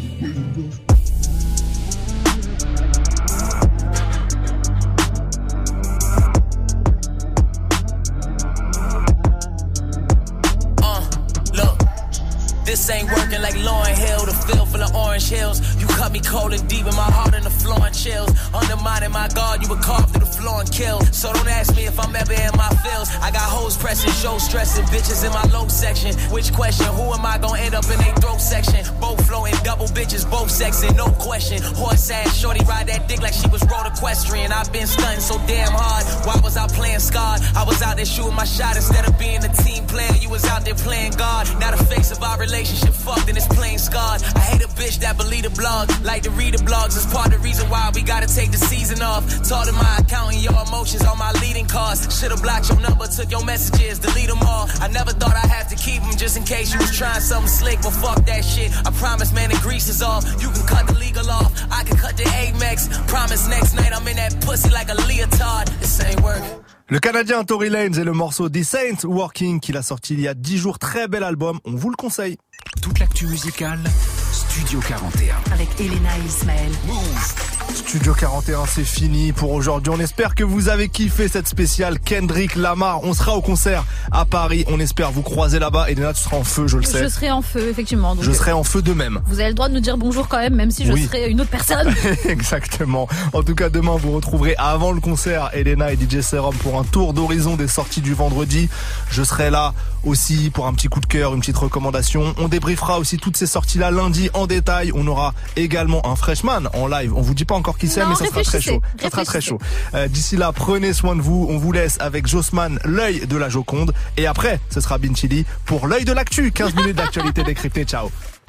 [SPEAKER 8] This ain't working like Lauryn Hill, the feel for the orange hills. You cut me cold and deep in my heart in the floor and chills. Undermining my guard, you would carve through the floor and kill. So don't ask me if I'm ever in my feels. I got hoes
[SPEAKER 5] pressing, show stressing, bitches in my low section. Which question? Who am I gonna end up in a throat section? Both flowing, double bitches, both sexing, no question. Horse ass, shorty ride that dick like she was road equestrian. I've been stunting so damn hard. Why was I playing scarred? I was out there shooting my shot instead of being a team player. You was out there playing God. Now the face of our relationship fucked and it's plain scarred. I hate a bitch that believe the blog, like to read the blogs. It's part of the reason why we gotta take the season off. Taught in my account and your emotions on my leading cards. Should've blocked your number, took your messages, delete them all. I never thought I'd have to keep them just in case you was trying something slick, but fuck that shit. I promise, man, the grease is off. You can cut the legal off, I can cut the Amex. Promise next night I'm in that pussy like a leotard. This ain't work.
[SPEAKER 1] Le Canadien Tory Lanez et le morceau Decent Working qu'il a sorti il y a dix jours. Très bel album, on vous le conseille.
[SPEAKER 3] Toute l'actu musicale, Studio quarante et un.
[SPEAKER 2] Avec Elena et Ismaël.
[SPEAKER 1] Move. Studio quarante et un, c'est fini pour aujourd'hui. On espère que vous avez kiffé cette spéciale Kendrick Lamar. On sera au concert à Paris. On espère vous croiser là-bas. Elena, tu seras en feu, je le sais.
[SPEAKER 4] Je serai en feu, effectivement. Donc
[SPEAKER 1] je serai en feu de même.
[SPEAKER 4] Vous avez le droit de nous dire bonjour quand même, même si je oui. serai une autre personne.
[SPEAKER 1] Exactement. En tout cas, demain, vous retrouverez avant le concert Elena et D J Serum pour un tour d'horizon des sorties du vendredi. Je serai là aussi pour un petit coup de cœur, une petite recommandation. On débriefera aussi toutes ces sorties-là lundi en détail. On aura également un freshman en live. On vous dit pas encore qui c'est,
[SPEAKER 4] non,
[SPEAKER 1] mais ça sera très chaud. Ça sera très chaud. Euh, d'ici là, prenez soin de vous. On vous laisse avec Jossman, l'œil de la Joconde. Et après, ce sera Binchili pour l'œil de l'actu. quinze minutes d'actualité décryptée. Ciao.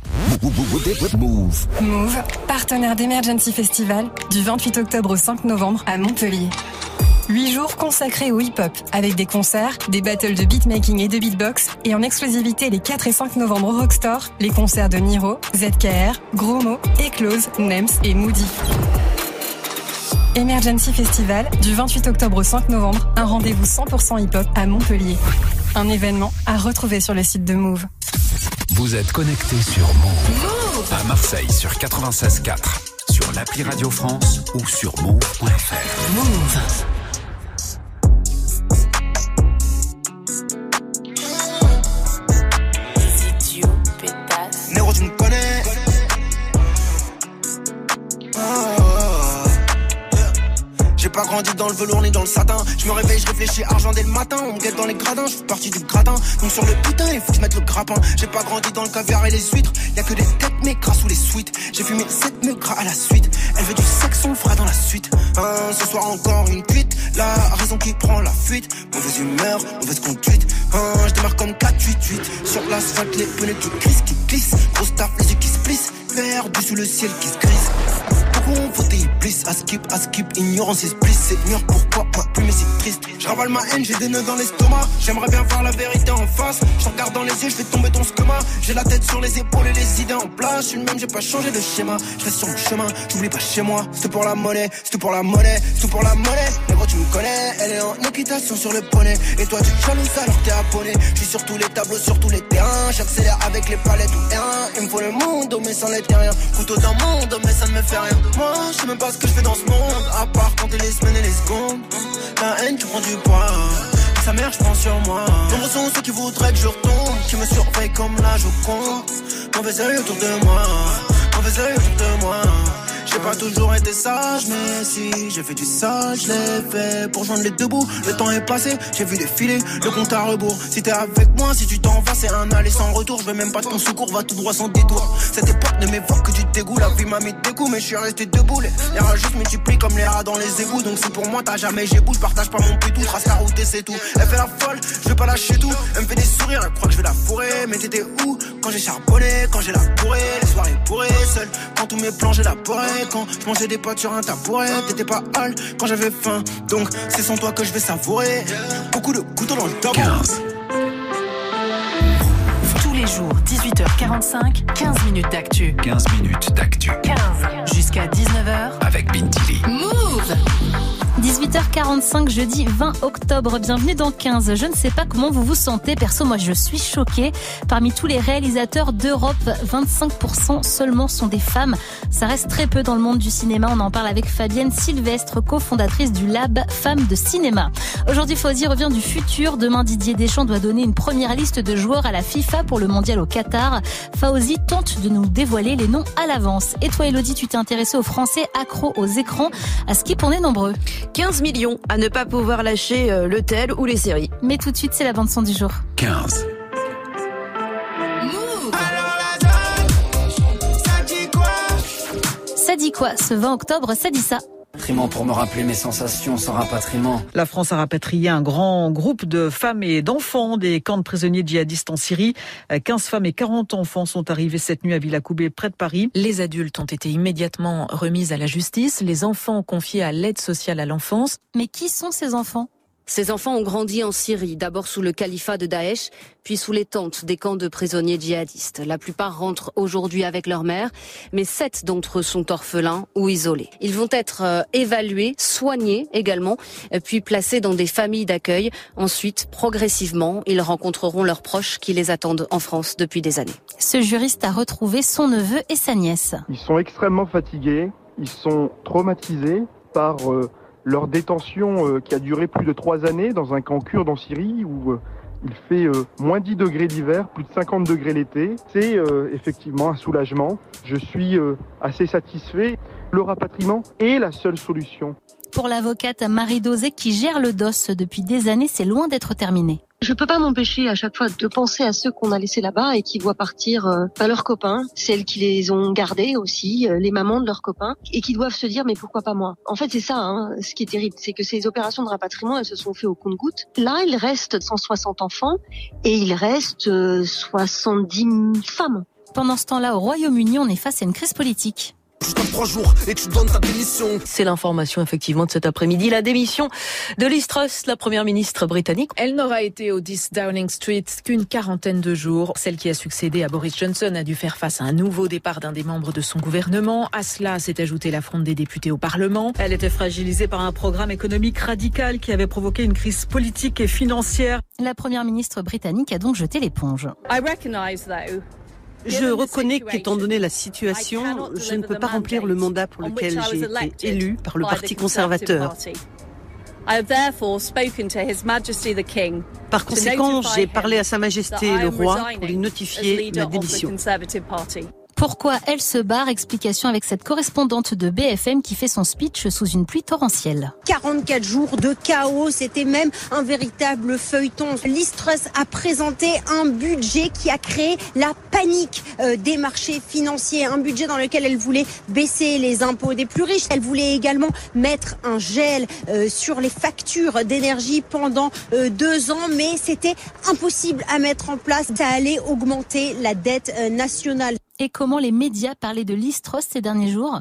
[SPEAKER 15] Move. Move, partenaire d'Emergency Festival du vingt-huit octobre au cinq novembre à Montpellier. Huit jours consacrés au hip-hop, avec des concerts, des battles de beatmaking et de beatbox, et en exclusivité les quatre et cinq novembre au Rockstore, les concerts de Niro, Z K R, Gros Mo, Eclose, Nems et Moody. Emergency Festival, du vingt-huit octobre au cinq novembre, un rendez-vous cent pour cent hip-hop à Montpellier. Un événement à retrouver sur le site de Move.
[SPEAKER 3] Vous êtes connectés sur Move. Move à Marseille sur quatre-vingt-seize quatre, sur l'appli Radio France ou sur move point f r.
[SPEAKER 2] Move.
[SPEAKER 11] Nero, tu me connais. Oh. J'ai pas grandi dans le velours ni dans le satin. Je me réveille, je réfléchis argent dès le matin. On me guette dans les gradins, je fais partie du gratin. Donc sur le putain, il faut que je mette le grappin. J'ai pas grandi dans le caviar et les huîtres. Y'a que des têtes mais gras sous les suites. J'ai fumé sept mecs gras à la suite. Elle veut du sexe, on le fera dans la suite. Hein, ce soir encore une cuite. La raison qui prend la fuite. Mauvaise humeur, mauvaise conduite. Hein, je démarre comme quatre huit huit. Sur l'asphalte, les pneus qui glissent, qui glissent. Grosse taf, les yeux qui se plissent. Perdu sous le ciel qui se grise. Pourquoi on votait iblis? À skip, à skip, ignorance is bliss. C'est mûr, pourquoi pas plus mais c'est triste. Je ravale ma haine, j'ai des nœuds dans l'estomac. J'aimerais bien voir la vérité en face. Je regarde dans les yeux, je fais tomber ton schéma. J'ai la tête sur les épaules et les idées en place. Je suis le même, j'ai pas changé de schéma. Je reste sur mon chemin, j'oublie pas chez moi. C'est pour la monnaie, c'est pour la monnaie, c'est pour la monnaie. Mais gros tu me connais, elle est en équitation sur le poney. Et toi tu te jalouses alors t'es abonné. Je suis sur tous les tableaux, sur tous les terrains. J'accélère avec les palettes ou terrain. Il me faut le monde, mais sans les terriens. Couteau d'un monde, mais ça ne me fait rien. Moi, je sais même pas ce que je fais dans ce monde. À part compter les semaines et les secondes. La haine, tu prends du poids. Sa mère, je prends sur moi. Nombreux sont ceux qui voudraient que je retombe. Qui me surveillent comme la Joconde. Mauvais œil autour de moi. Mauvais œil autour de moi. J'ai pas toujours été sage, mais si j'ai fait du sale, je l'ai fait pour joindre les deux bouts. Le temps est passé, j'ai vu défiler le compte à rebours. Si t'es avec moi, si tu t'en vas, c'est un aller sans retour. Je veux même pas de ton secours, va tout droit sans détour. Cette époque ne m'évoque que du dégoût. La vie m'a mis des coups, mais je suis resté debout. Les rats juste multiplient comme les rats dans les égouts. Donc si pour moi t'as jamais j'ai bout, je partage pas mon pétou. Trace la route et c'est tout. Elle fait la folle, je vais pas lâcher tout. Elle me fait des sourires, elle croit que je vais la fourrer. Mais t'étais où quand j'ai charbonné, quand j'ai la bourrée? Les soirées bourrées, seul, quand tous mes plans j'ai la bourrée. Quand je mangeais des pâtes sur un tabouret, t'étais pas hal quand j'avais faim. Donc c'est sans toi que je vais savourer. Beaucoup de couteaux dans le tabou.
[SPEAKER 2] Tous les jours, dix-huit heures quarante-cinq, quinze minutes d'actu.
[SPEAKER 3] quinze minutes d'actu.
[SPEAKER 2] quinze jusqu'à dix-neuf heures.
[SPEAKER 3] Avec Bintili.
[SPEAKER 2] Move!
[SPEAKER 4] dix-huit heures quarante-cinq, jeudi vingt octobre. Bienvenue dans quinze. Je ne sais pas comment vous vous sentez. Perso, moi, je suis choquée. Parmi tous les réalisateurs d'Europe, vingt-cinq pour cent seulement sont des femmes. Ça reste très peu dans le monde du cinéma. On en parle avec Fabienne Sylvestre, cofondatrice du Lab Femmes de Cinéma. Aujourd'hui, Fawzi revient du futur. Demain, Didier Deschamps doit donner une première liste de joueurs à la FIFA pour le mondial au Qatar. Fawzi tente de nous dévoiler les noms à l'avance. Et toi, Elodie, tu t'es intéressée aux Français accros aux écrans. À Skip, on est nombreux.
[SPEAKER 16] quinze millions à ne pas pouvoir lâcher euh, le tel ou les séries.
[SPEAKER 2] Mais tout de suite, c'est la bande-son du jour.
[SPEAKER 3] quinze.
[SPEAKER 2] Ça dit quoi? Ce vingt octobre, ça dit ça.
[SPEAKER 17] Rapatriement pour me rappeler mes sensations sans rapatriement.
[SPEAKER 23] La France a rapatrié un grand groupe de femmes et d'enfants des camps de prisonniers djihadistes en Syrie. quinze femmes et quarante enfants sont arrivés cette nuit à Villacoublay, près de Paris.
[SPEAKER 24] Les adultes ont été immédiatement remis à la justice, les enfants confiés à l'aide sociale à l'enfance.
[SPEAKER 2] Mais qui sont ces enfants ?
[SPEAKER 16] Ces enfants ont grandi en Syrie, d'abord sous le califat de Daesh, puis sous les tentes des camps de prisonniers djihadistes. La plupart rentrent aujourd'hui avec leur mère, mais sept d'entre eux sont orphelins ou isolés. Ils vont être euh, évalués, soignés également, puis placés dans des familles d'accueil. Ensuite, progressivement, ils rencontreront leurs proches qui les attendent en France depuis des années.
[SPEAKER 2] Ce juriste a retrouvé son neveu et sa nièce.
[SPEAKER 25] Ils sont extrêmement fatigués, ils sont traumatisés par... Euh leur détention euh, qui a duré plus de trois années dans un camp kurde en Syrie où euh, il fait euh, moins dix degrés l'hiver, plus de cinquante degrés l'été. C'est euh, effectivement un soulagement. Je suis euh, assez satisfait. Le rapatriement est la seule solution.
[SPEAKER 2] Pour l'avocate Marie Dosé qui gère le D O S depuis des années, c'est loin d'être terminé.
[SPEAKER 26] Je peux pas m'empêcher à chaque fois de penser à ceux qu'on a laissés là-bas et qui voient partir euh, bah, leurs copains, celles qui les ont gardés aussi, euh, les mamans de leurs copains, et qui doivent se dire mais pourquoi pas moi. En fait c'est ça, hein, ce qui est terrible, c'est que ces opérations de rapatriement elles se sont faites au compte-gouttes. Là il reste cent soixante enfants et il reste euh, soixante-dix femmes.
[SPEAKER 2] Pendant ce temps-là, au Royaume-Uni, on est face à une crise politique.
[SPEAKER 27] Trois jours et tu donnes ta démission.
[SPEAKER 16] C'est l'information effectivement de cet après-midi. La démission de Liz Truss, la première ministre britannique.
[SPEAKER 24] Elle n'aura été au dix Downing Street qu'une quarantaine de jours. Celle qui a succédé à Boris Johnson a dû faire face à un nouveau départ d'un des membres de son gouvernement. À cela s'est ajoutée la fronde des députés au Parlement.
[SPEAKER 23] Elle était fragilisée par un programme économique radical qui avait provoqué une crise politique et financière.
[SPEAKER 2] La première ministre britannique a donc jeté l'éponge.
[SPEAKER 28] I recognize though
[SPEAKER 16] Je reconnais qu'étant donné la situation, je ne peux pas remplir le mandat pour lequel j'ai été élu par le Parti conservateur. Par conséquent, j'ai parlé à Sa Majesté le roi pour lui notifier ma démission.
[SPEAKER 2] Pourquoi elle se barre? Explication avec cette correspondante de B F M qui fait son speech sous une pluie torrentielle.
[SPEAKER 29] quarante-quatre jours de chaos, c'était même un véritable feuilleton. Liz Truss a présenté un budget qui a créé la panique euh, des marchés financiers. Un budget dans lequel elle voulait baisser les impôts des plus riches. Elle voulait également mettre un gel euh, sur les factures d'énergie pendant euh, deux ans. Mais c'était impossible à mettre en place. Ça allait augmenter la dette euh, nationale.
[SPEAKER 2] Et comment les médias parlaient de Liz Truss ces derniers jours?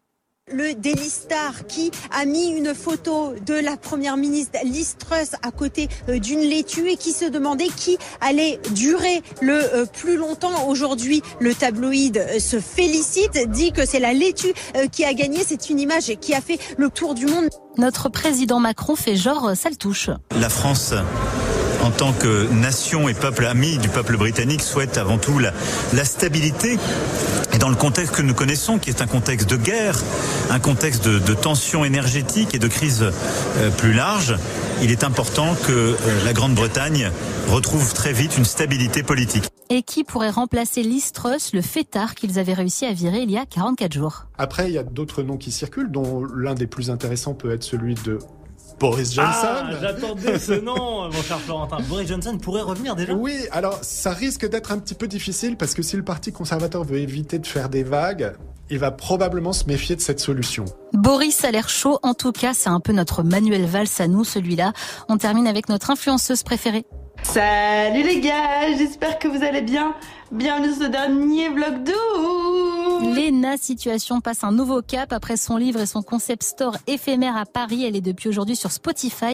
[SPEAKER 29] Le Daily Star qui a mis une photo de la première ministre Liz Truss à côté d'une laitue et qui se demandait qui allait durer le plus longtemps. Aujourd'hui, le tabloïd se félicite, dit que c'est la laitue qui a gagné. C'est une image qui a fait le tour du monde.
[SPEAKER 2] Notre président Macron fait genre, ça le touche.
[SPEAKER 30] La France, en tant que nation et peuple ami du peuple britannique, souhaite avant tout la, la stabilité. Et dans le contexte que nous connaissons, qui est un contexte de guerre, un contexte de, de tension énergétique et de crise euh, plus large, il est important que euh, la Grande-Bretagne retrouve très vite une stabilité politique.
[SPEAKER 2] Et qui pourrait remplacer Liz Truss, le fêtard qu'ils avaient réussi à virer il y a quarante-quatre jours?
[SPEAKER 31] Après, il y a d'autres noms qui circulent, dont l'un des plus intéressants peut être celui de Boris Johnson.
[SPEAKER 32] Ah, j'attendais ce nom, mon cher Florentin. Boris Johnson pourrait revenir déjà.
[SPEAKER 31] Oui, alors ça risque d'être un petit peu difficile parce que si le Parti conservateur veut éviter de faire des vagues, il va probablement se méfier de cette solution.
[SPEAKER 2] Boris a l'air chaud, en tout cas, c'est un peu notre Manuel Valls à nous, celui-là. On termine avec notre influenceuse préférée.
[SPEAKER 33] Salut les gars, j'espère que vous allez bien. Bienvenue dans ce dernier vlog d'août.
[SPEAKER 2] Léna Situation passe un nouveau cap après son livre et son concept store éphémère à Paris. Elle est depuis aujourd'hui sur Spotify.